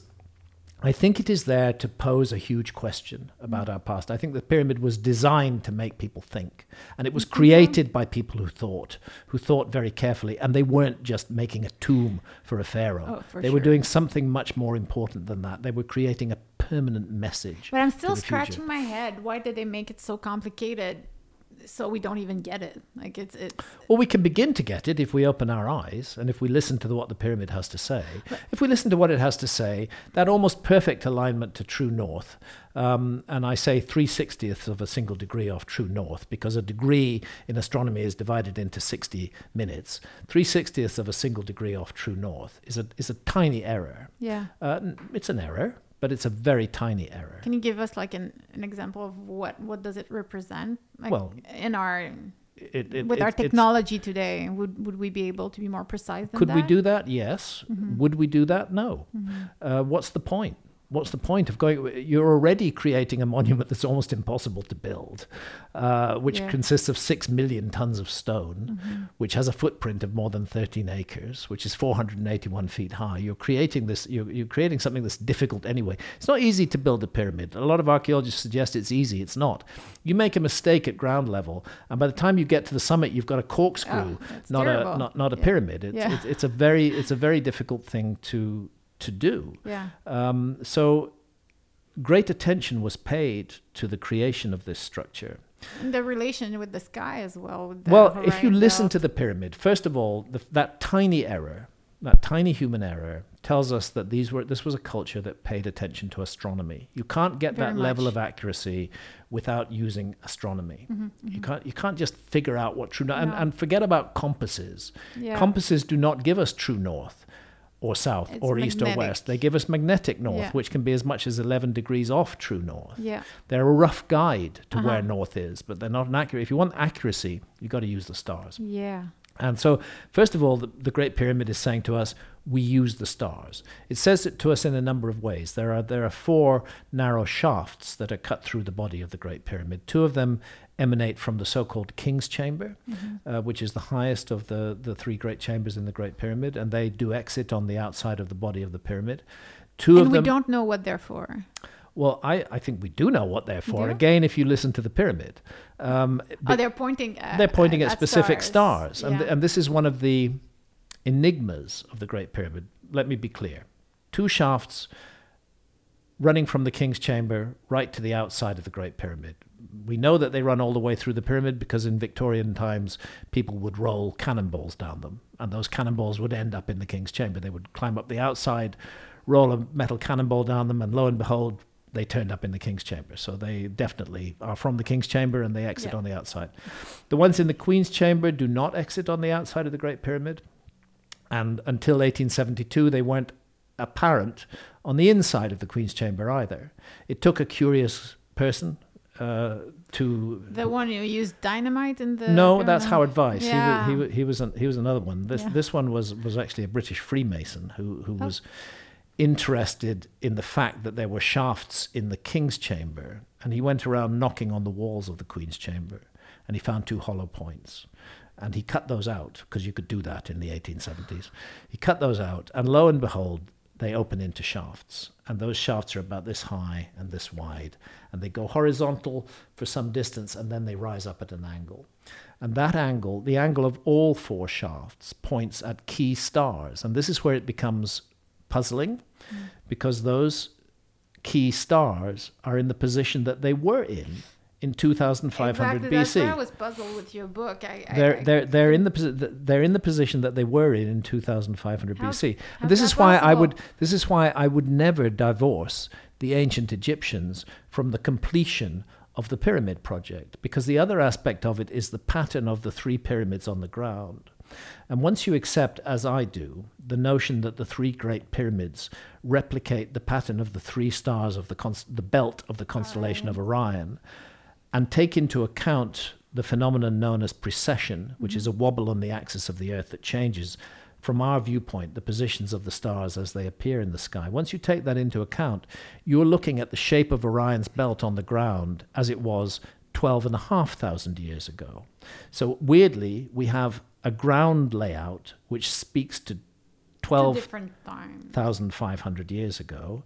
[SPEAKER 1] I think it is there to pose a huge question about our past. I think the pyramid was designed to make people think. And it was created by people who thought, who thought very carefully. And they weren't just making a tomb for a pharaoh.
[SPEAKER 2] Oh, for
[SPEAKER 1] they were
[SPEAKER 2] sure.
[SPEAKER 1] doing something much more important than that. They were creating a permanent message.
[SPEAKER 2] But I'm
[SPEAKER 1] to
[SPEAKER 2] still
[SPEAKER 1] the future.
[SPEAKER 2] scratching my head. Why did they make it so complicated so we don't even get it? Like it's it's
[SPEAKER 1] Well, we can begin to get it if we open our eyes and if we listen to the, what the pyramid has to say. If we listen to what it has to say, that almost perfect alignment to true north, um, and I say three sixtieths of a single degree off true north because a degree in astronomy is divided into sixty minutes. three sixtieths of a single degree off true north is a is a tiny error.
[SPEAKER 2] yeah.
[SPEAKER 1] Uh, n- it's an error, but it's a very tiny error.
[SPEAKER 2] Can you give us like an, an example of what what does it represent? Like
[SPEAKER 1] Well,
[SPEAKER 2] in our
[SPEAKER 1] It, it,
[SPEAKER 2] with
[SPEAKER 1] it-
[SPEAKER 2] our
[SPEAKER 1] it's-
[SPEAKER 2] technology today, would would we be able to be more precise than
[SPEAKER 1] Could
[SPEAKER 2] that?
[SPEAKER 1] we do that? Yes.
[SPEAKER 2] Mm-hmm.
[SPEAKER 1] Would we do that? No. Uh, what's the point? What's the point of going? You're already creating a monument that's almost impossible to build, uh, which
[SPEAKER 2] Yeah.
[SPEAKER 1] consists of six million tons of stone,
[SPEAKER 2] Mm-hmm.
[SPEAKER 1] which has a footprint of more than thirteen acres, which is four hundred eighty-one feet high. You're creating this. You're, you're creating something that's difficult anyway. It's not easy to build a pyramid. A lot of archaeologists suggest it's easy. It's not. You make a mistake at ground level, and by the time you get to the summit, you've got a corkscrew,
[SPEAKER 2] Oh, that's
[SPEAKER 1] not
[SPEAKER 2] terrible.
[SPEAKER 1] a not not a
[SPEAKER 2] Yeah.
[SPEAKER 1] pyramid. It's,
[SPEAKER 2] Yeah.
[SPEAKER 1] it's it's a very it's a very difficult thing to to do.
[SPEAKER 2] Yeah.
[SPEAKER 1] Um, so great attention was paid to the creation of this structure.
[SPEAKER 2] And the relation with the sky as well. with the
[SPEAKER 1] Well, if you
[SPEAKER 2] horizon
[SPEAKER 1] listen
[SPEAKER 2] belt.
[SPEAKER 1] to the pyramid, first of all, the, that tiny error, that tiny human error, tells us that these were this was a culture that paid attention to astronomy. You can't get
[SPEAKER 2] Very
[SPEAKER 1] that level
[SPEAKER 2] much.
[SPEAKER 1] of accuracy without using astronomy.
[SPEAKER 2] Mm-hmm,
[SPEAKER 1] You can't you can't just figure out what true north and,
[SPEAKER 2] No.
[SPEAKER 1] and forget about compasses.
[SPEAKER 2] Yeah.
[SPEAKER 1] Compasses do not give us true north or south
[SPEAKER 2] It's
[SPEAKER 1] or east or
[SPEAKER 2] magnetic.
[SPEAKER 1] west. They give us magnetic north,
[SPEAKER 2] Yeah.
[SPEAKER 1] which can be as much as eleven degrees off true north.
[SPEAKER 2] Yeah.
[SPEAKER 1] They're a rough guide to
[SPEAKER 2] Uh-huh.
[SPEAKER 1] where north is, but they're not an accurate. If you want accuracy, you've got to use the stars.
[SPEAKER 2] Yeah.
[SPEAKER 1] And so, first of all, the, the Great Pyramid is saying to us, we use the stars. It says it to us in a number of ways. There are there are four narrow shafts that are cut through the body of the Great Pyramid. Two of them emanate from the so-called King's Chamber,
[SPEAKER 2] Mm-hmm.
[SPEAKER 1] uh, which is the highest of the, the three great chambers in the Great Pyramid, and they do exit on the outside of the body of the pyramid. Two
[SPEAKER 2] And
[SPEAKER 1] of
[SPEAKER 2] we
[SPEAKER 1] them.
[SPEAKER 2] don't know what they're for.
[SPEAKER 1] Well, I, I think we do know what they're for.
[SPEAKER 2] Do?
[SPEAKER 1] Again, if you listen to the pyramid, um,
[SPEAKER 2] Oh, they're pointing at
[SPEAKER 1] they're pointing at,
[SPEAKER 2] at
[SPEAKER 1] specific stars, and
[SPEAKER 2] Yeah.
[SPEAKER 1] th- and this is one of the enigmas of the Great Pyramid. Let me be clear: two shafts running from the King's Chamber right to the outside of the Great Pyramid. We know that they run all the way through the pyramid because in Victorian times people would roll cannonballs down them, and those cannonballs would end up in the King's Chamber. They would climb up the outside, roll a metal cannonball down them, and lo and behold, they turned up in the King's Chamber. So they definitely are from the King's Chamber and they exit
[SPEAKER 2] Yeah.
[SPEAKER 1] on the outside. The ones in the Queen's Chamber do not exit on the outside of the Great Pyramid. And until eighteen seventy-two, they weren't apparent on the inside of the Queen's Chamber either. It took a curious person uh, to...
[SPEAKER 2] The one who used dynamite in the.
[SPEAKER 1] No, that's
[SPEAKER 2] pyramid?
[SPEAKER 1] Howard Weiss.
[SPEAKER 2] Yeah.
[SPEAKER 1] He, was, he, was, he, was an, he was another one. This
[SPEAKER 2] Yeah.
[SPEAKER 1] this one was, was actually a British Freemason who, who
[SPEAKER 2] Oh.
[SPEAKER 1] was... interested in the fact that there were shafts in the king's chamber, and he went around knocking on the walls of the queen's chamber, and he found two hollow points. And he cut those out, because you could do that in the eighteen seventies. He cut those out, and lo and behold, they open into shafts. And those shafts are about this high and this wide. And they go horizontal for some distance, and then they rise up at an angle. And that angle, the angle of all four shafts, points at key stars. And this is where it becomes puzzling, mm. because those key stars are in the position that they were in in two thousand five hundred
[SPEAKER 2] exactly.
[SPEAKER 1] B C.
[SPEAKER 2] That's why I was puzzled with your book. I,
[SPEAKER 1] they're
[SPEAKER 2] I, I,
[SPEAKER 1] they're they're in the posi- they're in the position that they were in in two thousand five hundred
[SPEAKER 2] how,
[SPEAKER 1] B C.
[SPEAKER 2] How
[SPEAKER 1] And this is why
[SPEAKER 2] possible?
[SPEAKER 1] I would this is why I would never divorce the ancient Egyptians from the completion of the pyramid project, because the other aspect of it is the pattern of the three pyramids on the ground. And once you accept, as I do, the notion that the three great pyramids replicate the pattern of the three stars of the const- the belt of the constellation
[SPEAKER 2] Orion.
[SPEAKER 1] of Orion, and take into account the phenomenon known as precession, which mm-hmm. is a wobble on the axis of the Earth that changes, from our viewpoint, the positions of the stars as they appear in the sky. Once you take that into account, you're looking at the shape of Orion's belt on the ground as it was twelve and a half thousand years ago. So weirdly, we have a ground layout which speaks to twelve thousand five hundred years ago,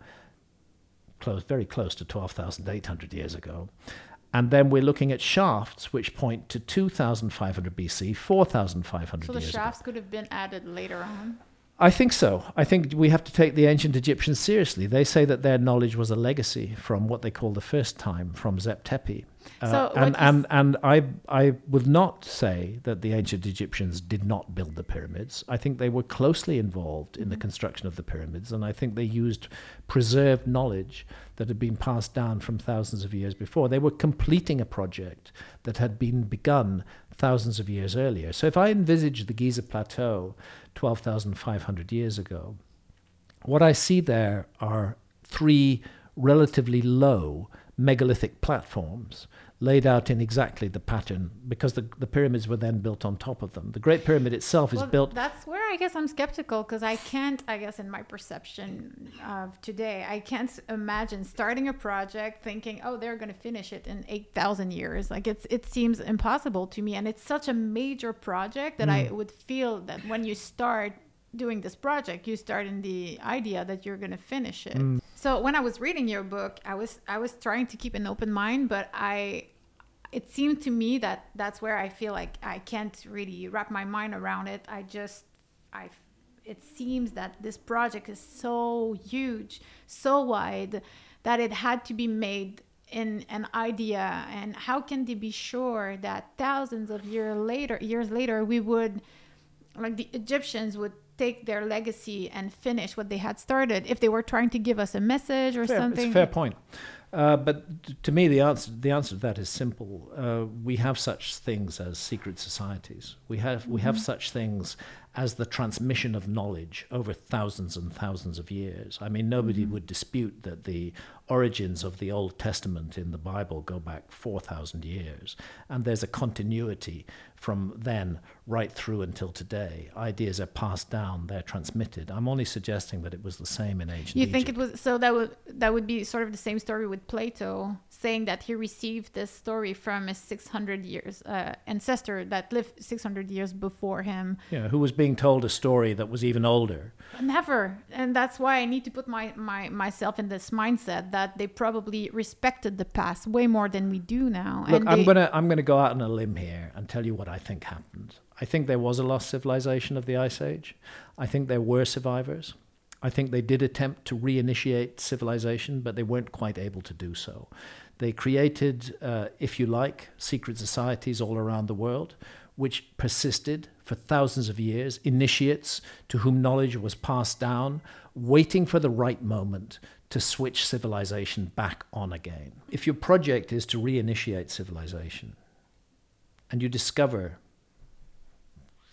[SPEAKER 1] close, very close to twelve thousand eight hundred years ago. And then we're looking at shafts which point to two thousand five hundred B C, four thousand five hundred years ago.
[SPEAKER 2] So the shafts could have been added later on?
[SPEAKER 1] I think so. I think we have to take the ancient Egyptians seriously. They say that their knowledge was a legacy from what they call the first time, from Zep Tepi. Uh,
[SPEAKER 2] so
[SPEAKER 1] and and, and I, I would not say that the ancient Egyptians did not build the pyramids. I think they were closely involved in mm-hmm. the construction of the pyramids, and I think they used preserved knowledge that had been passed down from thousands of years before. They were completing a project that had been begun thousands of years earlier. So if I envisage the Giza Plateau twelve thousand five hundred years ago, what I see there are three relatively low megalithic platforms laid out in exactly the pattern, because the, the pyramids were then built on top of them. The Great Pyramid itself
[SPEAKER 2] well,
[SPEAKER 1] is built...
[SPEAKER 2] That's where I guess I'm skeptical, because I can't, I guess in my perception of today, I can't imagine starting a project thinking, oh, they're going to finish it in eight thousand years. Like it's it seems impossible to me. And it's such a major project that mm. I would feel that when you start doing this project, you start in the idea that you're going to finish it. Mm. So when I was reading your book, I was I was trying to keep an open mind, but I it seemed to me that that's where I feel like I can't really wrap my mind around it. I just I it seems that this project is so huge, so wide, that it had to be made in an idea. And how can they be sure that thousands of years later years later we would, like the Egyptians would take their legacy and finish what they had started if they were trying to give us a message or
[SPEAKER 1] fair,
[SPEAKER 2] something?
[SPEAKER 1] It's a fair point. Uh, but t- to me, the answer the answer to that is simple. Uh, we have such things as secret societies. We have mm-hmm. we have such things as the transmission of knowledge over thousands and thousands of years. I mean, nobody mm-hmm. would dispute that the origins of the Old Testament in the Bible go back four thousand years, and there's a continuity from then right through until today. Ideas are passed down, they're transmitted. I'm only suggesting that it was the same in ancient
[SPEAKER 2] You
[SPEAKER 1] Egypt.
[SPEAKER 2] think it was, so that would that would be sort of the same story with Plato, saying that he received this story from a six hundred years uh, ancestor that lived six hundred years before him.
[SPEAKER 1] Yeah, who was being told a story that was even older.
[SPEAKER 2] Never. And that's why I need to put my, my myself in this mindset that they probably respected the past way more than we do now.
[SPEAKER 1] Look,
[SPEAKER 2] and
[SPEAKER 1] I'm
[SPEAKER 2] they,
[SPEAKER 1] gonna I'm gonna go out on a limb here and tell you what I think happened. I think there was a lost civilization of the Ice Age. I think there were survivors. I think they did attempt to reinitiate civilization, but they weren't quite able to do so. They created, uh, if you like, secret societies all around the world, which persisted for thousands of years, initiates to whom knowledge was passed down, waiting for the right moment to switch civilization back on again. If your project is to reinitiate civilization, and you discover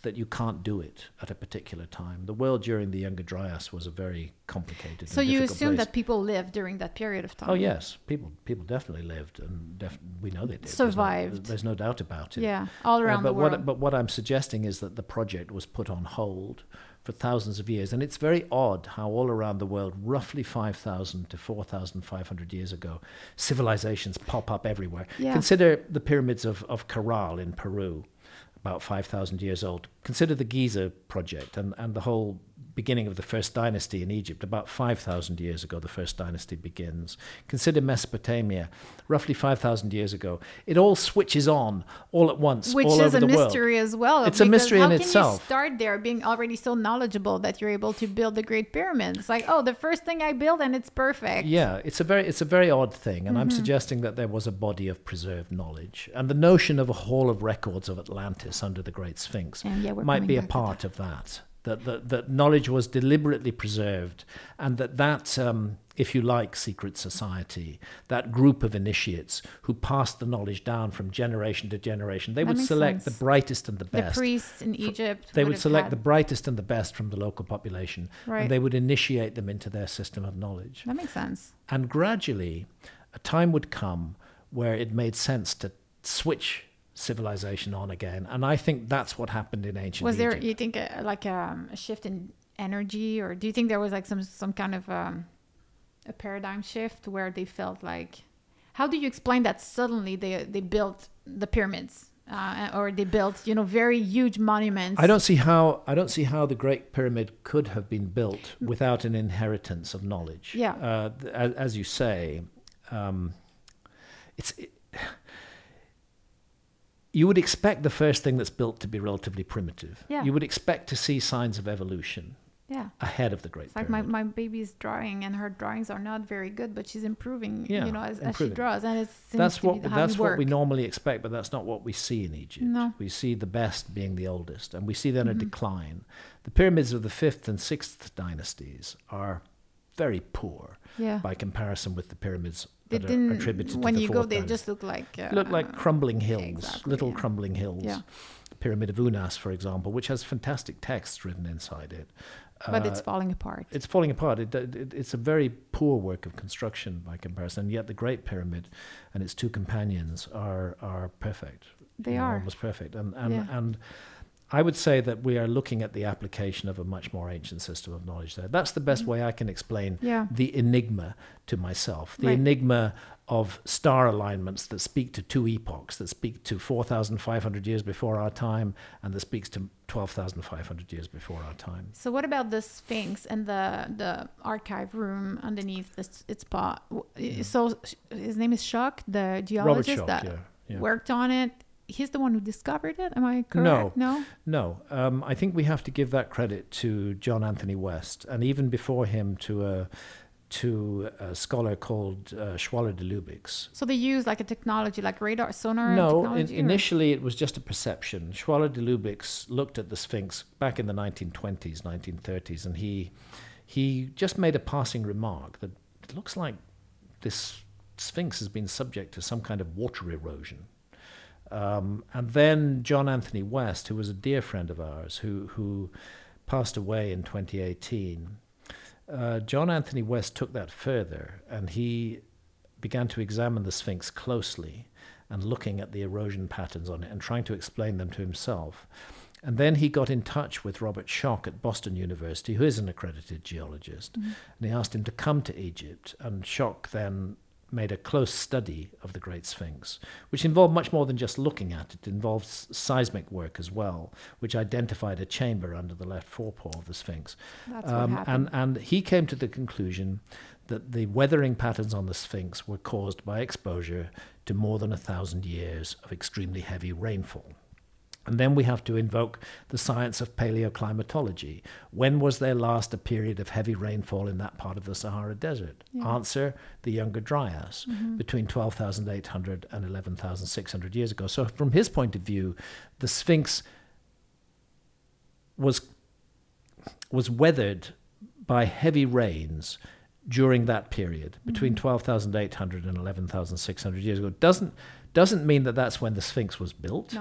[SPEAKER 1] that you can't do it at a particular time. The world during the Younger Dryas was a very complicated
[SPEAKER 2] So
[SPEAKER 1] and
[SPEAKER 2] you
[SPEAKER 1] difficult
[SPEAKER 2] assume
[SPEAKER 1] place.
[SPEAKER 2] that people lived during that period of time?
[SPEAKER 1] Oh yes, people people definitely lived, and def- we know they did.
[SPEAKER 2] Survived.
[SPEAKER 1] There's no, there's no doubt about it.
[SPEAKER 2] Yeah, all around
[SPEAKER 1] Uh, but
[SPEAKER 2] the world.
[SPEAKER 1] What, but what I'm suggesting is that the project was put on hold for thousands of years. And it's very odd how all around the world, roughly five thousand to four thousand five hundred years ago, civilizations pop up everywhere.
[SPEAKER 2] Yeah.
[SPEAKER 1] Consider the pyramids of, of Caral in Peru, about five thousand years old. Consider the Giza project and, and the whole beginning of the first dynasty in Egypt. About five thousand years ago, the first dynasty begins. Consider Mesopotamia, roughly five thousand years ago. It all switches on all at once,
[SPEAKER 2] Which
[SPEAKER 1] all
[SPEAKER 2] is
[SPEAKER 1] over
[SPEAKER 2] a
[SPEAKER 1] the world.
[SPEAKER 2] mystery as well.
[SPEAKER 1] It's a
[SPEAKER 2] because
[SPEAKER 1] mystery in
[SPEAKER 2] how can
[SPEAKER 1] itself.
[SPEAKER 2] you start there being already so knowledgeable that you're able to build the Great Pyramids? Like, oh, the first thing I build and it's perfect.
[SPEAKER 1] Yeah, it's a very it's a very odd thing, and
[SPEAKER 2] Mm-hmm.
[SPEAKER 1] I'm suggesting that there was a body of preserved knowledge, and the notion of a hall of records of Atlantis under the Great Sphinx
[SPEAKER 2] And yeah, we're
[SPEAKER 1] might
[SPEAKER 2] coming
[SPEAKER 1] be a
[SPEAKER 2] back to
[SPEAKER 1] part of that. That, that that knowledge was deliberately preserved, and that that um, if you like, secret society, that group of initiates who passed the knowledge down from generation to generation, they
[SPEAKER 2] That
[SPEAKER 1] would
[SPEAKER 2] makes
[SPEAKER 1] select
[SPEAKER 2] sense.
[SPEAKER 1] the brightest and the
[SPEAKER 2] The
[SPEAKER 1] best.
[SPEAKER 2] priests in Egypt.
[SPEAKER 1] They
[SPEAKER 2] would
[SPEAKER 1] would
[SPEAKER 2] have
[SPEAKER 1] select
[SPEAKER 2] had-
[SPEAKER 1] the brightest and the best from the local population,
[SPEAKER 2] Right.
[SPEAKER 1] and they would initiate them into their system of knowledge.
[SPEAKER 2] That makes sense.
[SPEAKER 1] And gradually, a time would come where it made sense to switch civilization on again. And I think that's what happened in ancient
[SPEAKER 2] Was there,
[SPEAKER 1] Egypt.
[SPEAKER 2] you think, a, like um, a shift in energy, or do you think there was like some some kind of um, a paradigm shift where they felt like? How do you explain that suddenly they they built the pyramids, uh, or they built you know very huge monuments?
[SPEAKER 1] I don't see how I don't see how the Great Pyramid could have been built without an inheritance of knowledge.
[SPEAKER 2] Yeah.
[SPEAKER 1] Uh, th- as, as you say, um, it's. It, you would expect the first thing that's built to be relatively primitive.
[SPEAKER 2] Yeah.
[SPEAKER 1] You would expect to see signs of evolution
[SPEAKER 2] Yeah.
[SPEAKER 1] ahead of the Great
[SPEAKER 2] It's like my,
[SPEAKER 1] Pyramid.
[SPEAKER 2] my baby's drawing, and her drawings are not very good, but she's improving,
[SPEAKER 1] Yeah,
[SPEAKER 2] you know, as, as she
[SPEAKER 1] improving.
[SPEAKER 2] draws, and it seems
[SPEAKER 1] That's
[SPEAKER 2] to
[SPEAKER 1] what
[SPEAKER 2] be how
[SPEAKER 1] that's
[SPEAKER 2] we
[SPEAKER 1] what
[SPEAKER 2] work.
[SPEAKER 1] we normally expect, but that's not what we see in Egypt.
[SPEAKER 2] No.
[SPEAKER 1] We see the best being the oldest, and we see then
[SPEAKER 2] Mm-hmm.
[SPEAKER 1] a decline. The pyramids of the fifth and sixth dynasties are very poor
[SPEAKER 2] Yeah.
[SPEAKER 1] by comparison with the pyramids
[SPEAKER 2] They
[SPEAKER 1] that are
[SPEAKER 2] didn't.
[SPEAKER 1] attributed
[SPEAKER 2] When
[SPEAKER 1] to the
[SPEAKER 2] you
[SPEAKER 1] fourth
[SPEAKER 2] go, they
[SPEAKER 1] dynasty.
[SPEAKER 2] just look like uh,
[SPEAKER 1] Look like crumbling hills,
[SPEAKER 2] exactly,
[SPEAKER 1] little
[SPEAKER 2] yeah.
[SPEAKER 1] crumbling hills.
[SPEAKER 2] Yeah.
[SPEAKER 1] Pyramid of Unas, for example, which has fantastic texts written inside it.
[SPEAKER 2] but
[SPEAKER 1] Uh,
[SPEAKER 2] it's falling apart.
[SPEAKER 1] It's falling apart. It, it, it's a very poor work of construction by comparison. And yet the Great Pyramid and its two companions are are perfect.
[SPEAKER 2] They
[SPEAKER 1] You know,
[SPEAKER 2] are.
[SPEAKER 1] almost perfect. And and
[SPEAKER 2] Yeah.
[SPEAKER 1] and I would say that we are looking at the application of a much more ancient system of knowledge there. That's the best way I can explain
[SPEAKER 2] Mm-hmm. Yeah.
[SPEAKER 1] the enigma to myself. The
[SPEAKER 2] Right.
[SPEAKER 1] enigma of star alignments that speak to two epochs, that speak to four thousand five hundred years before our time, and that speaks to twelve thousand five hundred years before our time.
[SPEAKER 2] So what about the Sphinx and the the archive room underneath this, its spot? So his name is Schock, the geologist
[SPEAKER 1] Schock,
[SPEAKER 2] that
[SPEAKER 1] yeah, yeah.
[SPEAKER 2] worked on it. He's the one who discovered it. Am I correct? No.
[SPEAKER 1] No, um, I think we have to give that credit to John Anthony West, and even before him to a to a scholar called uh, Schwaller de Lubix.
[SPEAKER 2] So they use like a technology, like radar, sonar
[SPEAKER 1] No, in,
[SPEAKER 2] technology? or-
[SPEAKER 1] initially it was just a perception. Schwaller de Lubix looked at the Sphinx back in the nineteen twenties, nineteen thirties, and he he just made a passing remark that it looks like this Sphinx has been subject to some kind of water erosion. Um, and then John Anthony West, who was a dear friend of ours, who who passed away in twenty eighteen, uh, John Anthony West took that further, and he began to examine the Sphinx closely and looking at the erosion patterns on it and trying to explain them to himself. And then he got in touch with Robert Schock at Boston University, who is an accredited geologist,
[SPEAKER 2] Mm-hmm.
[SPEAKER 1] and he asked him to come to Egypt. And Schock then made a close study of the Great Sphinx, which involved much more than just looking at it. It involved s- seismic work as well, which identified a chamber under the left forepaw of the Sphinx.
[SPEAKER 2] That's what
[SPEAKER 1] Um,
[SPEAKER 2] happened.
[SPEAKER 1] and, and he came to the conclusion that the weathering patterns on the Sphinx were caused by exposure to more than a thousand years of extremely heavy rainfall. And then we have to invoke the science of paleoclimatology. When was there last a period of heavy rainfall in that part of the Sahara Desert?
[SPEAKER 2] Yeah.
[SPEAKER 1] Answer, the Younger Dryas,
[SPEAKER 2] Mm-hmm.
[SPEAKER 1] between twelve thousand eight hundred and eleven thousand six hundred years ago. So from his point of view, the Sphinx was was weathered by heavy rains during that period, between
[SPEAKER 2] Mm-hmm.
[SPEAKER 1] twelve thousand eight hundred and eleven thousand six hundred years ago. Doesn't doesn't mean that that's when the Sphinx was built.
[SPEAKER 2] No.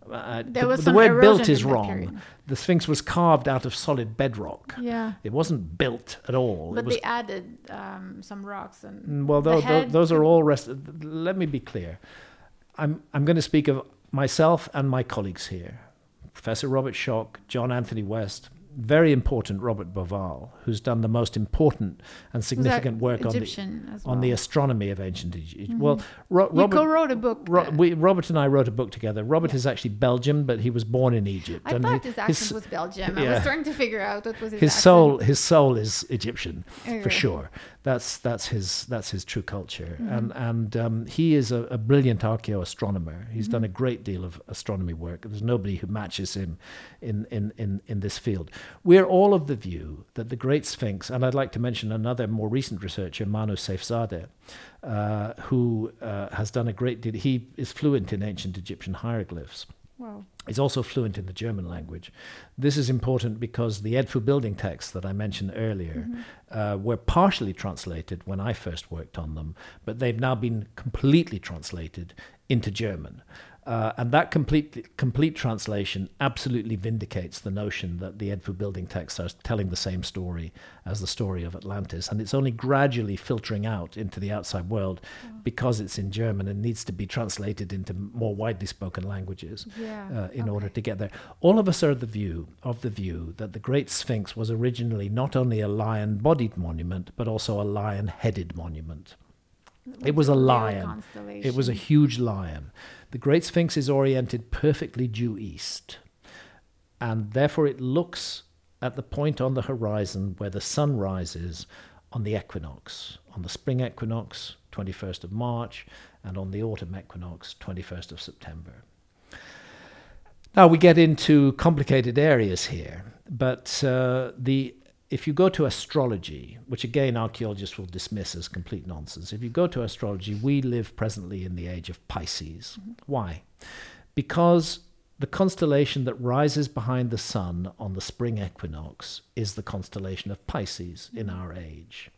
[SPEAKER 1] uh,
[SPEAKER 2] There
[SPEAKER 1] the,
[SPEAKER 2] was
[SPEAKER 1] the
[SPEAKER 2] some
[SPEAKER 1] word
[SPEAKER 2] erosion
[SPEAKER 1] built is
[SPEAKER 2] in that
[SPEAKER 1] wrong.
[SPEAKER 2] period.
[SPEAKER 1] The Sphinx was carved out of solid bedrock.
[SPEAKER 2] Yeah.
[SPEAKER 1] It wasn't built at all.
[SPEAKER 2] But
[SPEAKER 1] it was,
[SPEAKER 2] they added um, some rocks and
[SPEAKER 1] well,
[SPEAKER 2] the
[SPEAKER 1] those,
[SPEAKER 2] head
[SPEAKER 1] those are
[SPEAKER 2] could-
[SPEAKER 1] all rest. Let me be clear. I'm I'm going to speak of myself and my colleagues here, Professor Robert Schoch, John Anthony West, very important Robert Boval, who's done the most important and significant work
[SPEAKER 2] Egyptian
[SPEAKER 1] on the
[SPEAKER 2] as
[SPEAKER 1] on the
[SPEAKER 2] well.
[SPEAKER 1] astronomy of ancient Egypt.
[SPEAKER 2] Mhm.
[SPEAKER 1] Well, Ro-
[SPEAKER 2] You
[SPEAKER 1] Robert.
[SPEAKER 2] co-wrote a book.
[SPEAKER 1] Ro-
[SPEAKER 2] uh,
[SPEAKER 1] we, Robert and I wrote a book together. Robert
[SPEAKER 2] Yeah.
[SPEAKER 1] is actually Belgian, but he was born in Egypt.
[SPEAKER 2] I
[SPEAKER 1] and
[SPEAKER 2] thought
[SPEAKER 1] he-
[SPEAKER 2] his accent was Belgium. I
[SPEAKER 1] yeah.
[SPEAKER 2] was trying to figure out what was his,
[SPEAKER 1] his
[SPEAKER 2] accent.
[SPEAKER 1] soul his soul is Egyptian
[SPEAKER 2] Okay.
[SPEAKER 1] for sure. That's that's his that's his true culture,
[SPEAKER 2] Mhm.
[SPEAKER 1] and and um, he is a, a brilliant archaeoastronomer. He's
[SPEAKER 2] Mhm.
[SPEAKER 1] done a great deal of astronomy work. There's nobody who matches him in in in in this field. We're all of the view that the Great Sphinx, and I'd like to mention another more recent researcher, Manu Seifzadeh, uh, who uh, has done a great deal. He is fluent in ancient Egyptian hieroglyphs.
[SPEAKER 2] Wow.
[SPEAKER 1] He's also fluent in the German language. This is important because the Edfu building texts that I mentioned earlier
[SPEAKER 2] Mhm.
[SPEAKER 1] uh, were partially translated when I first worked on them, but they've now been completely translated into German. Uh, and that complete complete translation absolutely vindicates the notion that the Edfu building texts are telling the same story as the story of Atlantis. And it's only gradually filtering out into the outside world
[SPEAKER 2] Wow.
[SPEAKER 1] because it's in German and needs to be translated into more widely spoken languages
[SPEAKER 2] Yeah.
[SPEAKER 1] uh, in
[SPEAKER 2] okay.
[SPEAKER 1] order to get there. All of us are the view of the view that the Great Sphinx was originally not only a lion-bodied monument, but also a lion-headed monument. It was a
[SPEAKER 2] Leo
[SPEAKER 1] lion.
[SPEAKER 2] constellation.
[SPEAKER 1] It was a huge lion. The Great Sphinx is oriented perfectly due east, and therefore it looks at the point on the horizon where the sun rises on the equinox, on the spring equinox, twenty-first of March, and on the autumn equinox, twenty-first of September. Now we get into complicated areas here, but uh, the if you go to astrology, which again archaeologists will dismiss as complete nonsense, if you go to astrology, we live presently in the age of Pisces.
[SPEAKER 2] Mm-hmm.
[SPEAKER 1] Why? Because the constellation that rises behind the sun on the spring equinox is the constellation of Pisces in our age.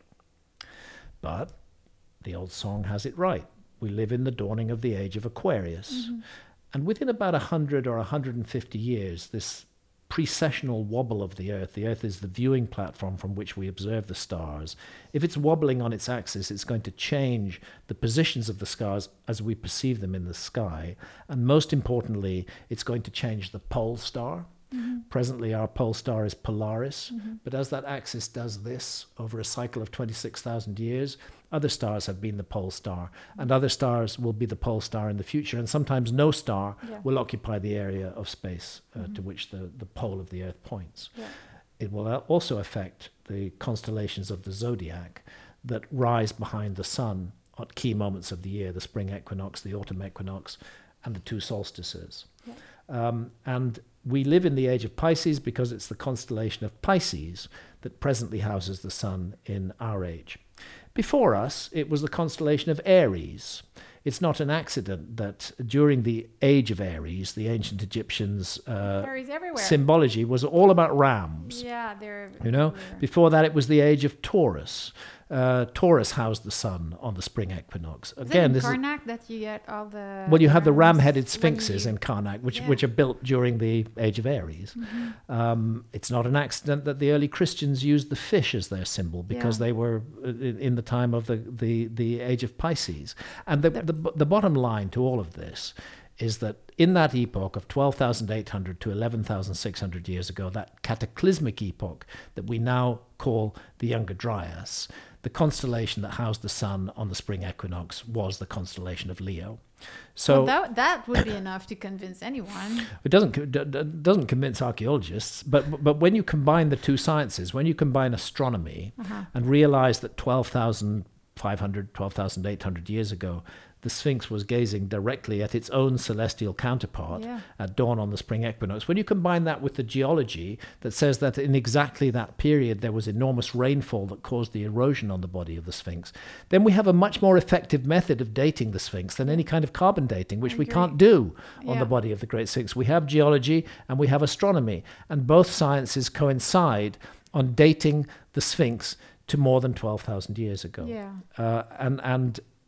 [SPEAKER 1] But the old song has it right. We live in the dawning of the age of Aquarius.
[SPEAKER 2] Mhm.
[SPEAKER 1] And within about one hundred or one hundred fifty years, this precessional wobble of the Earth, the Earth is the viewing platform from which we observe the stars. If it's wobbling on its axis, it's going to change the positions of the stars as we perceive them in the sky. And most importantly, it's going to change the pole star.
[SPEAKER 2] Mhm.
[SPEAKER 1] Presently, our pole star is Polaris,
[SPEAKER 2] Mhm.
[SPEAKER 1] but as that axis does this over a cycle of twenty-six thousand years, other stars have been the pole star, and other stars will be the pole star in the future, and sometimes no star
[SPEAKER 2] Yeah.
[SPEAKER 1] will occupy the area of space uh,
[SPEAKER 2] Mhm.
[SPEAKER 1] to which the, the pole of the Earth points.
[SPEAKER 2] Yeah.
[SPEAKER 1] It will al- also affect the constellations of the zodiac that rise behind the sun at key moments of the year, the spring equinox, the autumn equinox, and the two solstices.
[SPEAKER 2] Yeah.
[SPEAKER 1] Um, and we live in the age of Pisces because it's the constellation of Pisces that presently houses the sun in our age. Before us, it was the constellation of Aries. It's not an accident that during the age of Aries, the ancient Egyptians' uh,
[SPEAKER 2] Fairies everywhere.
[SPEAKER 1] symbology was all about rams.
[SPEAKER 2] Yeah, they're.
[SPEAKER 1] You know,
[SPEAKER 2] everywhere.
[SPEAKER 1] before that, it was the age of Taurus. Uh, Taurus housed the sun on the spring equinox.
[SPEAKER 2] Is it
[SPEAKER 1] Again,
[SPEAKER 2] in
[SPEAKER 1] this is
[SPEAKER 2] Karnak that you get all the.
[SPEAKER 1] well, you have the
[SPEAKER 2] rams
[SPEAKER 1] ram-headed
[SPEAKER 2] when
[SPEAKER 1] sphinxes
[SPEAKER 2] you-
[SPEAKER 1] in Karnak, which
[SPEAKER 2] Yeah.
[SPEAKER 1] which are built during the age of Aries.
[SPEAKER 2] Mhm.
[SPEAKER 1] Um, it's not an accident that the early Christians used the fish as their symbol because
[SPEAKER 2] Yeah.
[SPEAKER 1] they were uh, in, in the time of the, the, the age of Pisces. And the,
[SPEAKER 2] The-
[SPEAKER 1] the, the bottom line to all of this is that in that epoch of twelve thousand eight hundred to eleven thousand six hundred years ago, that cataclysmic epoch that we now call the Younger Dryas, the constellation that housed the sun on the spring equinox was the constellation of Leo. So
[SPEAKER 2] well, that that would be enough to convince anyone.
[SPEAKER 1] it doesn't co- d- d- doesn't convince archaeologists, but but when you combine the two sciences, when you combine astronomy
[SPEAKER 2] Uh-huh.
[SPEAKER 1] and realize that twelve thousand five hundred, twelve thousand eight hundred years ago, the Sphinx was gazing directly at its own celestial counterpart
[SPEAKER 2] Yeah.
[SPEAKER 1] at dawn on the spring equinox. When you combine that with the geology that says that in exactly that period there was enormous rainfall that caused the erosion on the body of the Sphinx, then we have a much more effective method of dating the Sphinx than any kind of carbon dating, which
[SPEAKER 2] I
[SPEAKER 1] we
[SPEAKER 2] agree.
[SPEAKER 1] can't do on
[SPEAKER 2] Yeah.
[SPEAKER 1] the body of the Great Sphinx. We have geology and we have astronomy, and both sciences coincide on dating the Sphinx to more than twelve thousand years ago.
[SPEAKER 2] Yeah.
[SPEAKER 1] Uh, and and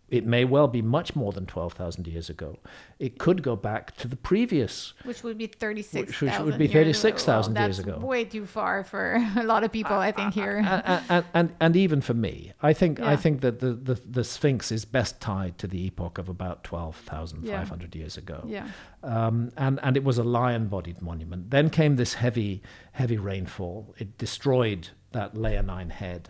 [SPEAKER 1] It may well be much more than twelve thousand years ago. It could go back to the previous.
[SPEAKER 2] Which would be thirty-six
[SPEAKER 1] Which, which would be thirty-six thousand
[SPEAKER 2] well,
[SPEAKER 1] years ago.
[SPEAKER 2] Way too far for a lot of people, I think, here.
[SPEAKER 1] And, and, and, and even for me. I think
[SPEAKER 2] Yeah.
[SPEAKER 1] I think that the, the, the Sphinx is best tied to the epoch of about twelve thousand five hundred
[SPEAKER 2] Yeah.
[SPEAKER 1] years ago.
[SPEAKER 2] Yeah.
[SPEAKER 1] Um, and, and it was a lion-bodied monument. Then came this heavy, heavy rainfall. It destroyed that leonine head.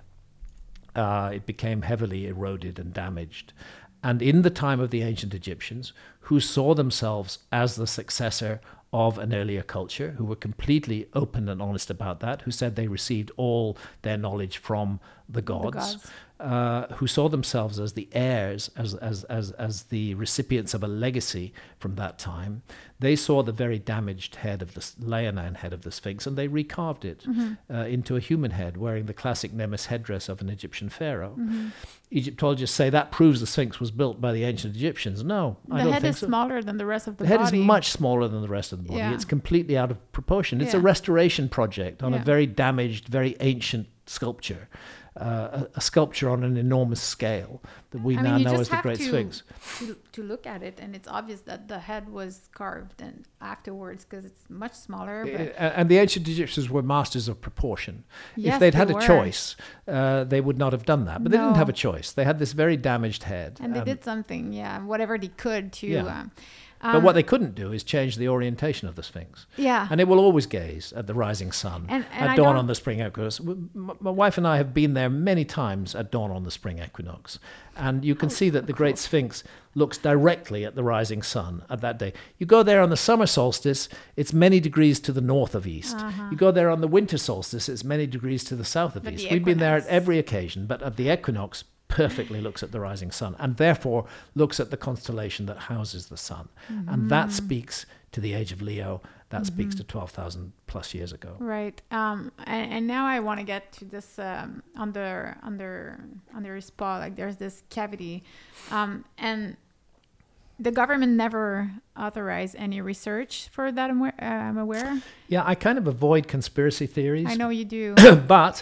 [SPEAKER 1] Uh, it became heavily eroded and damaged. And in the time of the ancient Egyptians, who saw themselves as the successor of an earlier culture, who were completely open and honest about that, who said they received all their knowledge from the gods,
[SPEAKER 2] The gods.
[SPEAKER 1] Uh, who saw themselves as the heirs, as, as, as, as the recipients of a legacy from that time, they saw the very damaged head of the s- leonine head of the Sphinx, and they recarved it
[SPEAKER 2] Mm-hmm.
[SPEAKER 1] uh, into a human head, wearing the classic Nemes headdress of an Egyptian pharaoh.
[SPEAKER 2] Mm-hmm.
[SPEAKER 1] Egyptologists say that proves the Sphinx was built by the ancient Egyptians. No, I
[SPEAKER 2] The
[SPEAKER 1] don't
[SPEAKER 2] head
[SPEAKER 1] think
[SPEAKER 2] is
[SPEAKER 1] so.
[SPEAKER 2] smaller than the rest of the,
[SPEAKER 1] The head
[SPEAKER 2] body.
[SPEAKER 1] is much smaller than the rest of the body.
[SPEAKER 2] Yeah.
[SPEAKER 1] It's completely out of proportion. It's a
[SPEAKER 2] Yeah.
[SPEAKER 1] restoration project on
[SPEAKER 2] Yeah.
[SPEAKER 1] a very damaged, very ancient sculpture, uh, a, a sculpture on an enormous scale that we
[SPEAKER 2] I
[SPEAKER 1] now
[SPEAKER 2] mean, you
[SPEAKER 1] know
[SPEAKER 2] just
[SPEAKER 1] as the
[SPEAKER 2] have
[SPEAKER 1] Great
[SPEAKER 2] to,
[SPEAKER 1] Sphinx.
[SPEAKER 2] To, to look at it, and it's obvious that the head was carved and afterwards because it's much smaller. But
[SPEAKER 1] Uh, And the ancient Egyptians were masters of proportion.
[SPEAKER 2] Yes,
[SPEAKER 1] if they'd
[SPEAKER 2] they
[SPEAKER 1] had a
[SPEAKER 2] were.
[SPEAKER 1] choice, uh, they would not have done that. But they didn't
[SPEAKER 2] No.
[SPEAKER 1] have a choice. They had this very damaged head.
[SPEAKER 2] and they
[SPEAKER 1] um,
[SPEAKER 2] did something, yeah, whatever they could to.
[SPEAKER 1] Yeah.
[SPEAKER 2] Um,
[SPEAKER 1] but what they couldn't do is change the orientation of the Sphinx.
[SPEAKER 2] yeah,
[SPEAKER 1] And it will always gaze at the rising sun
[SPEAKER 2] And- and
[SPEAKER 1] at
[SPEAKER 2] I
[SPEAKER 1] dawn
[SPEAKER 2] don't-
[SPEAKER 1] on the spring equinox. W- m- My wife and I have been there many times at dawn on the spring equinox. And you can see that the Great Sphinx looks directly at the rising sun at that day. You go there on the summer solstice, it's many degrees to the north of east. You go there on the winter solstice, it's many degrees to the south of
[SPEAKER 2] But
[SPEAKER 1] east.
[SPEAKER 2] the
[SPEAKER 1] We've been there at
[SPEAKER 2] equinox-
[SPEAKER 1] every occasion, but at the equinox, perfectly looks at the rising sun and therefore looks at the constellation that houses the sun. And that speaks to the age of Leo. That speaks to twelve thousand plus years ago.
[SPEAKER 2] right. Um, and, and now I want to get to this um, under under under his paw. Like there's this cavity, um, and the government never authorized any research for that. I'm aware. Uh, I'm aware.
[SPEAKER 1] Yeah, I kind of avoid conspiracy theories.
[SPEAKER 2] I know you do.
[SPEAKER 1] But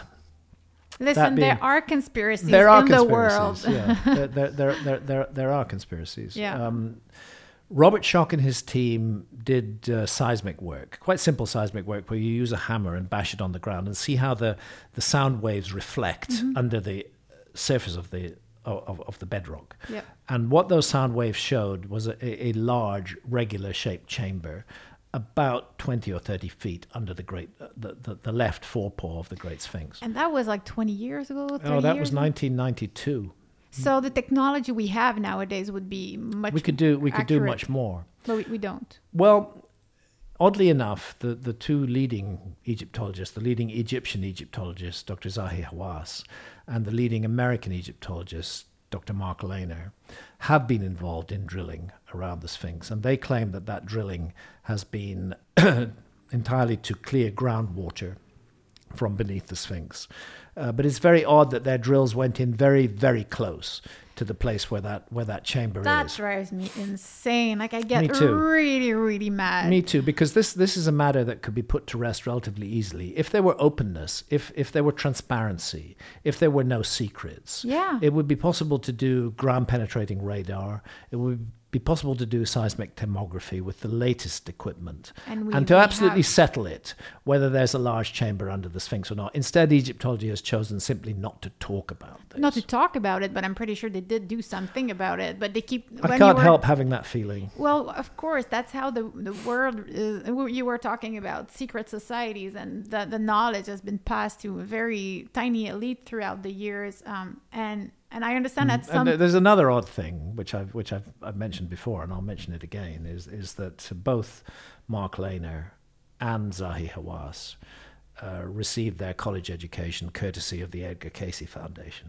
[SPEAKER 2] Listen,
[SPEAKER 1] being-
[SPEAKER 2] there are conspiracies
[SPEAKER 1] there are
[SPEAKER 2] in the world.
[SPEAKER 1] conspiracies. Yeah, there, there, there, there, there, there are conspiracies.
[SPEAKER 2] Yeah.
[SPEAKER 1] Um, Robert Schoch and his team did uh, seismic work, quite simple seismic work, where you use a hammer and bash it on the ground and see how the, the sound waves reflect
[SPEAKER 2] Mm-hmm.
[SPEAKER 1] under the surface of the of, of the bedrock.
[SPEAKER 2] Yeah.
[SPEAKER 1] And what those sound waves showed was a, a large, regular-shaped chamber, about twenty or thirty feet under the great, uh, the, the, the left forepaw of the Great Sphinx.
[SPEAKER 2] And that was like twenty years ago. thirty
[SPEAKER 1] Oh, that
[SPEAKER 2] years
[SPEAKER 1] was
[SPEAKER 2] ago?
[SPEAKER 1] nineteen ninety-two.
[SPEAKER 2] So the technology we have nowadays would be much.
[SPEAKER 1] We could do we could do
[SPEAKER 2] accurate,
[SPEAKER 1] much more.
[SPEAKER 2] but we, we don't.
[SPEAKER 1] Well, oddly enough, the, the two leading Egyptologists, the leading Egyptian Egyptologist, Doctor Zahi Hawass, and the leading American Egyptologist, Doctor Mark Lehner, have been involved in drilling around the Sphinx, and they claim that that drilling has been entirely to clear groundwater from beneath the Sphinx. Uh, but it's very odd that their drills went in very, very close to the place where that where that chamber
[SPEAKER 2] That
[SPEAKER 1] is.
[SPEAKER 2] drives me insane. Like I get
[SPEAKER 1] Me too.
[SPEAKER 2] really, really mad.
[SPEAKER 1] Me too, because this this is a matter that could be put to rest relatively easily. If there were openness, if if there were transparency, if there were no secrets,
[SPEAKER 2] Yeah.
[SPEAKER 1] it would be possible to do ground penetrating radar. It would be possible to do seismic tomography with the latest equipment
[SPEAKER 2] And we-
[SPEAKER 1] and to
[SPEAKER 2] we
[SPEAKER 1] absolutely
[SPEAKER 2] have-
[SPEAKER 1] settle it, whether there's a large chamber under the Sphinx or not. Instead, Egyptology has chosen simply not to talk about this.
[SPEAKER 2] Not to talk about it, but I'm pretty sure they did do something about it. But they keep.
[SPEAKER 1] I
[SPEAKER 2] when
[SPEAKER 1] can't
[SPEAKER 2] you were,
[SPEAKER 1] help having that feeling.
[SPEAKER 2] Well, of course, that's how the the world is. You were talking about secret societies, and the the knowledge has been passed to a very tiny elite throughout the years. Um, and and I understand that some.
[SPEAKER 1] And th- there's another odd thing, which I've which I've, I've mentioned before, and I'll mention it again, is is that both Mark Lehner and Zahi Hawass uh, received their college education courtesy of the Edgar Cayce Foundation.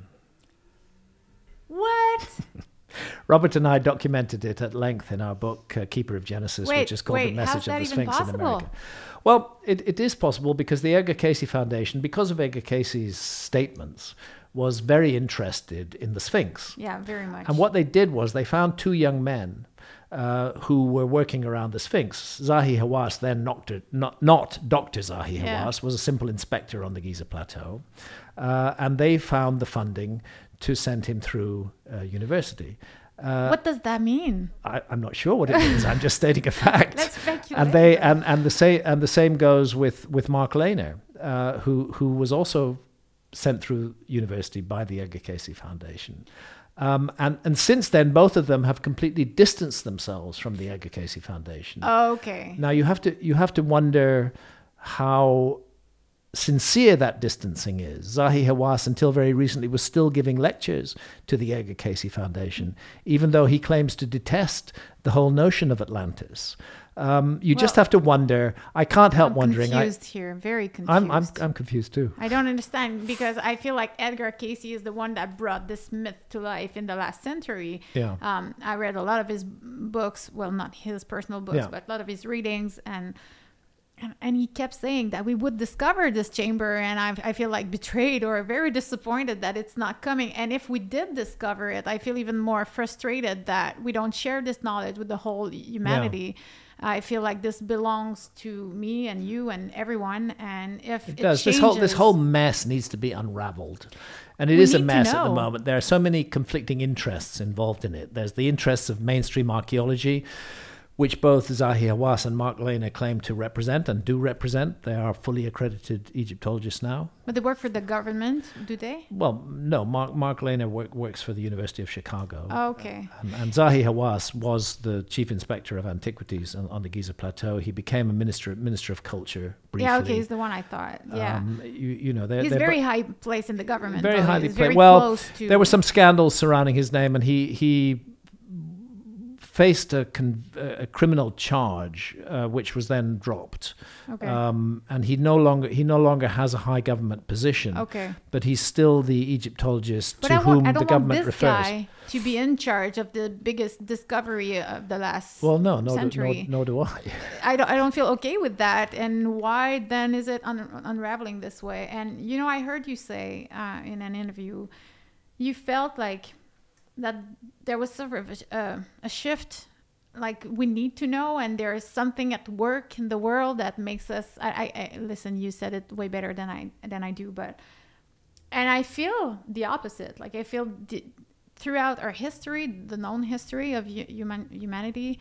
[SPEAKER 2] What?
[SPEAKER 1] Robert and I documented it at length in our book, uh, Keeper of Genesis,
[SPEAKER 2] Wait,
[SPEAKER 1] which is called
[SPEAKER 2] wait,
[SPEAKER 1] The Message
[SPEAKER 2] how's that
[SPEAKER 1] of the
[SPEAKER 2] even
[SPEAKER 1] Sphinx in
[SPEAKER 2] possible?
[SPEAKER 1] America. Well, it, it is possible because the Edgar Cayce Foundation, because of Edgar Cayce's statements, was very interested in the Sphinx.
[SPEAKER 2] Yeah, very much.
[SPEAKER 1] And what they did was they found two young men uh, who were working around the Sphinx. Zahi Hawass, then doctor, not, not Doctor Zahi
[SPEAKER 2] Yeah.
[SPEAKER 1] Hawass, was a simple inspector on the Giza Plateau. Uh, and they found the funding to send him through uh, university. Uh,
[SPEAKER 2] what does that mean?
[SPEAKER 1] I, I'm not sure what it means. I'm just stating a fact.
[SPEAKER 2] Let's speculate.
[SPEAKER 1] And they and, and the same and the same goes with with Mark Lehner, uh, who who was also sent through university by the Edgar Cayce Foundation. Um, and and since then, both of them have completely distanced themselves from the Edgar Cayce Foundation.
[SPEAKER 2] Okay.
[SPEAKER 1] Now you have to you have to wonder how sincere that distancing is. Zahi Hawass, until very recently, was still giving lectures to the Edgar Cayce Foundation, even though he claims to detest the whole notion of Atlantis. Um, you
[SPEAKER 2] Well,
[SPEAKER 1] just have to wonder. I can't help
[SPEAKER 2] I'm
[SPEAKER 1] wondering.
[SPEAKER 2] confused here, very confused.
[SPEAKER 1] I'm, I'm I'm confused too.
[SPEAKER 2] I don't understand because I feel like Edgar Cayce is the one that brought this myth to life in the last century.
[SPEAKER 1] Yeah.
[SPEAKER 2] Um, I read a lot of his books, well, not his personal books,
[SPEAKER 1] Yeah.
[SPEAKER 2] but a lot of his readings, and and, and he kept saying that we would discover this chamber, and I, I feel like betrayed or very disappointed that it's not coming. And if we did discover it, I feel even more frustrated that we don't share this knowledge with the whole humanity. I feel like this belongs to me and you and everyone. And if it,
[SPEAKER 1] It does.
[SPEAKER 2] changes,
[SPEAKER 1] This whole this whole mess needs to be unraveled. And it
[SPEAKER 2] We
[SPEAKER 1] is a
[SPEAKER 2] need to
[SPEAKER 1] mess at the
[SPEAKER 2] know.
[SPEAKER 1] moment. There are so many conflicting interests involved in it. There's the interests of mainstream archaeology, which both Zahi Hawass and Mark Lehner claim to represent and do represent. They are fully accredited Egyptologists now.
[SPEAKER 2] But they work for the government, do they?
[SPEAKER 1] Well, no, Mark, Mark Lehner work, works for the University of Chicago.
[SPEAKER 2] Oh, okay.
[SPEAKER 1] And, and Zahi Hawass was the chief inspector of antiquities on, on the Giza Plateau. He became a minister minister of culture briefly.
[SPEAKER 2] Yeah, okay, he's the one I thought. Yeah.
[SPEAKER 1] Um, you, you know, they're,
[SPEAKER 2] he's
[SPEAKER 1] they're
[SPEAKER 2] very
[SPEAKER 1] bo-
[SPEAKER 2] high place in the government.
[SPEAKER 1] very
[SPEAKER 2] though.
[SPEAKER 1] highly
[SPEAKER 2] He's
[SPEAKER 1] played.
[SPEAKER 2] very
[SPEAKER 1] Well,
[SPEAKER 2] close to...
[SPEAKER 1] there were some scandals surrounding his name, and he he faced a, con- a criminal charge, uh, which was then dropped.
[SPEAKER 2] Okay.
[SPEAKER 1] Um, and he no longer he no longer has a high government position.
[SPEAKER 2] Okay.
[SPEAKER 1] But he's still the Egyptologist
[SPEAKER 2] But
[SPEAKER 1] to
[SPEAKER 2] I,
[SPEAKER 1] whom
[SPEAKER 2] want, I
[SPEAKER 1] the
[SPEAKER 2] don't want
[SPEAKER 1] government
[SPEAKER 2] this
[SPEAKER 1] refers.
[SPEAKER 2] guy to be in charge of the biggest discovery of the last
[SPEAKER 1] Well, no, no,
[SPEAKER 2] century.
[SPEAKER 1] no, nor do I.
[SPEAKER 2] I don't, I don't feel okay with that. And why then is it un- unraveling this way? And, you know, I heard you say uh, in an interview, you felt like that there was sort of a, uh, a shift, like we need to know, and there is something at work in the world that makes us, I, I, I listen, you said it way better than I, than I do, but, and I feel the opposite. Like I feel the, throughout our history, the known history of hu- human, humanity,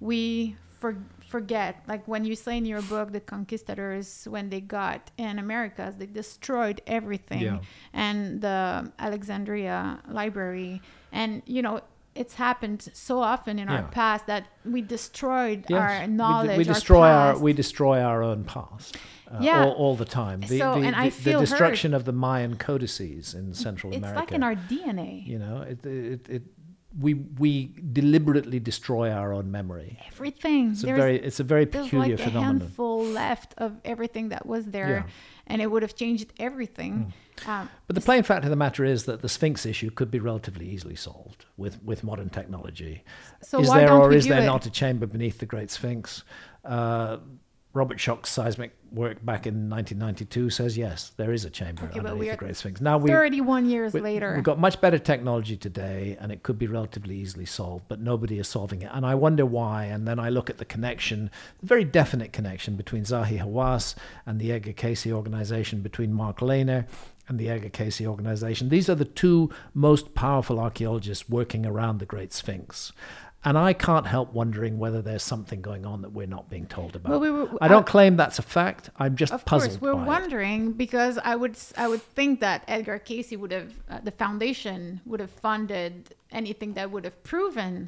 [SPEAKER 2] we for, forget, like when you say in your book, the conquistadors, when they got in Americas, they destroyed everything.
[SPEAKER 1] Yeah.
[SPEAKER 2] And the Alexandria library. And, you know, it's happened so often in our
[SPEAKER 1] Yeah.
[SPEAKER 2] past that we destroyed
[SPEAKER 1] Yes,
[SPEAKER 2] our
[SPEAKER 1] we,
[SPEAKER 2] knowledge,
[SPEAKER 1] d- we
[SPEAKER 2] our
[SPEAKER 1] destroy our,
[SPEAKER 2] past.
[SPEAKER 1] we destroy our own past. Uh,
[SPEAKER 2] Yeah.
[SPEAKER 1] all, all the time. The,
[SPEAKER 2] So,
[SPEAKER 1] the,
[SPEAKER 2] and I
[SPEAKER 1] the, the
[SPEAKER 2] feel
[SPEAKER 1] destruction of the Mayan codices in Central
[SPEAKER 2] It's
[SPEAKER 1] America.
[SPEAKER 2] like in our D N A.
[SPEAKER 1] You know, it, it, it, we we deliberately destroy our own memory.
[SPEAKER 2] Everything.
[SPEAKER 1] It's a
[SPEAKER 2] There's-
[SPEAKER 1] very it's a very
[SPEAKER 2] There's
[SPEAKER 1] peculiar
[SPEAKER 2] like a
[SPEAKER 1] phenomenon.
[SPEAKER 2] handful left of everything that was there,
[SPEAKER 1] Yeah.
[SPEAKER 2] and it would have changed everything. Um,
[SPEAKER 1] But the plain fact of the matter is that the Sphinx issue could be relatively easily solved with, with modern technology.
[SPEAKER 2] so
[SPEAKER 1] is
[SPEAKER 2] why
[SPEAKER 1] there
[SPEAKER 2] don't
[SPEAKER 1] or
[SPEAKER 2] we
[SPEAKER 1] is
[SPEAKER 2] do
[SPEAKER 1] there
[SPEAKER 2] it?
[SPEAKER 1] not a chamber beneath the Great Sphinx? Uh, Robert Schoch's seismic work back in nineteen ninety-two says yes, there is a chamber
[SPEAKER 2] Okay, but
[SPEAKER 1] underneath
[SPEAKER 2] we
[SPEAKER 1] the
[SPEAKER 2] are
[SPEAKER 1] Great Sphinx. Now we
[SPEAKER 2] thirty-one years
[SPEAKER 1] we-
[SPEAKER 2] later.
[SPEAKER 1] We've got much better technology today, and it could be relatively easily solved, but nobody is solving it. And I wonder why. And then I look at the connection, the very definite connection between Zahi Hawass and the Edgar Cayce organization, between Mark Lehner and the Edgar Cayce organization. These are the two most powerful archaeologists working around the Great Sphinx. And I can't help wondering whether there's something going on that we're not being told about.
[SPEAKER 2] Well, we were-
[SPEAKER 1] I don't
[SPEAKER 2] I-
[SPEAKER 1] claim that's a fact. I'm just
[SPEAKER 2] Of
[SPEAKER 1] puzzled
[SPEAKER 2] course, we're
[SPEAKER 1] by it.
[SPEAKER 2] wondering because I would s- I would think that Edgar Cayce would have uh, the foundation would have funded anything that would have proven.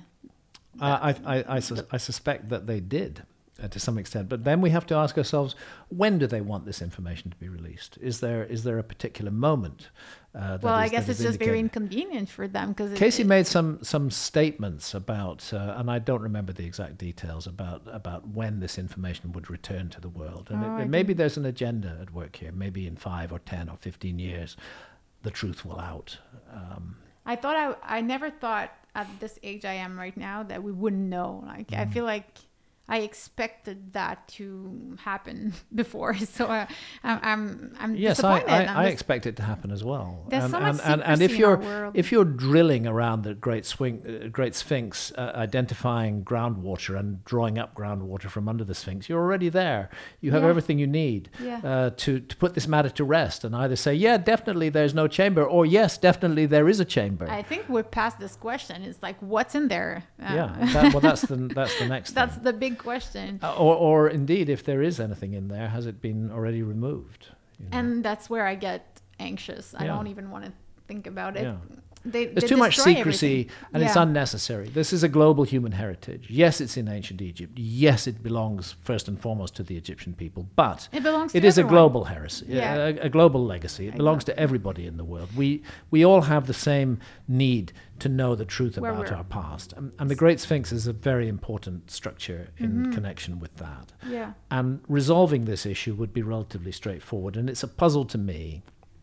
[SPEAKER 1] Uh, I, I, I, sus- I suspect that they did uh, to some extent. But then we have to ask ourselves, when do they want this information to be released? Is there is there a particular moment? Uh, that
[SPEAKER 2] Well, I
[SPEAKER 1] is-
[SPEAKER 2] guess
[SPEAKER 1] that
[SPEAKER 2] it's
[SPEAKER 1] is
[SPEAKER 2] just very
[SPEAKER 1] indicated?
[SPEAKER 2] inconvenient for them because
[SPEAKER 1] Casey made some some statements about, uh, and I don't remember the exact details about about when this information would return to the world. And
[SPEAKER 2] Oh,
[SPEAKER 1] it,
[SPEAKER 2] I
[SPEAKER 1] it, maybe there's an agenda at work here. Maybe in five or ten or fifteen years, the truth will out. Um,
[SPEAKER 2] I thought I I never thought at this age I am right now that we wouldn't know. Like I feel like I expected that to happen before, so uh, I'm I'm, I'm
[SPEAKER 1] yes,
[SPEAKER 2] disappointed.
[SPEAKER 1] I, I,
[SPEAKER 2] I'm
[SPEAKER 1] I
[SPEAKER 2] dis-
[SPEAKER 1] expect it to happen as well.
[SPEAKER 2] There's
[SPEAKER 1] and,
[SPEAKER 2] so much
[SPEAKER 1] and, and, and
[SPEAKER 2] secrecy
[SPEAKER 1] if
[SPEAKER 2] in
[SPEAKER 1] you're
[SPEAKER 2] our world.
[SPEAKER 1] if you're drilling around the Great Swing, uh, Great Sphinx, uh, identifying groundwater and drawing up groundwater from under the Sphinx, you're already there. You have
[SPEAKER 2] Yeah.
[SPEAKER 1] everything you need
[SPEAKER 2] Yeah.
[SPEAKER 1] uh, to to put this matter to rest, and either say, yeah, definitely there's no chamber, or yes, definitely there is a chamber.
[SPEAKER 2] I think we're past this question. It's like, what's in there? Uh,
[SPEAKER 1] yeah, that, well, that's the that's the next.
[SPEAKER 2] That's
[SPEAKER 1] thing.
[SPEAKER 2] the big question.
[SPEAKER 1] Uh, or, or indeed, if there is anything in there, has it been already removed? You know?
[SPEAKER 2] And that's where I get anxious. I
[SPEAKER 1] Yeah.
[SPEAKER 2] don't even want to think about it.
[SPEAKER 1] Yeah.
[SPEAKER 2] They,
[SPEAKER 1] There's
[SPEAKER 2] they
[SPEAKER 1] too much
[SPEAKER 2] destroy
[SPEAKER 1] secrecy,
[SPEAKER 2] everything.
[SPEAKER 1] and it's
[SPEAKER 2] Yeah.
[SPEAKER 1] unnecessary. This is a global human heritage. Yes, it's in ancient Egypt. Yes, it belongs first and foremost to the Egyptian people. But
[SPEAKER 2] It belongs to
[SPEAKER 1] it is a
[SPEAKER 2] everyone.
[SPEAKER 1] global heresy,
[SPEAKER 2] Yeah.
[SPEAKER 1] a, a global legacy. It belongs to
[SPEAKER 2] Exactly.
[SPEAKER 1] everybody in the world. We we all have the same need to know the truth
[SPEAKER 2] Where
[SPEAKER 1] about
[SPEAKER 2] we're-
[SPEAKER 1] our past, and, and the Great Sphinx is a very important structure in
[SPEAKER 2] Mm-hmm.
[SPEAKER 1] connection with that.
[SPEAKER 2] Yeah.
[SPEAKER 1] And resolving this issue would be relatively straightforward. And it's a puzzle to me.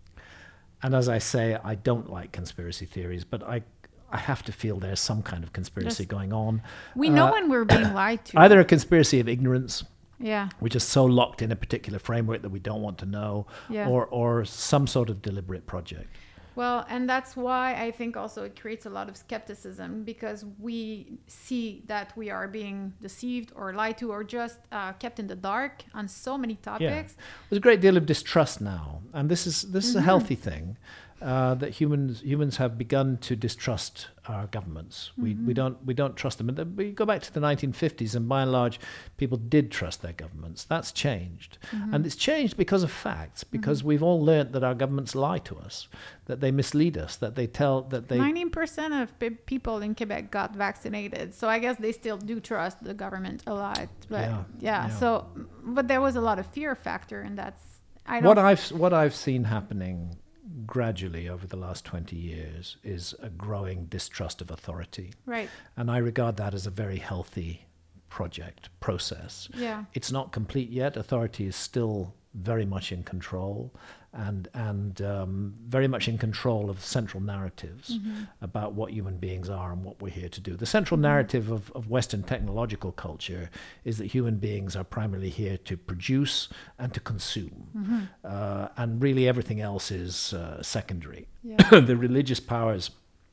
[SPEAKER 1] And as I say, I don't like conspiracy theories, but I I have to feel there's some kind of conspiracy
[SPEAKER 2] Yes.
[SPEAKER 1] going on.
[SPEAKER 2] We know
[SPEAKER 1] Uh,
[SPEAKER 2] when we're being lied to.
[SPEAKER 1] Either a conspiracy of ignorance,
[SPEAKER 2] Yeah.
[SPEAKER 1] we're just so locked in a particular framework that we don't want to know,
[SPEAKER 2] Yeah.
[SPEAKER 1] or, or some sort of deliberate project.
[SPEAKER 2] Well, and that's why I think also it creates a lot of skepticism, because we see that we are being deceived or lied to or just uh, kept in the dark on so many
[SPEAKER 1] Yeah.
[SPEAKER 2] topics.
[SPEAKER 1] There's a great deal of distrust now, and this is this is a healthy thing. Uh, that humans humans have begun to distrust our governments. We we don't we don't trust them. And then we go back to the nineteen fifties, and by and large, people did trust their governments. That's changed, and it's changed because of facts. Because we've all learnt that our governments lie to us, that they mislead us, that they tell that they
[SPEAKER 2] ninety percent of pe- people in Quebec got vaccinated. So I guess they still do trust the government a lot. But
[SPEAKER 1] Yeah,
[SPEAKER 2] yeah,
[SPEAKER 1] yeah.
[SPEAKER 2] so, but there was a lot of fear factor, and that's, I don't,
[SPEAKER 1] what I've what I've seen happening gradually over the last twenty years is a growing distrust of authority.
[SPEAKER 2] right.
[SPEAKER 1] And I regard that as a very healthy project, process.
[SPEAKER 2] Yeah.
[SPEAKER 1] It's not complete yet. Authority is still very much in control and and um, very much in control of central narratives
[SPEAKER 2] Mm-hmm.
[SPEAKER 1] about what human beings are and what we're here to do. The central narrative of, of Western technological culture is that human beings are primarily here to produce and to consume.
[SPEAKER 2] Mm-hmm.
[SPEAKER 1] Uh, and really everything else is uh, secondary.
[SPEAKER 2] Yeah.
[SPEAKER 1] The religious powers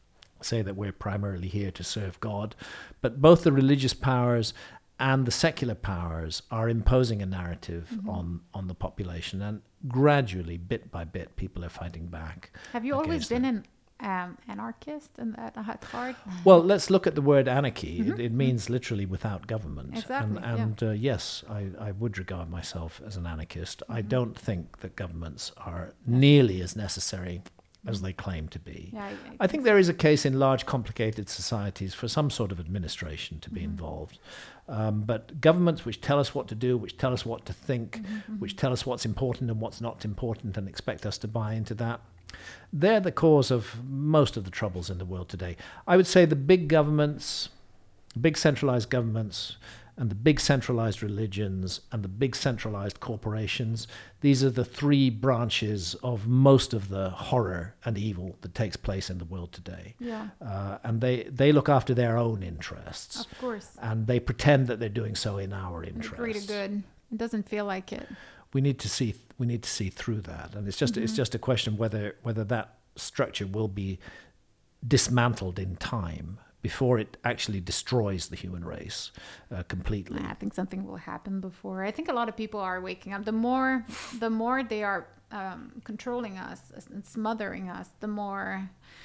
[SPEAKER 1] say that we're primarily here to serve God, but both the religious powers and the secular powers are imposing a narrative
[SPEAKER 2] Mm-hmm.
[SPEAKER 1] on, on the population, and gradually, bit by bit, people are fighting back.
[SPEAKER 2] Have you always
[SPEAKER 1] against
[SPEAKER 2] been
[SPEAKER 1] them.
[SPEAKER 2] an um, anarchist and that at heart?
[SPEAKER 1] Well, let's look at the word anarchy. It, it means literally without government.
[SPEAKER 2] Exactly,
[SPEAKER 1] And, and uh, yes, I, I would regard myself as an anarchist. I don't think that governments are nearly as necessary as they claim to be.
[SPEAKER 2] Yeah, I,
[SPEAKER 1] I think there is a case in large, complicated societies for some sort of administration to be involved. Um, but governments which tell us what to do, which tell us what to think, which tell us what's important and what's not important and expect us to buy into that, they're the cause of most of the troubles in the world today. I would say the big governments, big centralized governments, and the big centralized religions and the big centralized corporations, these are the three branches of most of the horror and evil that takes place in the world today.
[SPEAKER 2] yeah,
[SPEAKER 1] Uh, and they, they look after their own interests,
[SPEAKER 2] of course.
[SPEAKER 1] and they pretend that they're doing so in our
[SPEAKER 2] The
[SPEAKER 1] interests.
[SPEAKER 2] greater good. It doesn't feel like it.
[SPEAKER 1] We need to see we need to see through that, and it's just it's just a question whether whether that structure will be dismantled in time before it actually destroys the human race uh, completely.
[SPEAKER 2] I think something will happen before. I think a lot of people are waking up. The more, the more they are um, controlling us and smothering us, the more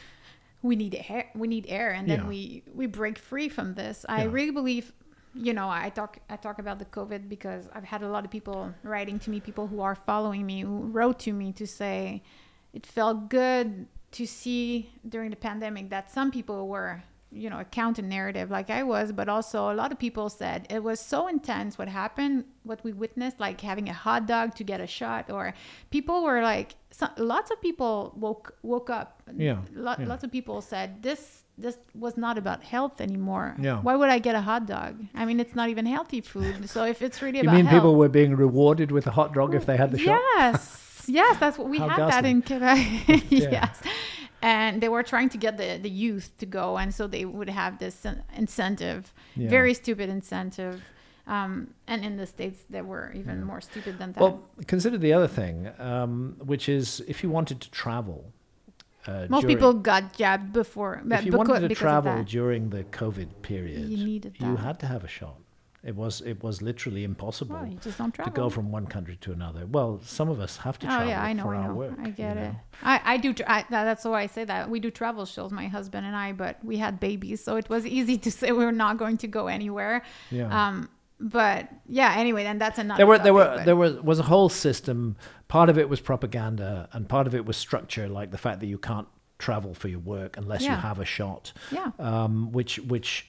[SPEAKER 2] we need air. We need air, and then
[SPEAKER 1] Yeah.
[SPEAKER 2] we we break free from this. I
[SPEAKER 1] Yeah.
[SPEAKER 2] really believe. You know, I talk I talk about the COVID because I've had a lot of people writing to me, people who are following me, who wrote to me to say it felt good to see during the pandemic that some people were, you know, a counter narrative like I was, but also a lot of people said it was so intense what happened, what we witnessed, like having a hot dog to get a shot, or people were like, so, lots of people woke woke up.
[SPEAKER 1] Yeah,
[SPEAKER 2] Lot,
[SPEAKER 1] yeah.
[SPEAKER 2] Lots of people said this this was not about health anymore.
[SPEAKER 1] Yeah.
[SPEAKER 2] Why would I get a hot dog? I mean, it's not even healthy food. So if it's really
[SPEAKER 1] You
[SPEAKER 2] about
[SPEAKER 1] mean
[SPEAKER 2] health,
[SPEAKER 1] people were being rewarded with a hot dog if they had the shot?
[SPEAKER 2] Yes, yes, that's what we
[SPEAKER 1] How
[SPEAKER 2] had that
[SPEAKER 1] ghastly.
[SPEAKER 2] in Quebec.
[SPEAKER 1] Yeah.
[SPEAKER 2] Yes, and they were trying to get the the youth to go, and so they would have this in- incentive,
[SPEAKER 1] Yeah.
[SPEAKER 2] very stupid incentive. Um, and in the States, they were even more stupid than that.
[SPEAKER 1] Well, consider the other thing, um, which is if you wanted to travel. Uh,
[SPEAKER 2] Most
[SPEAKER 1] during,
[SPEAKER 2] people got jabbed before.
[SPEAKER 1] If you
[SPEAKER 2] because,
[SPEAKER 1] wanted to
[SPEAKER 2] because
[SPEAKER 1] travel during the COVID period,
[SPEAKER 2] you needed that.
[SPEAKER 1] you had to have a shot. It was it was literally impossible
[SPEAKER 2] Well, you just don't
[SPEAKER 1] to
[SPEAKER 2] travel.
[SPEAKER 1] go from one country to another. Well, some of us have to
[SPEAKER 2] Oh
[SPEAKER 1] travel
[SPEAKER 2] yeah, I know,
[SPEAKER 1] for
[SPEAKER 2] I
[SPEAKER 1] our
[SPEAKER 2] know.
[SPEAKER 1] work.
[SPEAKER 2] I get
[SPEAKER 1] you
[SPEAKER 2] it.
[SPEAKER 1] know?
[SPEAKER 2] I, I do. Tra- I, that, that's why I say that we do travel shows, my husband and I. But we had babies, so it was easy to say we were not going to go anywhere.
[SPEAKER 1] Yeah.
[SPEAKER 2] Um, but yeah, anyway, then that's another.
[SPEAKER 1] There were there
[SPEAKER 2] topic,
[SPEAKER 1] were
[SPEAKER 2] but-
[SPEAKER 1] there was was a whole system. Part of it was propaganda, and part of it was structure, like the fact that you can't travel for your work unless you
[SPEAKER 2] Yeah.
[SPEAKER 1] have a shot.
[SPEAKER 2] Yeah.
[SPEAKER 1] Um, which which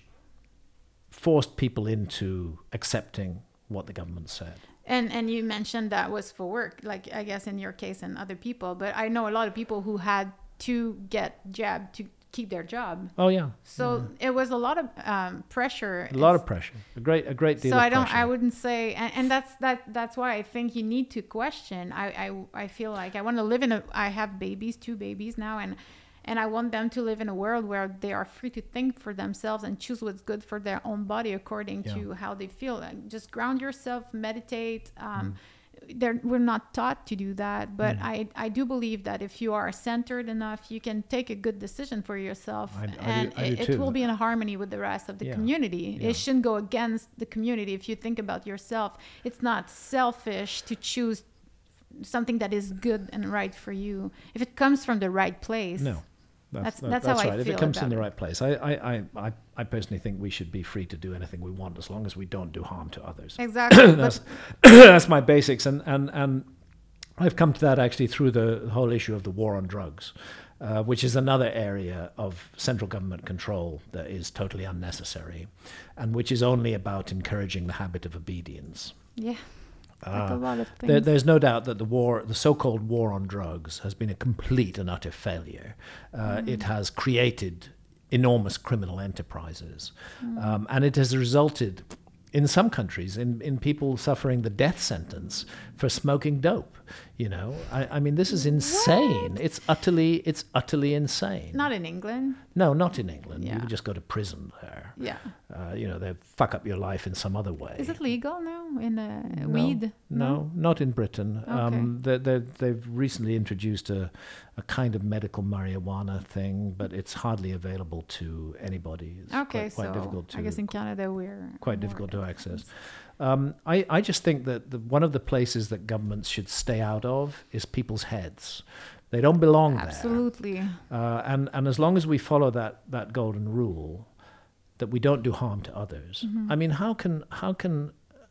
[SPEAKER 1] forced people into accepting what the government said.
[SPEAKER 2] And and you mentioned that was for work, like I guess in your case and other people. But I know a lot of people who had to get jabbed to keep their job.
[SPEAKER 1] Oh yeah.
[SPEAKER 2] So it was a lot of um, pressure.
[SPEAKER 1] A lot of pressure. A great a great deal
[SPEAKER 2] So
[SPEAKER 1] of
[SPEAKER 2] I don't.
[SPEAKER 1] pressure.
[SPEAKER 2] I wouldn't say, and, and that's that. That's why I think you need to question. I I, I feel like I want to live in a. I have babies, two babies now, and and I want them to live in a world where they are free to think for themselves and choose what's good for their own body according
[SPEAKER 1] Yeah.
[SPEAKER 2] to how they feel. Like, just ground yourself, meditate. Um,
[SPEAKER 1] Mm.
[SPEAKER 2] They're, we're not taught to do that, but I, I do believe that if you are centered enough, you can take a good decision for yourself,
[SPEAKER 1] I- I do-
[SPEAKER 2] and
[SPEAKER 1] I do
[SPEAKER 2] it, it
[SPEAKER 1] too.
[SPEAKER 2] will be in harmony with the rest of the
[SPEAKER 1] Yeah.
[SPEAKER 2] community.
[SPEAKER 1] Yeah.
[SPEAKER 2] It shouldn't go against the community. If you think about yourself, it's not selfish to choose something that is good and right for you if it comes from the right place.
[SPEAKER 1] No.
[SPEAKER 2] That's-
[SPEAKER 1] that-
[SPEAKER 2] that's how I
[SPEAKER 1] right. If
[SPEAKER 2] feel
[SPEAKER 1] it comes
[SPEAKER 2] about
[SPEAKER 1] in the
[SPEAKER 2] it.
[SPEAKER 1] right place, I, I, I, I, I personally think we should be free to do anything we want as long as we don't do harm to others.
[SPEAKER 2] Exactly.
[SPEAKER 1] that's
[SPEAKER 2] but
[SPEAKER 1] that's my basics, and, and and I've come to that actually through the whole issue of the war on drugs, uh, which is another area of central government control that is totally unnecessary, and which is only about encouraging the habit of obedience.
[SPEAKER 2] yeah, like a
[SPEAKER 1] Uh,
[SPEAKER 2] lot of things.
[SPEAKER 1] There, there's no doubt that the war, the so-called war on drugs, has been a complete and utter failure. Uh, It has created enormous criminal enterprises, um, and it has resulted, in some countries, in, in people suffering the death sentence for smoking dope. You know, I, I mean, this is insane. It's utterly, it's utterly insane.
[SPEAKER 2] Not in England.
[SPEAKER 1] No, not in England. You
[SPEAKER 2] Yeah.
[SPEAKER 1] would just go to prison there.
[SPEAKER 2] Yeah.
[SPEAKER 1] Uh, you know, they fuck up your life in some other way.
[SPEAKER 2] Is it legal now in uh,
[SPEAKER 1] No,
[SPEAKER 2] weed?
[SPEAKER 1] No, not in Britain.
[SPEAKER 2] Okay.
[SPEAKER 1] Um, they, they, they've recently introduced a, a kind of medical marijuana thing, but it's hardly available to anybody. It's
[SPEAKER 2] Okay,
[SPEAKER 1] quite, quite
[SPEAKER 2] so
[SPEAKER 1] difficult to
[SPEAKER 2] I guess in Canada we're
[SPEAKER 1] quite
[SPEAKER 2] more
[SPEAKER 1] difficult to access.
[SPEAKER 2] advanced.
[SPEAKER 1] Um, I, I just think that the, one of the places that governments should stay out of is people's heads. They don't belong there.
[SPEAKER 2] Absolutely.
[SPEAKER 1] Uh, and, and as long as we follow that, that golden rule, that we don't do harm to others.
[SPEAKER 2] Mm-hmm.
[SPEAKER 1] I mean, how can how can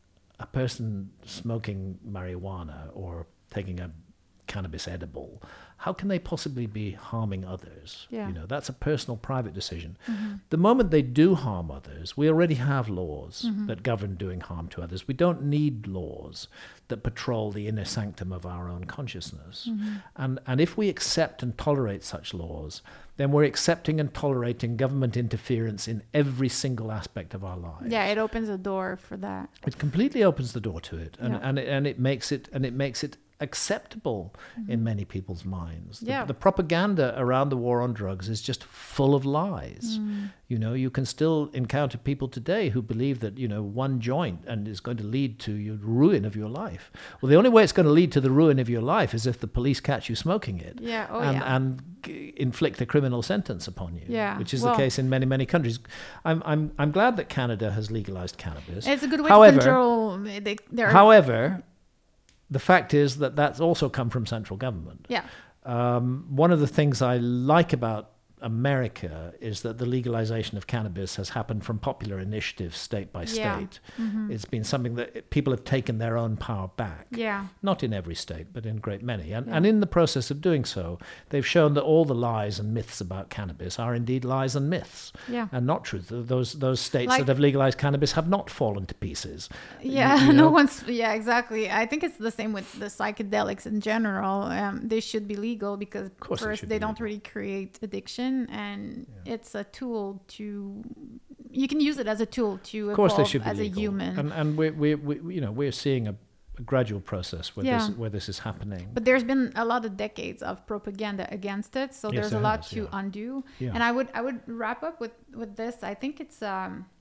[SPEAKER 1] a person smoking marijuana or taking a cannabis edible, how can they possibly be harming others?
[SPEAKER 2] Yeah.
[SPEAKER 1] You know, that's a personal, private decision.
[SPEAKER 2] Mm-hmm.
[SPEAKER 1] The moment they do harm others, we already have laws
[SPEAKER 2] Mm-hmm.
[SPEAKER 1] that govern doing harm to others. We don't need laws that patrol the inner sanctum of our own consciousness.
[SPEAKER 2] Mm-hmm.
[SPEAKER 1] And and if we accept and tolerate such laws, then we're accepting and tolerating government interference in every single aspect of our lives.
[SPEAKER 2] Yeah, it opens a door for that.
[SPEAKER 1] It completely opens the door to it, and
[SPEAKER 2] Yeah.
[SPEAKER 1] and it, and it makes it and it makes it acceptable in many people's minds. The,
[SPEAKER 2] Yeah.
[SPEAKER 1] the propaganda around the war on drugs is just full of lies. You know, you can still encounter people today who believe that, you know, one joint and is going to lead to your ruin of your life. Well, the only way it's going to lead to the ruin of your life is if the police catch you smoking it.
[SPEAKER 2] Yeah, oh
[SPEAKER 1] and,
[SPEAKER 2] yeah.
[SPEAKER 1] and g- inflict a criminal sentence upon you.
[SPEAKER 2] Yeah,
[SPEAKER 1] Which is
[SPEAKER 2] well-
[SPEAKER 1] the case in many, many countries. I'm, I'm, I'm glad that Canada has legalized cannabis.
[SPEAKER 2] It's a good way
[SPEAKER 1] However-
[SPEAKER 2] to control. They, they're,
[SPEAKER 1] However, the fact is that that's also come from central government.
[SPEAKER 2] yeah,
[SPEAKER 1] Um, one of the things I like about America is that the legalization of cannabis has happened from popular initiative state by state.
[SPEAKER 2] Yeah. Mm-hmm.
[SPEAKER 1] It's been something that people have taken their own power back.
[SPEAKER 2] yeah,
[SPEAKER 1] Not in every state, but in a great many. And,
[SPEAKER 2] Yeah.
[SPEAKER 1] and in the process of doing so, they've shown that all the lies and myths about cannabis are indeed lies and myths
[SPEAKER 2] yeah.
[SPEAKER 1] and not truth. Those, those states
[SPEAKER 2] Like-
[SPEAKER 1] that have legalized cannabis have not fallen to pieces.
[SPEAKER 2] Yeah,
[SPEAKER 1] You- you
[SPEAKER 2] no
[SPEAKER 1] know?
[SPEAKER 2] one's. Yeah, exactly. I think it's the same with the psychedelics in general. Um, they should be legal because
[SPEAKER 1] course they
[SPEAKER 2] first
[SPEAKER 1] should
[SPEAKER 2] they,
[SPEAKER 1] be
[SPEAKER 2] don't
[SPEAKER 1] legal.
[SPEAKER 2] really create addiction, and it's a tool to. You can use it as a tool to
[SPEAKER 1] Of course, they
[SPEAKER 2] evolve
[SPEAKER 1] should be
[SPEAKER 2] as
[SPEAKER 1] legal.
[SPEAKER 2] a human.
[SPEAKER 1] and and we we we you know we're seeing a, a gradual process where
[SPEAKER 2] Yeah.
[SPEAKER 1] this where this is happening.
[SPEAKER 2] But there's been a lot of decades of propaganda against it, so
[SPEAKER 1] Yes,
[SPEAKER 2] there's a
[SPEAKER 1] there
[SPEAKER 2] lot
[SPEAKER 1] has,
[SPEAKER 2] to
[SPEAKER 1] yeah.
[SPEAKER 2] undo.
[SPEAKER 1] Yeah.
[SPEAKER 2] And I would I would wrap up with with this. I think it's um,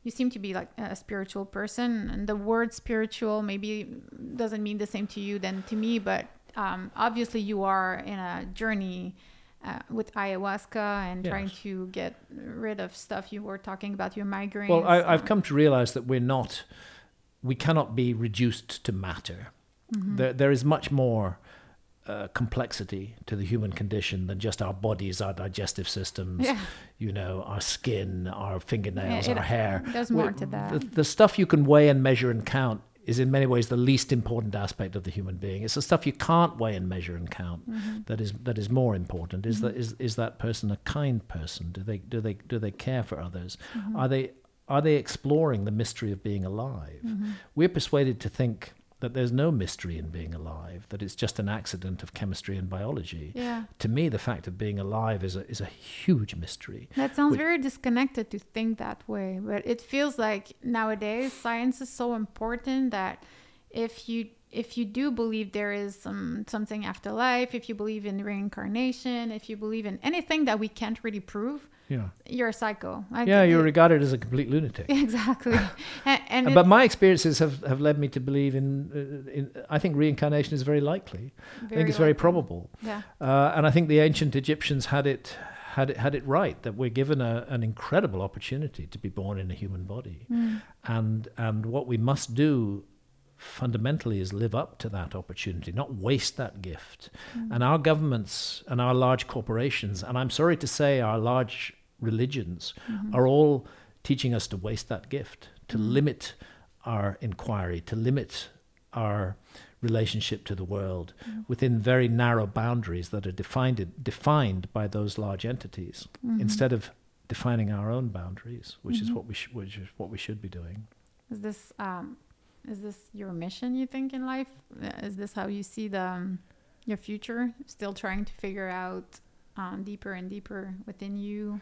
[SPEAKER 2] you seem to be like a spiritual person, and the word spiritual maybe doesn't mean the same to you than to me, but um, obviously you are in a journey uh, with ayahuasca and
[SPEAKER 1] Yes.
[SPEAKER 2] trying to get rid of stuff. You were talking about your migraines.
[SPEAKER 1] Well, I, I've
[SPEAKER 2] um,
[SPEAKER 1] come to realize that we're not, we cannot be reduced to matter. Mm-hmm. There, there is much more uh, complexity to the human condition than just our bodies, our digestive systems,
[SPEAKER 2] Yeah.
[SPEAKER 1] you know, our skin, our fingernails,
[SPEAKER 2] Yeah, it-
[SPEAKER 1] our hair.
[SPEAKER 2] there's more
[SPEAKER 1] We're-
[SPEAKER 2] to that.
[SPEAKER 1] The, the stuff you can weigh and measure and count is in many ways the least important aspect of the human being. It's the stuff you can't weigh and measure and count
[SPEAKER 2] Mm-hmm.
[SPEAKER 1] that is that is more important. Is that is is that person a kind person? Do they do they do they care for others?
[SPEAKER 2] Mm-hmm.
[SPEAKER 1] Are they are they exploring the mystery of being alive?
[SPEAKER 2] Mm-hmm.
[SPEAKER 1] We're persuaded to think that there's no mystery in being alive, that it's just an accident of chemistry and biology.
[SPEAKER 2] Yeah.
[SPEAKER 1] To me, the fact of being alive is a is a huge mystery.
[SPEAKER 2] That sounds
[SPEAKER 1] Which-
[SPEAKER 2] very disconnected to think that way, but it feels like nowadays science is so important that if you if you do believe there is some something after life, if you believe in reincarnation, if you believe in anything that we can't really prove,
[SPEAKER 1] Yeah.
[SPEAKER 2] you're a psycho. I
[SPEAKER 1] Yeah,
[SPEAKER 2] think
[SPEAKER 1] you're
[SPEAKER 2] it-
[SPEAKER 1] regarded as a complete lunatic.
[SPEAKER 2] exactly. and and it-
[SPEAKER 1] But my experiences have, have led me to believe in, uh, in. I think reincarnation is very likely. I think it's very
[SPEAKER 2] likely.
[SPEAKER 1] probable.
[SPEAKER 2] Yeah.
[SPEAKER 1] Uh, and I think the ancient Egyptians had it had it had it right, that we're given a, an incredible opportunity to be born in a human body,
[SPEAKER 2] Mm.
[SPEAKER 1] and and what we must do fundamentally is live up to that opportunity, not waste that gift.
[SPEAKER 2] Mm.
[SPEAKER 1] And our governments and our large corporations, and I'm sorry to say our large religions,
[SPEAKER 2] Mm-hmm.
[SPEAKER 1] are all teaching us to waste that gift, to
[SPEAKER 2] Mm.
[SPEAKER 1] limit our inquiry, to limit our relationship to the world
[SPEAKER 2] Mm.
[SPEAKER 1] within very narrow boundaries that are defined defined by those large entities,
[SPEAKER 2] Mm-hmm.
[SPEAKER 1] instead of defining our own boundaries, which is what we sh- which is what we should be doing.
[SPEAKER 2] Is this um, is this your mission, you think, in life? Uh, Is this how you see the um, your future? Still trying to figure out um, deeper and deeper within you?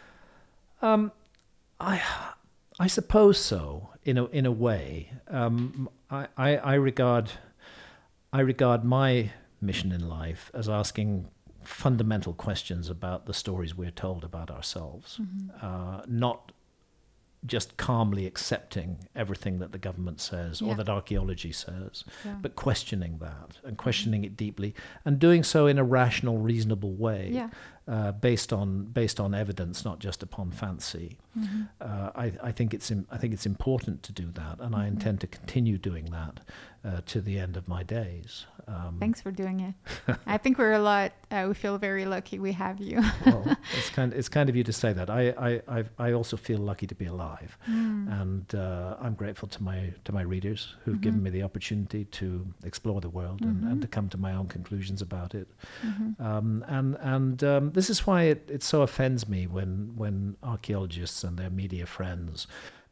[SPEAKER 1] Um, I, I suppose so. In a in a way, um, I, I I regard, I regard my mission in life as asking fundamental questions about the stories we're told about ourselves, uh, not just calmly accepting everything that the government says or
[SPEAKER 2] Yeah.
[SPEAKER 1] that archaeology says,
[SPEAKER 2] Yeah.
[SPEAKER 1] but questioning that and questioning it deeply, and doing so in a rational, reasonable way,
[SPEAKER 2] Yeah.
[SPEAKER 1] uh, based on based on evidence, not just upon fancy.
[SPEAKER 2] Mm-hmm.
[SPEAKER 1] Uh, I, I think it's im- I think it's important to do that, and I
[SPEAKER 2] Mm-hmm.
[SPEAKER 1] intend to continue doing that uh, to the end of my days. Um,
[SPEAKER 2] Thanks for doing it. I think we're a lot. Uh, we feel very lucky we have you.
[SPEAKER 1] well, it's kind it's kind of you to say that. I I I've, I also feel lucky to be alive,
[SPEAKER 2] Mm.
[SPEAKER 1] and uh, I'm grateful to my to my readers who've
[SPEAKER 2] Mm-hmm.
[SPEAKER 1] given me the opportunity to explore the world and, and to come to my own conclusions about it.
[SPEAKER 2] Mm-hmm.
[SPEAKER 1] Um, and and um, this is why it, it so offends me when when archaeologists and their media friends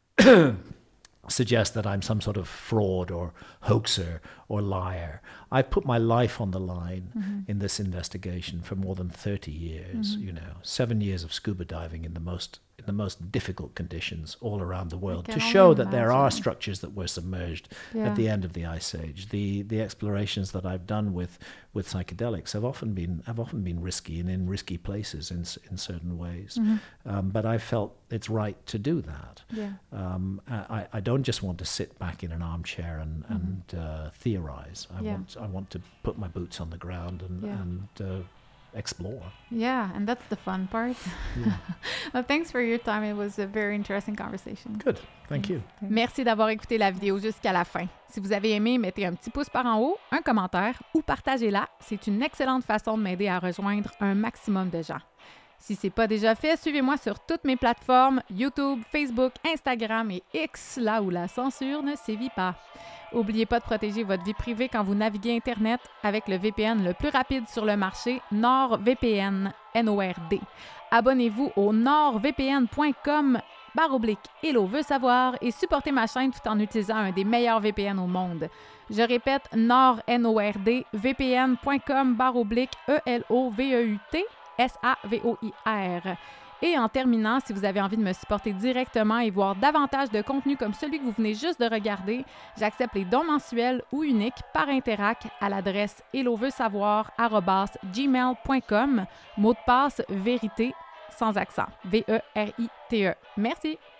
[SPEAKER 1] suggest that I'm some sort of fraud or hoaxer or liar. I've put my life on the line
[SPEAKER 2] Mm-hmm.
[SPEAKER 1] in this investigation for more than thirty years, you know, seven years of scuba diving in the most in the most difficult conditions all around the world
[SPEAKER 2] can
[SPEAKER 1] to
[SPEAKER 2] only
[SPEAKER 1] show that there are
[SPEAKER 2] imagine.
[SPEAKER 1] structures that were submerged
[SPEAKER 2] Yeah.
[SPEAKER 1] at the end of the ice age. The the explorations that I've done with with psychedelics have often been have often been risky and in risky places in s- in certain ways.
[SPEAKER 2] Mhm.
[SPEAKER 1] Um, but I felt it's right to do that.
[SPEAKER 2] Yeah.
[SPEAKER 1] Um, I, I don't just want to sit back in an armchair and, and uh, theorize. I
[SPEAKER 2] Yeah.
[SPEAKER 1] want I want to put my boots on the ground and,
[SPEAKER 2] Yeah.
[SPEAKER 1] and uh, explore.
[SPEAKER 2] Yeah, and that's the fun part. Well, thanks for your time. It was a very interesting conversation.
[SPEAKER 1] Good. Thank you.
[SPEAKER 2] Merci d'avoir écouté la vidéo jusqu'à la fin. Si vous avez aimé, mettez un petit pouce par en haut, un commentaire ou partagez-la. C'est une excellente façon de m'aider à rejoindre un maximum de gens. Si ce n'est pas déjà fait, suivez-moi sur toutes mes plateformes YouTube, Facebook, Instagram et X, là où la censure ne sévit pas. N'oubliez pas de protéger votre vie privée quand vous naviguez Internet avec le V P N le plus rapide sur le marché, NordVPN, N O R D. Abonnez-vous au nordvpn point com barre oblique Hello veut savoir et supportez ma chaîne tout en utilisant un des meilleurs V P N au monde. Je répète, nord N O R D, vpn point com barre oblique E L O V E U T S A V O I R. Et en terminant, si vous avez envie de me supporter directement et voir davantage de contenu comme celui que vous venez juste de regarder, j'accepte les dons mensuels ou uniques par Interac à l'adresse hello veut savoir arobase gmail point com, mot de passe vérité sans accent, V E R I T E. Merci!